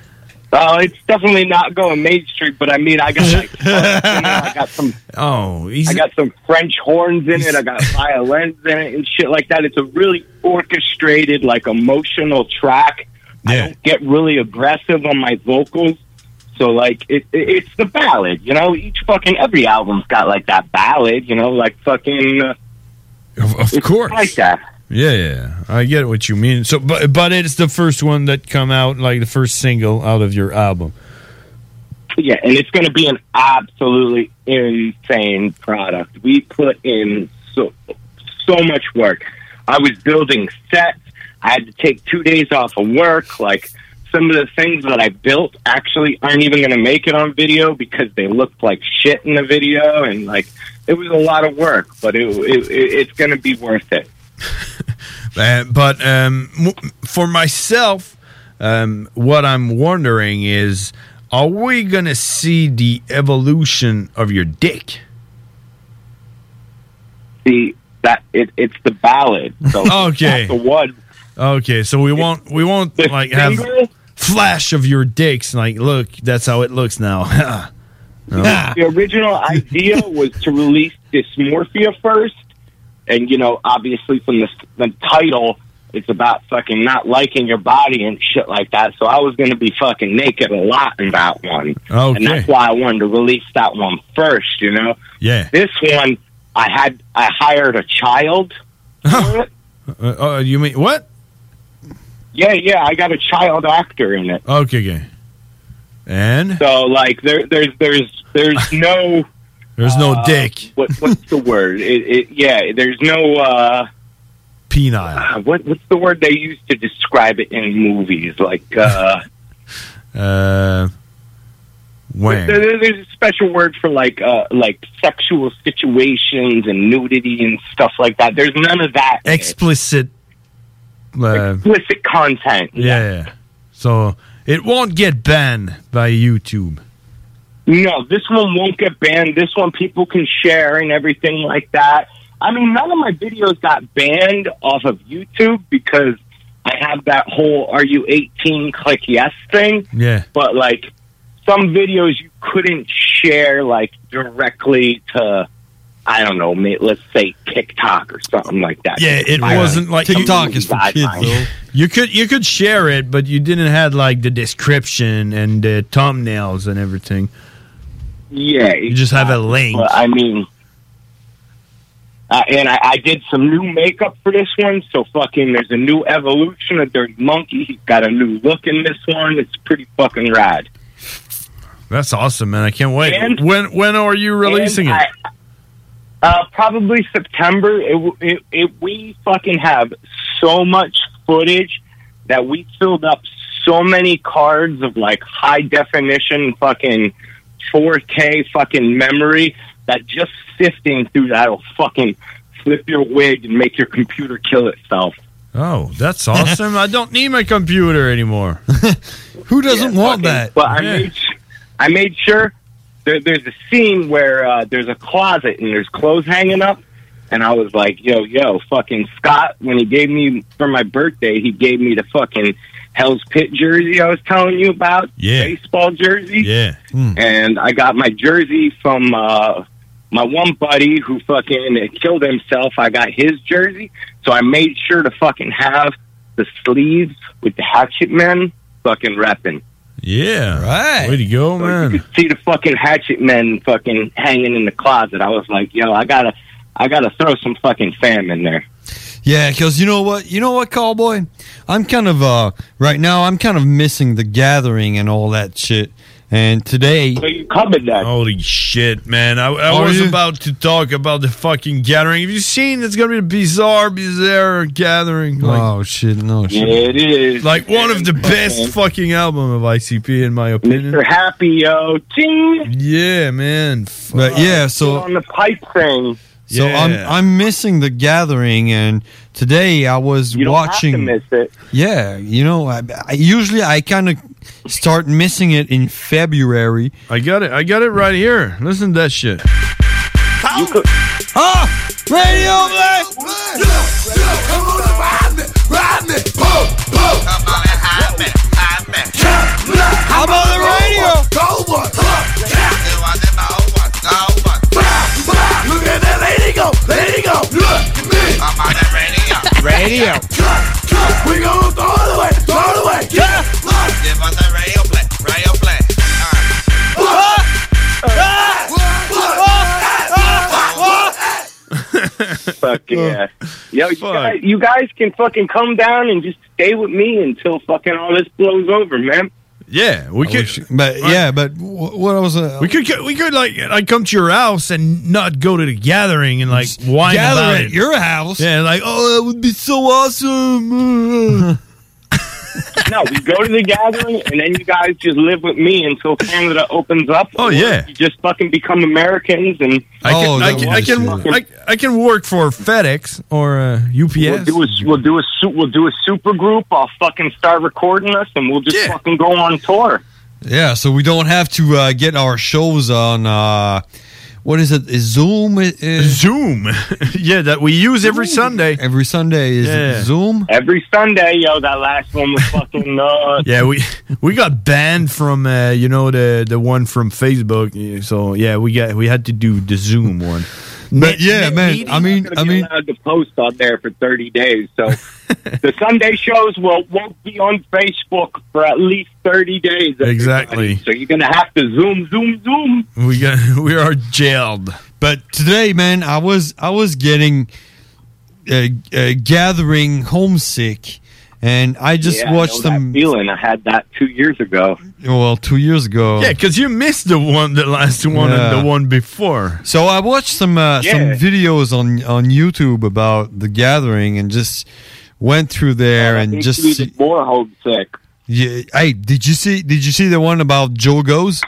Uh, it's definitely not going mainstream, but I mean, I got like, I got some. Oh, I got some French horns in it. I got violins in it and shit like that. It's a really orchestrated, like emotional track. Yeah. I don't get really aggressive on my vocals, so like it, it it's the ballad. You know, each fucking every album's got like that ballad. You know, like fucking. Uh, of of course, like that. Yeah, yeah, I get what you mean. So, but but it's the first one that come out, like the first single out of your album. Yeah, and it's going to be an absolutely insane product. We put in so so much work. I was building sets. I had to take two days off of work. Like some of the things that I built actually aren't even going to make it on video because they looked like shit in the video, and like it was a lot of work. But it, it, it it's going to be worth it. Uh, but um, m- for myself, um, what I'm wondering is, are we going to see the evolution of your dick? See, that it, it's the ballad. So Okay. that's the one. Okay, so we won't we won't like have single? flash of your dicks. Like, look, that's how it looks now. No. The original idea was to release Dysmorphia first. And, you know, obviously from the, the title, it's about fucking not liking your body and shit like that. So I was going to be fucking naked a lot in that one. Okay. And that's why I wanted to release that one first, you know? Yeah. This one, I had, I hired a child for it. Uh, uh, you mean what? Yeah, yeah, I got a child actor in it. Okay, okay. And? So, like, there, there's, there's, there's no... There's no uh, dick. What, what's the word? It, it, yeah, there's no... Uh, Penile. Uh, what, what's the word they use to describe it in movies? Like, uh... uh... When? There, there's a special word for, like, uh, like sexual situations and nudity and stuff like that. There's none of that. Explicit... Uh, Explicit content. yeah, yeah. So, it won't get banned by YouTube. No, this one won't get banned. This one people can share and everything like that. I mean, none of my videos got banned off of YouTube because I have that whole "Are you eighteen? Click yes" thing. Yeah. But like some videos, you couldn't share like directly to, I don't know, may- let's say TikTok or something like that. Yeah, it I- wasn't like TikTok is for kids, though. You could you could share it, but you didn't have like the description and the thumbnails and everything. Yeah, you just have a link. But, I mean, uh, and I, I did some new makeup for this one, so fucking there's a new evolution of Dirty Monkey. He's got a new look in this one. It's pretty fucking rad. That's awesome, man! I can't wait. And- when when are you releasing and it? I- uh, probably September. It, w- it, it, we fucking have so much footage that we filled up so many cards of like high definition fucking four K fucking memory that just sifting through that will fucking flip your wig and make your computer kill itself. Oh, that's awesome! I don't need my computer anymore. Who doesn't Yeah, want fucking- that? But I Yeah. made su- I made sure there, there's a scene where uh, there's a closet and there's clothes hanging up, and I was like, yo, yo, fucking Scott, when he gave me for my birthday, he gave me the fucking Hell's Pit jersey I was telling you about, Yeah. baseball jersey. Yeah. And I got my jersey from uh, my one buddy who fucking killed himself. I got his jersey, so I made sure to fucking have the sleeves with the Hatchet Men fucking repping. Yeah, right. Way to go, man! You could see the fucking Hatchet Men fucking hanging in the closet. I was like, yo, I gotta, I gotta throw some fucking fam in there. Yeah, because you know what? You know what, Cowboy? I'm kind of, uh, right now, I'm kind of missing the gathering and all that shit. And today... So you covered that. Holy shit, man. I, I Are was you? about to talk about the fucking gathering. Have you seen? It's going to be a bizarre, bizarre gathering. Like, oh, shit, no shit. Yeah, it is. Like one of the best fucking album of I C P, in my opinion. Mister Happy, yo. Ting! Yeah, man. But yeah, so... on the pipe thing. So Yeah. I'm I'm missing the gathering, and today I was You don't watching. have to miss it. Yeah, you know, I, I usually I kind of start missing it in February. I got it. I got it right here. Listen to that shit. You could, Ah, radio play. Come on and ride me, ride me, boom, boom. Come on and hide me, hide me. How about Fuck yeah. Yo, you guys, you guys can fucking come down and just stay with me until fucking all this blows over, man. Yeah, we I could. wish- but yeah, but wh- what I was uh, We could get- we could like like come to your house and not go to the gathering and like whine gather about at it. your house. Yeah, like oh that would be so awesome. No, we go to the gathering, and then you guys just live with me until Canada opens up. Oh, Or yeah. you just fucking become Americans, and I can, Oh, I that can, I was can, shit. I, I can work for FedEx or uh, U P we'll S. do a we'll do a su- we'll do a super group. I'll fucking start recording us, and we'll just fucking go on tour. Yeah, so we don't have to uh, get our shows on. Uh, what is it? Is Zoom? Uh, Zoom. Yeah, that we use every Sunday. Every Sunday is Yeah. it Zoom. Every Sunday, yo, that last one was fucking nuts. Yeah, we we got banned from uh, you know the the one from Facebook. Yeah, So yeah, we got we had to do the Zoom one. But yeah, man. I mean, I mean, allowed to post on there for thirty days. So the Sunday shows will won't be on Facebook for at least thirty days. everybody. Exactly. So you're gonna have to zoom, zoom, zoom. We got we are jailed. But today, man, I was I was getting uh, uh, gathering homesick, and I just Yeah, I watched know that some. feeling. I had that two years ago. Well, two years ago. Yeah, because you missed the one, the last one, Yeah. and the one before. So I watched some uh, Yeah. some videos on on YouTube about the gathering, and just went through there and Makes just. me see- more homesick. Yeah, hey, did you see? Did you see the one about Joe Goes?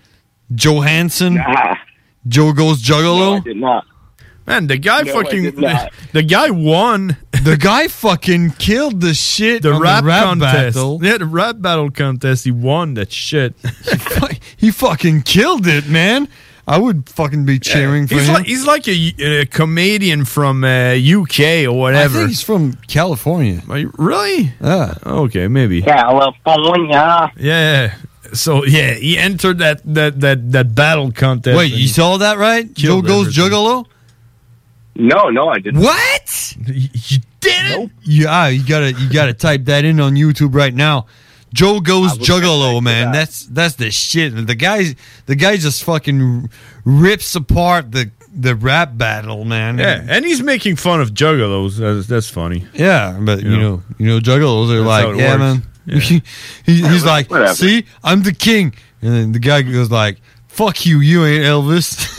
Johansson? Nah. Joe Goes Juggalo? I did not. Man, the guy No, I fucking did not. the guy won The guy fucking killed the shit the on rap, the rap contest. battle. Yeah, the rap battle contest. He won that shit. He fucking killed it, man. I would fucking be cheering for he's him. like he's like a, a comedian from uh, U K or whatever. I think he's from California. Are you, really? Yeah. Okay, maybe. California. Yeah. So yeah, he entered that that that that battle contest. Wait, you and saw that right? Joe killed Goes everything. Juggalo? No, no, I didn't. What? You did it? Yeah, you gotta you gotta type that in on YouTube right now. Joe Goes Juggalo, man. That's that's the shit. The guy the guy just fucking rips apart the the rap battle, man. Yeah, and he's making fun of juggalos. That's, that's funny. Yeah, but you, You know, know. you know, juggalos are That's how like, it yeah, works. man. Yeah. he, he's like, Whatever. see, I'm the king, and then the guy goes like, fuck you, you ain't Elvis.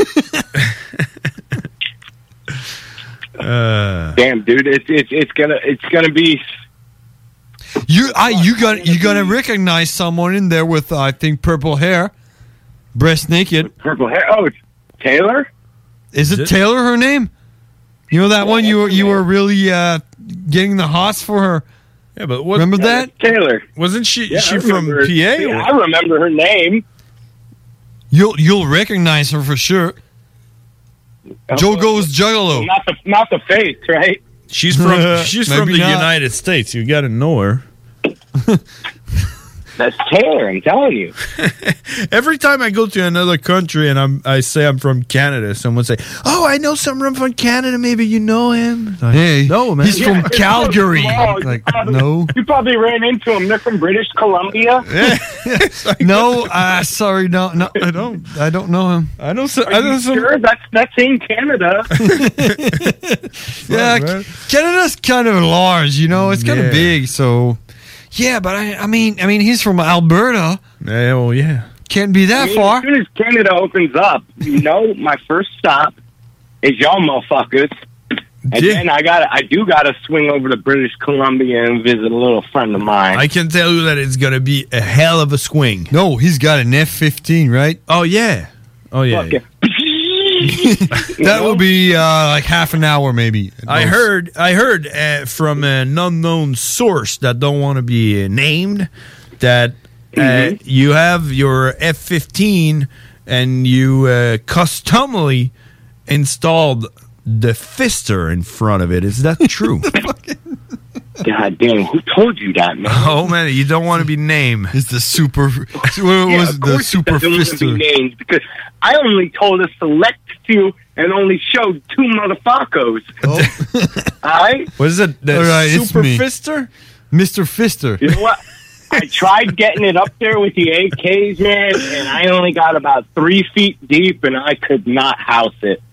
Uh, Damn, dude, it's it's it's gonna it's gonna be. you, I, you got, you gotta recognize someone in there with, uh, I think, purple hair, breast naked. Purple hair. Oh, it's Taylor? Is it, it? Taylor? Her name? You know that one you were you were really uh, getting the hots for her. yeah, but what? Remember that? Taylor. Wasn't she? Yeah, she I from remember- P A? Yeah, or- I remember her name. You'll you'll recognize her for sure. Joe Goes Juggalo. Not the not the face, right? She's from she's from Maybe the not. United States. You got to know her. That's Taylor. I'm telling you. Every time I go to another country and I'm I say I'm from Canada, someone say, "Oh, I know someone from Canada. Maybe you know him." Like, Hey, no, man. he's from Calgary. Oh, you Like, probably- no. You probably ran into them. They're from British Columbia. No, uh, sorry, no, no, I don't, I don't know him. I know. So, Are I know you some. sure? That's that's in Canada. Yeah, man. Canada's kind of large, you know, it's kind Yeah. of big, so yeah. But I, I mean, I mean, he's from Alberta. Yeah, well, yeah. Can't be I that mean, far. as soon as Canada opens up, you know, my first stop is y'all motherfuckers. And Yeah. then I got I do got to swing over to British Columbia and visit a little friend of mine. I can tell you that it's gonna be a hell of a swing. No, he's got an F fifteen, right? Oh yeah. Oh yeah. Fuck it. That will be uh, like half an hour, maybe. at I most. heard. I heard uh, from an unknown source that don't want to be uh, named that uh, Mhm. you have your F fifteen and you uh, customly installed the fister in front of it. Is that true? God damn, who told you that, man? Oh man, you don't want to be named. It's the super. What Yeah, was of the course super it doesn't want to be fister? named because I only told a select few and only showed two motherfuckers. All right? What is it? The All right, it's super me. fister? Mister Fister. You know what? I tried getting it up there with the A Ks, man, and I only got about three feet deep, and I could not house it.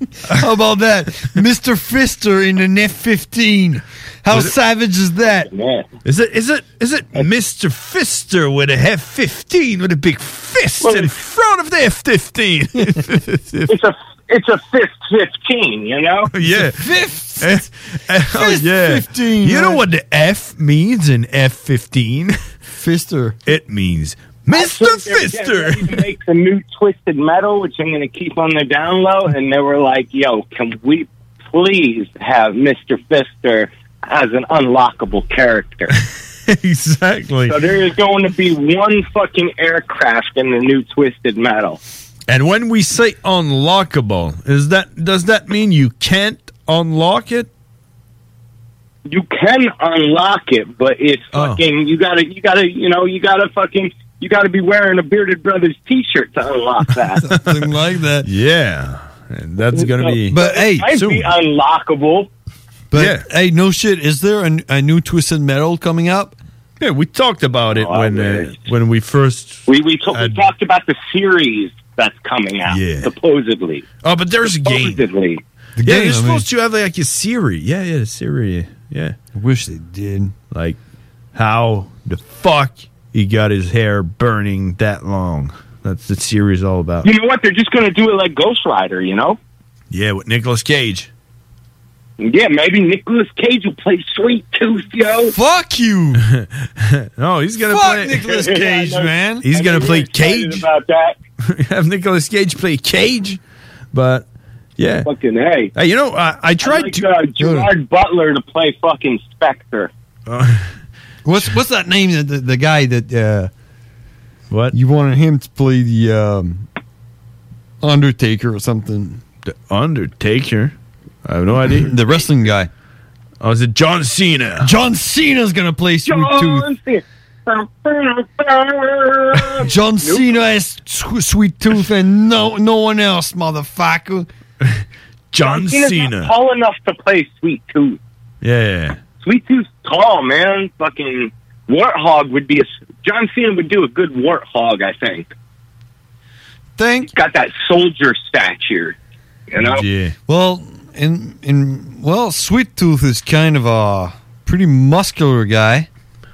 How about that? Mister Fister in an F fifteen. How Is it- savage is that? Is it is it is it Mister Fister with a F fifteen with a big fist Well, in front of the F fifteen? It's a it's a fifth fifteen, you know. Yeah. Fifth. Eh, eh, oh Fist yeah. fifteen, You know right? what the F means in F fifteen? Fister. It means Mister Fister. They make the new Twisted Metal, which I'm going to keep on the down low, and they were like, "Yo, can we please have Mister Fister as an unlockable character?" Exactly. So there is going to be one fucking aircraft in the new Twisted Metal. And when we say unlockable, is that does that mean you can't unlock it? You can unlock it, but it's fucking. You gotta, you gotta, you know, you gotta fucking. You got to be wearing a Bearded Brothers T-shirt to unlock that. Something like that. Yeah, and that's gonna be. But hey, Might soon. be unlockable. But hey, no shit. Is there a, a new Twisted Metal coming up? Yeah, we talked about it Oh, when man. uh, when we first. We we, to- we talked about the series that's coming out. Yeah. Supposedly. Oh, but there's a game. Supposedly. yeah, game, they're I supposed to have like a series. Yeah, yeah, a series. Yeah. I wish they did. Like how the fuck he got his hair burning that long. That's the series all about. You know what? They're just going to do it like Ghost Rider. You know? Yeah, with Nicolas Cage. Yeah, maybe Nicolas Cage will play Sweet Tooth, yo. Fuck you. No, he's gonna Fuck play Nicolas Cage, man. He's I'm gonna really play excited Cage. about that. Have Nicolas Cage play Cage, but yeah. Fucking hey. Hey, you know, I, I tried I'd like, to. uh, Gerard Butler to play fucking Spectre. What's what's that name? The, the, the guy that uh, what you wanted him to play the um, Undertaker or something? The Undertaker. I have no idea. The wrestling guy. Oh, is it John Cena? John Cena's gonna play Sweet Tooth. John Cena has Sw- Sweet Tooth and no no one else, motherfucker. John Cena's Cena. not tall enough to play Sweet Tooth. Yeah. Sweet Tooth's tall, man. Fucking Warthog would be a. John Cena would do a good Warthog, I think. Think He's got that soldier stature, you know. Yeah. Well, in in well, Sweet Tooth is kind of a pretty muscular guy.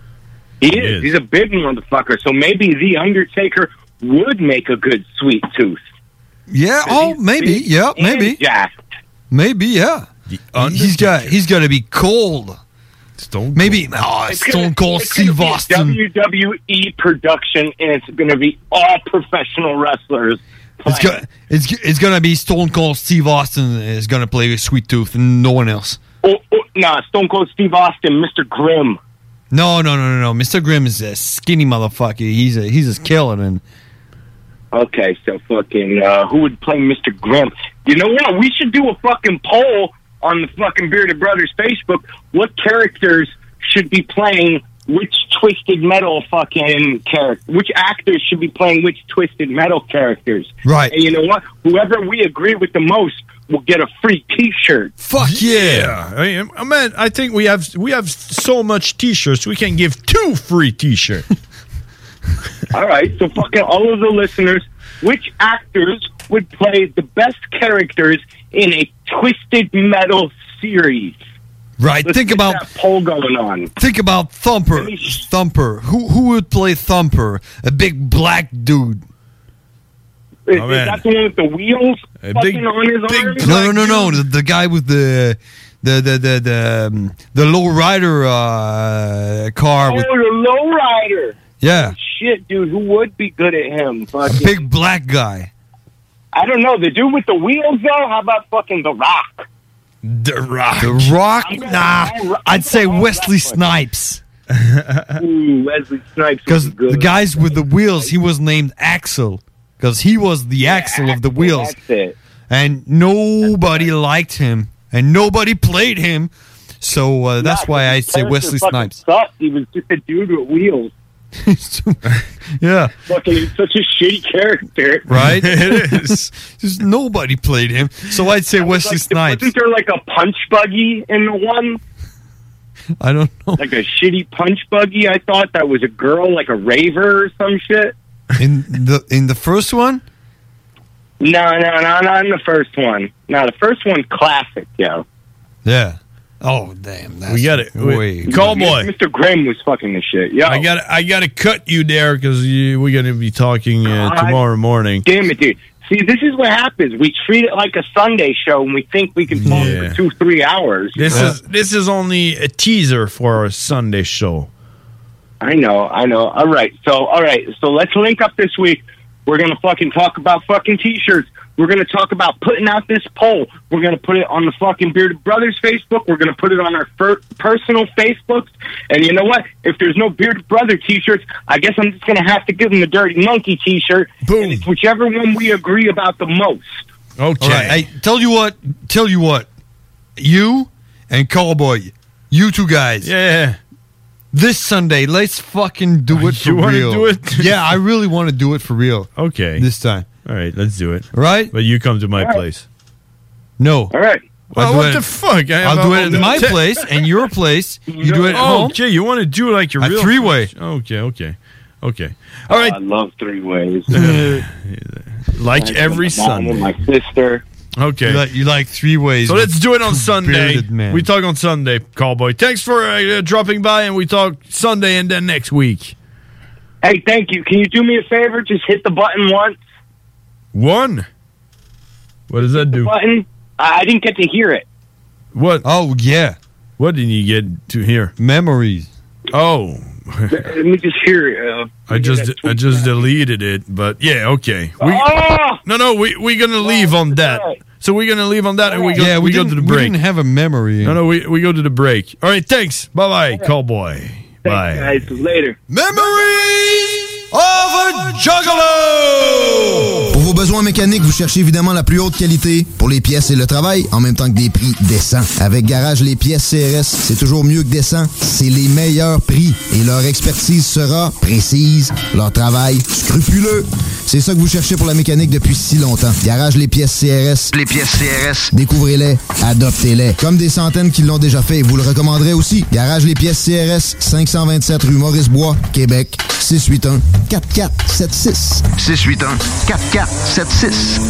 He is. He's a big motherfucker. So maybe the Undertaker would make a good Sweet Tooth. Yeah. Oh, maybe. big Yeah. and Maybe. jacked. Maybe. Yeah. He's got. He's got to be cold. Stone. Maybe. Oh, It's Stone gonna- Cold it's gonna Steve be a Austin. W W E production, and it's going to be all professional wrestlers. It's go, it's it's gonna be Stone Cold Steve Austin is gonna play Sweet Tooth and no one else. Oh, oh, nah, Stone Cold Steve Austin, Mister Grimm. No, no, no, no, no. Mister Grimm is a skinny motherfucker. He's a he's a skeleton. Okay, so fucking uh, who would play Mister Grimm? You know what? We should do a fucking poll on the fucking Bearded Brothers Facebook. What characters should be playing which Twisted Metal fucking character? Which actors should be playing which Twisted Metal characters? Right. And you know what? Whoever we agree with the most will get a free T-shirt. Fuck yeah! I mean, I mean, I think we have we have so much T-shirts. We can give two free T-shirts. All right, so fucking all of the listeners, which actors would play the best characters in a Twisted Metal series? Right. Let's think get about that poll going on. think about Thumper. Thumper. Who who would play Thumper? A big black dude. Is, is that the one with the wheels A fucking big- on his arm? No, no, no, no. The, the guy with the the the the the, um, the low rider uh, car Oh, with the lowrider. yeah, Shit, dude, who would be good at him? a Fucking, big black guy. I don't know. The dude with the wheels, though? How about fucking The Rock? The Rock. The Rock? Nah, I'd say Wesley Snipes. Ooh, Wesley Snipes. Because the guys with the wheels, he was named Axel. Because he was the axle of the wheels. That's it. And nobody liked him. And nobody played him. So uh, that's Yeah, why I his say character Wesley fucking Snipes. Sucked. He was just a dude with wheels. Yeah. Fucking, he's such a shitty character. Right? It is. Just nobody played him. So I'd say Wesley Like, Snipes. Wasn't there like a punch buggy in the one? I don't know. Like a shitty punch buggy, I thought that was a girl, like a raver or some shit. In the in the first one? No, no, no, not in the first one. No, the first one, classic, yo. Yeah. Oh, damn. That's we got it. way- Callboy. Mister Grimm was fucking the shit, yo. I got I got to cut you there because we're going to be talking uh, God tomorrow morning. Damn it, dude. See, this is what happens. We treat it like a Sunday show, and we think we can talk Yeah. for two, three hours. This is this is only a teaser for our Sunday show. I know, I know. All right, so all right, so let's link up this week. We're gonna fucking talk about fucking t-shirts. We're gonna talk about putting out this poll. We're gonna put it on the fucking Bearded Brothers Facebook. We're gonna put it on our fir- personal Facebooks. And you know what? If there's no Bearded Brother t-shirts, I guess I'm just gonna have to give them the Dirty Monkey t-shirt. Boom. And it's whichever one we agree about the most. Okay. All right. Hey, tell you what. Tell you what. You and Cowboy, you two guys. Yeah. This Sunday, let's fucking do it for You wanna real. do it? Yeah, I really want to do it for real. Okay. This time. All right, let's do it. Right? But you come to my All right. place. No. All right. Well, I'll do what it- the fuck? I- I'll do it I'll- at my Te- place and your place. You do it at oh, home. Okay, you want to do like your A real three-way. Okay, okay, okay. All right. I love three ways. Like every my mom and Sunday. my sister. Okay. You like, you like three ways. So with let's do it on two Sunday. bearded men. We talk on Sunday, Callboy. Thanks for uh, dropping by, and we talk Sunday and then next week. Hey, thank you. Can you do me a favor? Just hit the button once. One. What does that do? Button. I I didn't get to hear it. What? Oh yeah. What did you get to hear? Memories. Oh. Let me just hear it. Uh, I just I just deleted it, but yeah, okay. We, Oh! No, no, we we're gonna leave on that. So we're gonna leave on that, and we go. Yeah, we we go didn't- to the we break. didn't have a memory. No, no, we we go to the break. All right, thanks. Bye, bye, Callboy. Bye. Guys, later. Memories of a Juggalo! Pour vos besoins mécaniques, vous cherchez évidemment la plus haute qualité pour les pièces et le travail, en même temps que des prix décents. Avec Garage Les Pièces C R S, c'est toujours mieux que décent. C'est les meilleurs prix et leur expertise sera précise, leur travail scrupuleux. C'est ça que vous cherchez pour la mécanique depuis si longtemps. Garage Les Pièces C R S. Les pièces C R S. Découvrez-les, adoptez-les. Comme des centaines qui l'ont déjà fait et vous le recommanderez aussi. Garage Les Pièces C R S, cinq cent vingt-sept rue Maurice-Bois, Québec, six huit un, quatre quatre sept six. six huit un, quatre quatre sept six.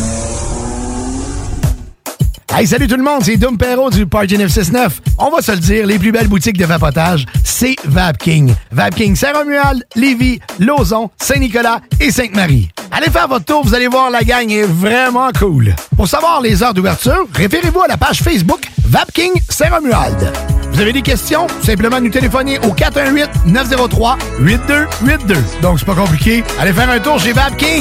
Hey, salut tout le monde, c'est Dom Perrault du Party neuf cent soixante-neuf. On va se le dire, les plus belles boutiques de vapotage, c'est Vapking. Vapking Saint-Romuald, Lévis, Lauson, Saint-Nicolas et Sainte-Marie. Allez faire votre tour, vous allez voir, la gang est vraiment cool. Pour savoir les heures d'ouverture, référez-vous à la page Facebook Vapking Saint-Romuald. Vous avez des questions? Simplement nous téléphoner au quatre un huit, neuf zéro trois, huit deux huit deux. Donc c'est pas compliqué, allez faire un tour chez Vapking.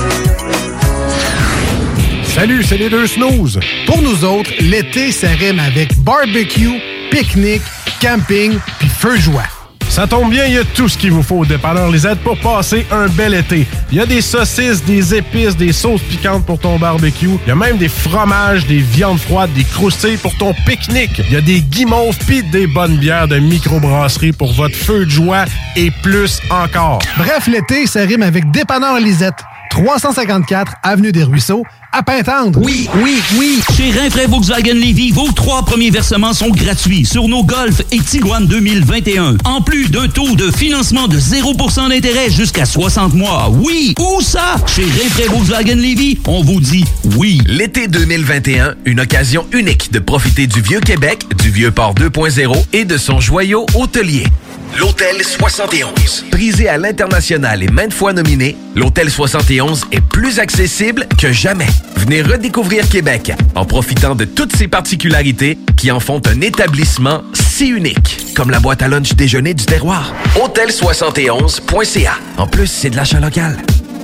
Salut, c'est les deux snooze. Pour nous autres, l'été, ça rime avec barbecue, pique-nique, camping puis feu de joie. Ça tombe bien, il y a tout ce qu'il vous faut au dépanneur Lisette pour passer un bel été. Il y a des saucisses, des épices, des sauces piquantes pour ton barbecue. Il y a même des fromages, des viandes froides, des croustilles pour ton pique-nique. Il y a des guimauves pis des bonnes bières de microbrasserie pour votre feu de joie et plus encore. Bref, l'été, ça rime avec dépanneur Lisette. trois cent cinquante-quatre Avenue des Ruisseaux, à Pintendre. Oui, oui, oui. Chez Rinfraie Volkswagen Lévy, vos trois premiers versements sont gratuits sur nos Golf et Tiguan deux mille vingt et un. En plus d'un taux de financement de zéro pour cent d'intérêt jusqu'à soixante mois. Oui, où ça? Chez Rinfraie Volkswagen Lévy, on vous dit oui. L'été deux mille vingt et un, une occasion unique de profiter du Vieux-Québec, du Vieux-Port deux point zéro et de son joyau hôtelier. L'Hôtel soixante et onze. Prisé à l'international et maintes fois nominé, l'Hôtel soixante et onze est plus accessible que jamais. Venez redécouvrir Québec en profitant de toutes ses particularités qui en font un établissement si unique, comme la boîte à lunch déjeuner du terroir. hôtel soixante et onze point c a. En plus, c'est de l'achat local.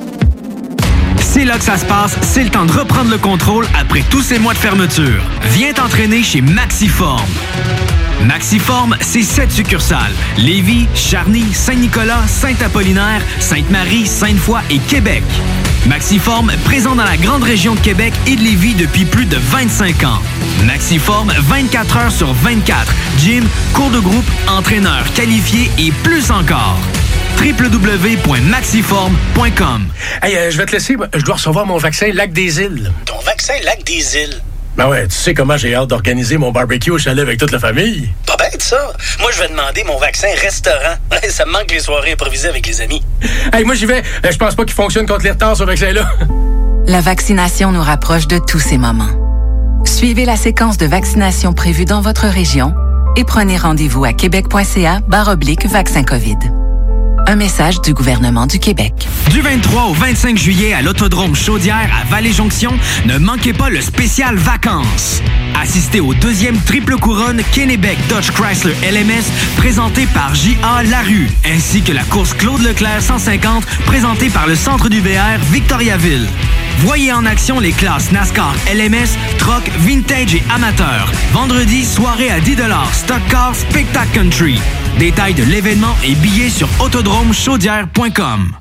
C'est là que ça se passe, c'est le temps de reprendre le contrôle après tous ces mois de fermeture. Viens t'entraîner chez Maxiform. Maxiform, c'est sept succursales. Lévis, Charny, Saint-Nicolas, Saint-Apollinaire, Sainte-Marie, Sainte-Foy et Québec. Maxiform, présent dans la grande région de Québec et de Lévis depuis plus de vingt-cinq ans. Maxiform, vingt-quatre heures sur vingt-quatre. Gym, cours de groupe, entraîneur qualifié et plus encore. w w w point maxiform point com. Hey, euh, je vais te laisser. Je dois recevoir mon vaccin Lac des Îles. Ton vaccin Lac des Îles? Ben ouais, tu sais comment j'ai hâte d'organiser mon barbecue au chalet avec toute la famille. Pas bête, ça. Moi, je vais demander mon vaccin restaurant. Ça me manque les soirées improvisées avec les amis. Hey, moi, j'y vais. Je pense pas qu'il fonctionne contre les retards, ce vaccin-là. La vaccination nous rapproche de tous ces moments. Suivez la séquence de vaccination prévue dans votre région et prenez rendez-vous à québec.ca barre oblique vaccin COVID. Un message du gouvernement du Québec. Du vingt-trois au vingt-cinq juillet à l'Autodrome Chaudière à Vallée-Jonction, ne manquez pas le spécial vacances. Assistez au deuxième triple couronne Kennebec Dodge Chrysler L M S présenté par J A Larue, ainsi que la course Claude Leclerc cent cinquante présentée par le Centre du V R Victoriaville. Voyez en action les classes NASCAR L M S, Truck, Vintage et Amateur. Vendredi, soirée à dix dollars, Stock Car, Spectacle Country. Détails de l'événement et billets sur autodrome chaudière point com.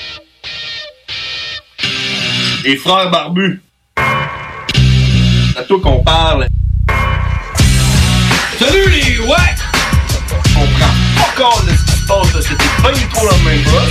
Les frères barbus. C'est à toi qu'on parle. Salut les ouais! On prend pas compte de ce qui se passe, là. C'était pas du tout la même chose.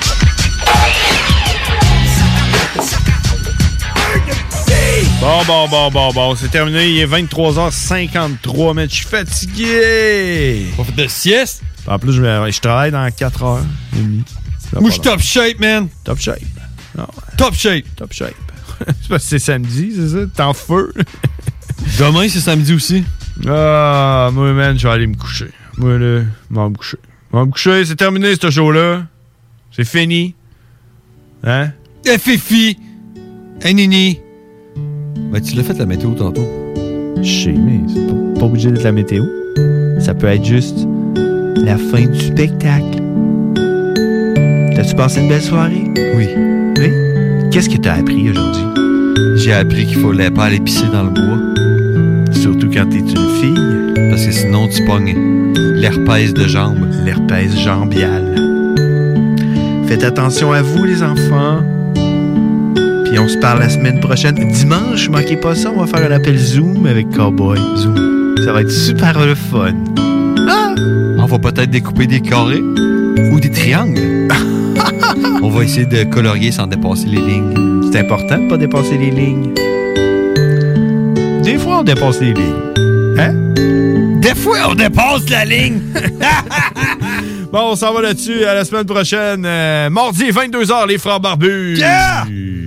Bon, bon, bon, bon, bon, c'est terminé. Il est vingt-trois heures cinquante-trois, mais je suis fatigué. On fait de sieste? En plus, je, je travaille dans quatre heures et demie. Moi, je suis top shape, man. Top shape. Non. Top shape. Top shape. C'est parce que c'est samedi, c'est ça? T'es en feu. Demain, c'est samedi aussi. Ah, moi, man, je vais aller me coucher. Moi, là, je vais me coucher. Je vais me coucher, c'est terminé, ce show-là. C'est fini. Hein? Eh, Fifi! Hey, Nini! Ben, tu l'as fait la météo tantôt. Je sais, mais c'est pas, pas obligé d'être la météo. Ça peut être juste la fin du spectacle. T'as-tu passé une belle soirée? Oui. Oui? Qu'est-ce que t'as appris aujourd'hui? J'ai appris qu'il fallait pas aller pisser dans le bois. Surtout quand t'es une fille. Parce que sinon, tu pognes l'herpès de jambe. L'herpès jambial. Faites attention à vous, les enfants. Puis on se parle la semaine prochaine. Dimanche, manquez pas ça, on va faire un appel Zoom avec Cowboy. Zoom. Ça va être super le fun. Ah! On va peut-être découper des carrés ou des triangles. On va essayer de colorier sans dépasser les lignes. C'est important de pas dépasser les lignes. Des fois, on dépasse les lignes. Hein? Des fois, on dépasse la ligne. Bon, on s'en va là-dessus. À la semaine prochaine. Euh, mardi, vingt-deux heures, les frères barbus. Yeah!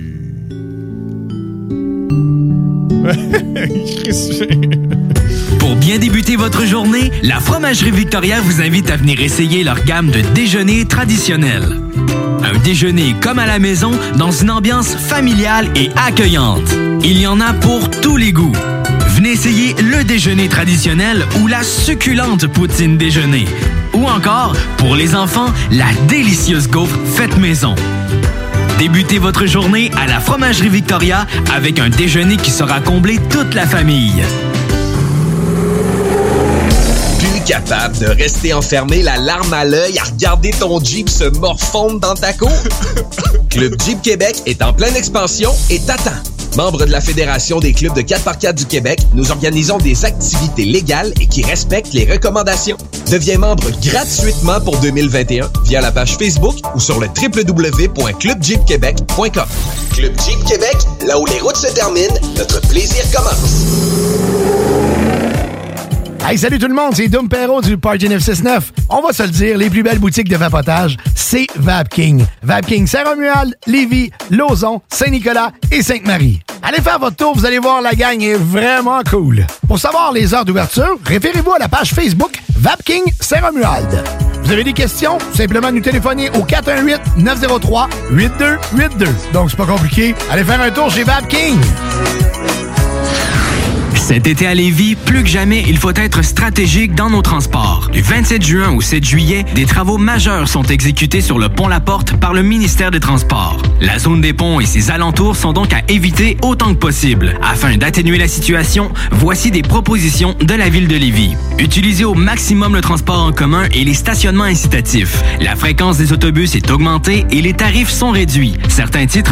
Pour bien débuter votre journée, la Fromagerie Victoria vous invite à venir essayer leur gamme de déjeuners traditionnels. Un déjeuner comme à la maison, dans une ambiance familiale et accueillante. Il y en a pour tous les goûts. Venez essayer le déjeuner traditionnel ou la succulente poutine déjeuner. Ou encore, pour les enfants, la délicieuse gaufre faite maison. Débutez votre journée à la Fromagerie Victoria avec un déjeuner qui saura combler toute la famille. Plus capable de rester enfermé la larme à l'œil à regarder ton Jeep se morfondre dans ta cour? Club Jeep Québec est en pleine expansion et t'attend. Membre de la Fédération des clubs de quatre par quatre du Québec, nous organisons des activités légales et qui respectent les recommandations. Deviens membre gratuitement pour deux mille vingt et un via la page Facebook ou sur le w w w point club jeep québec point com. Club Jeep Québec, là où les routes se terminent, notre plaisir commence. Hey, salut tout le monde, c'est Dom Perrault du Party neuf cent soixante-neuf. On va se le dire, les plus belles boutiques de vapotage, c'est Vapking. Vapking Saint-Romuald, Lévis, Lauson, Saint-Nicolas et Sainte-Marie. Allez faire votre tour, vous allez voir, la gang est vraiment cool. Pour savoir les heures d'ouverture, référez-vous à la page Facebook Vapking Saint-Romuald. Vous avez des questions? Simplement nous téléphoner au quatre un huit, neuf zéro trois, huit deux huit deux. Donc c'est pas compliqué, allez faire un tour chez Vapking. Cet été à Lévis, plus que jamais, il faut être stratégique dans nos transports. Du vingt-sept juin au sept juillet, des travaux majeurs sont exécutés sur le pont La Porte par le ministère des Transports. La zone des ponts et ses alentours sont donc à éviter autant que possible. Afin d'atténuer la situation, voici des propositions de la ville de Lévis. Utilisez au maximum le transport en commun et les stationnements incitatifs. La fréquence des autobus est augmentée et les tarifs sont réduits. Certains titres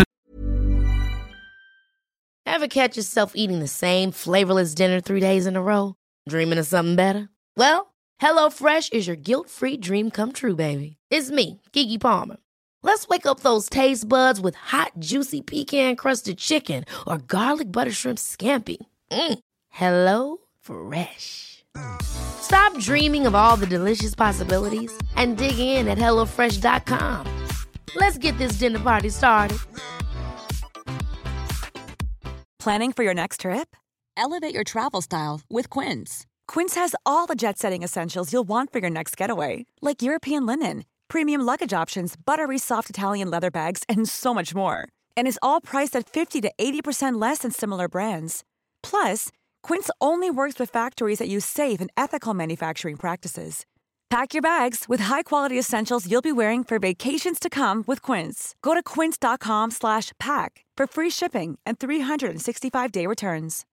Ever catch yourself eating the same flavorless dinner three days in a row? Dreaming of something better? Well, HelloFresh is your guilt-free dream come true, baby. It's me, Keke Palmer. Let's wake up those taste buds with hot, juicy pecan-crusted chicken or garlic butter shrimp scampi. Mm. Hello Fresh. Stop dreaming of all the delicious possibilities and dig in at hello fresh dot com. Let's get this dinner party started. Planning for your next trip? Elevate your travel style with Quince. Quince has all the jet-setting essentials you'll want for your next getaway, like European linen, premium luggage options, buttery soft Italian leather bags, and so much more. And is all priced at fifty to eighty percent less than similar brands. Plus, Quince only works with factories that use safe and ethical manufacturing practices. Pack your bags with high-quality essentials you'll be wearing for vacations to come with Quince. Go to quince.com slash pack for free shipping and three sixty-five day returns.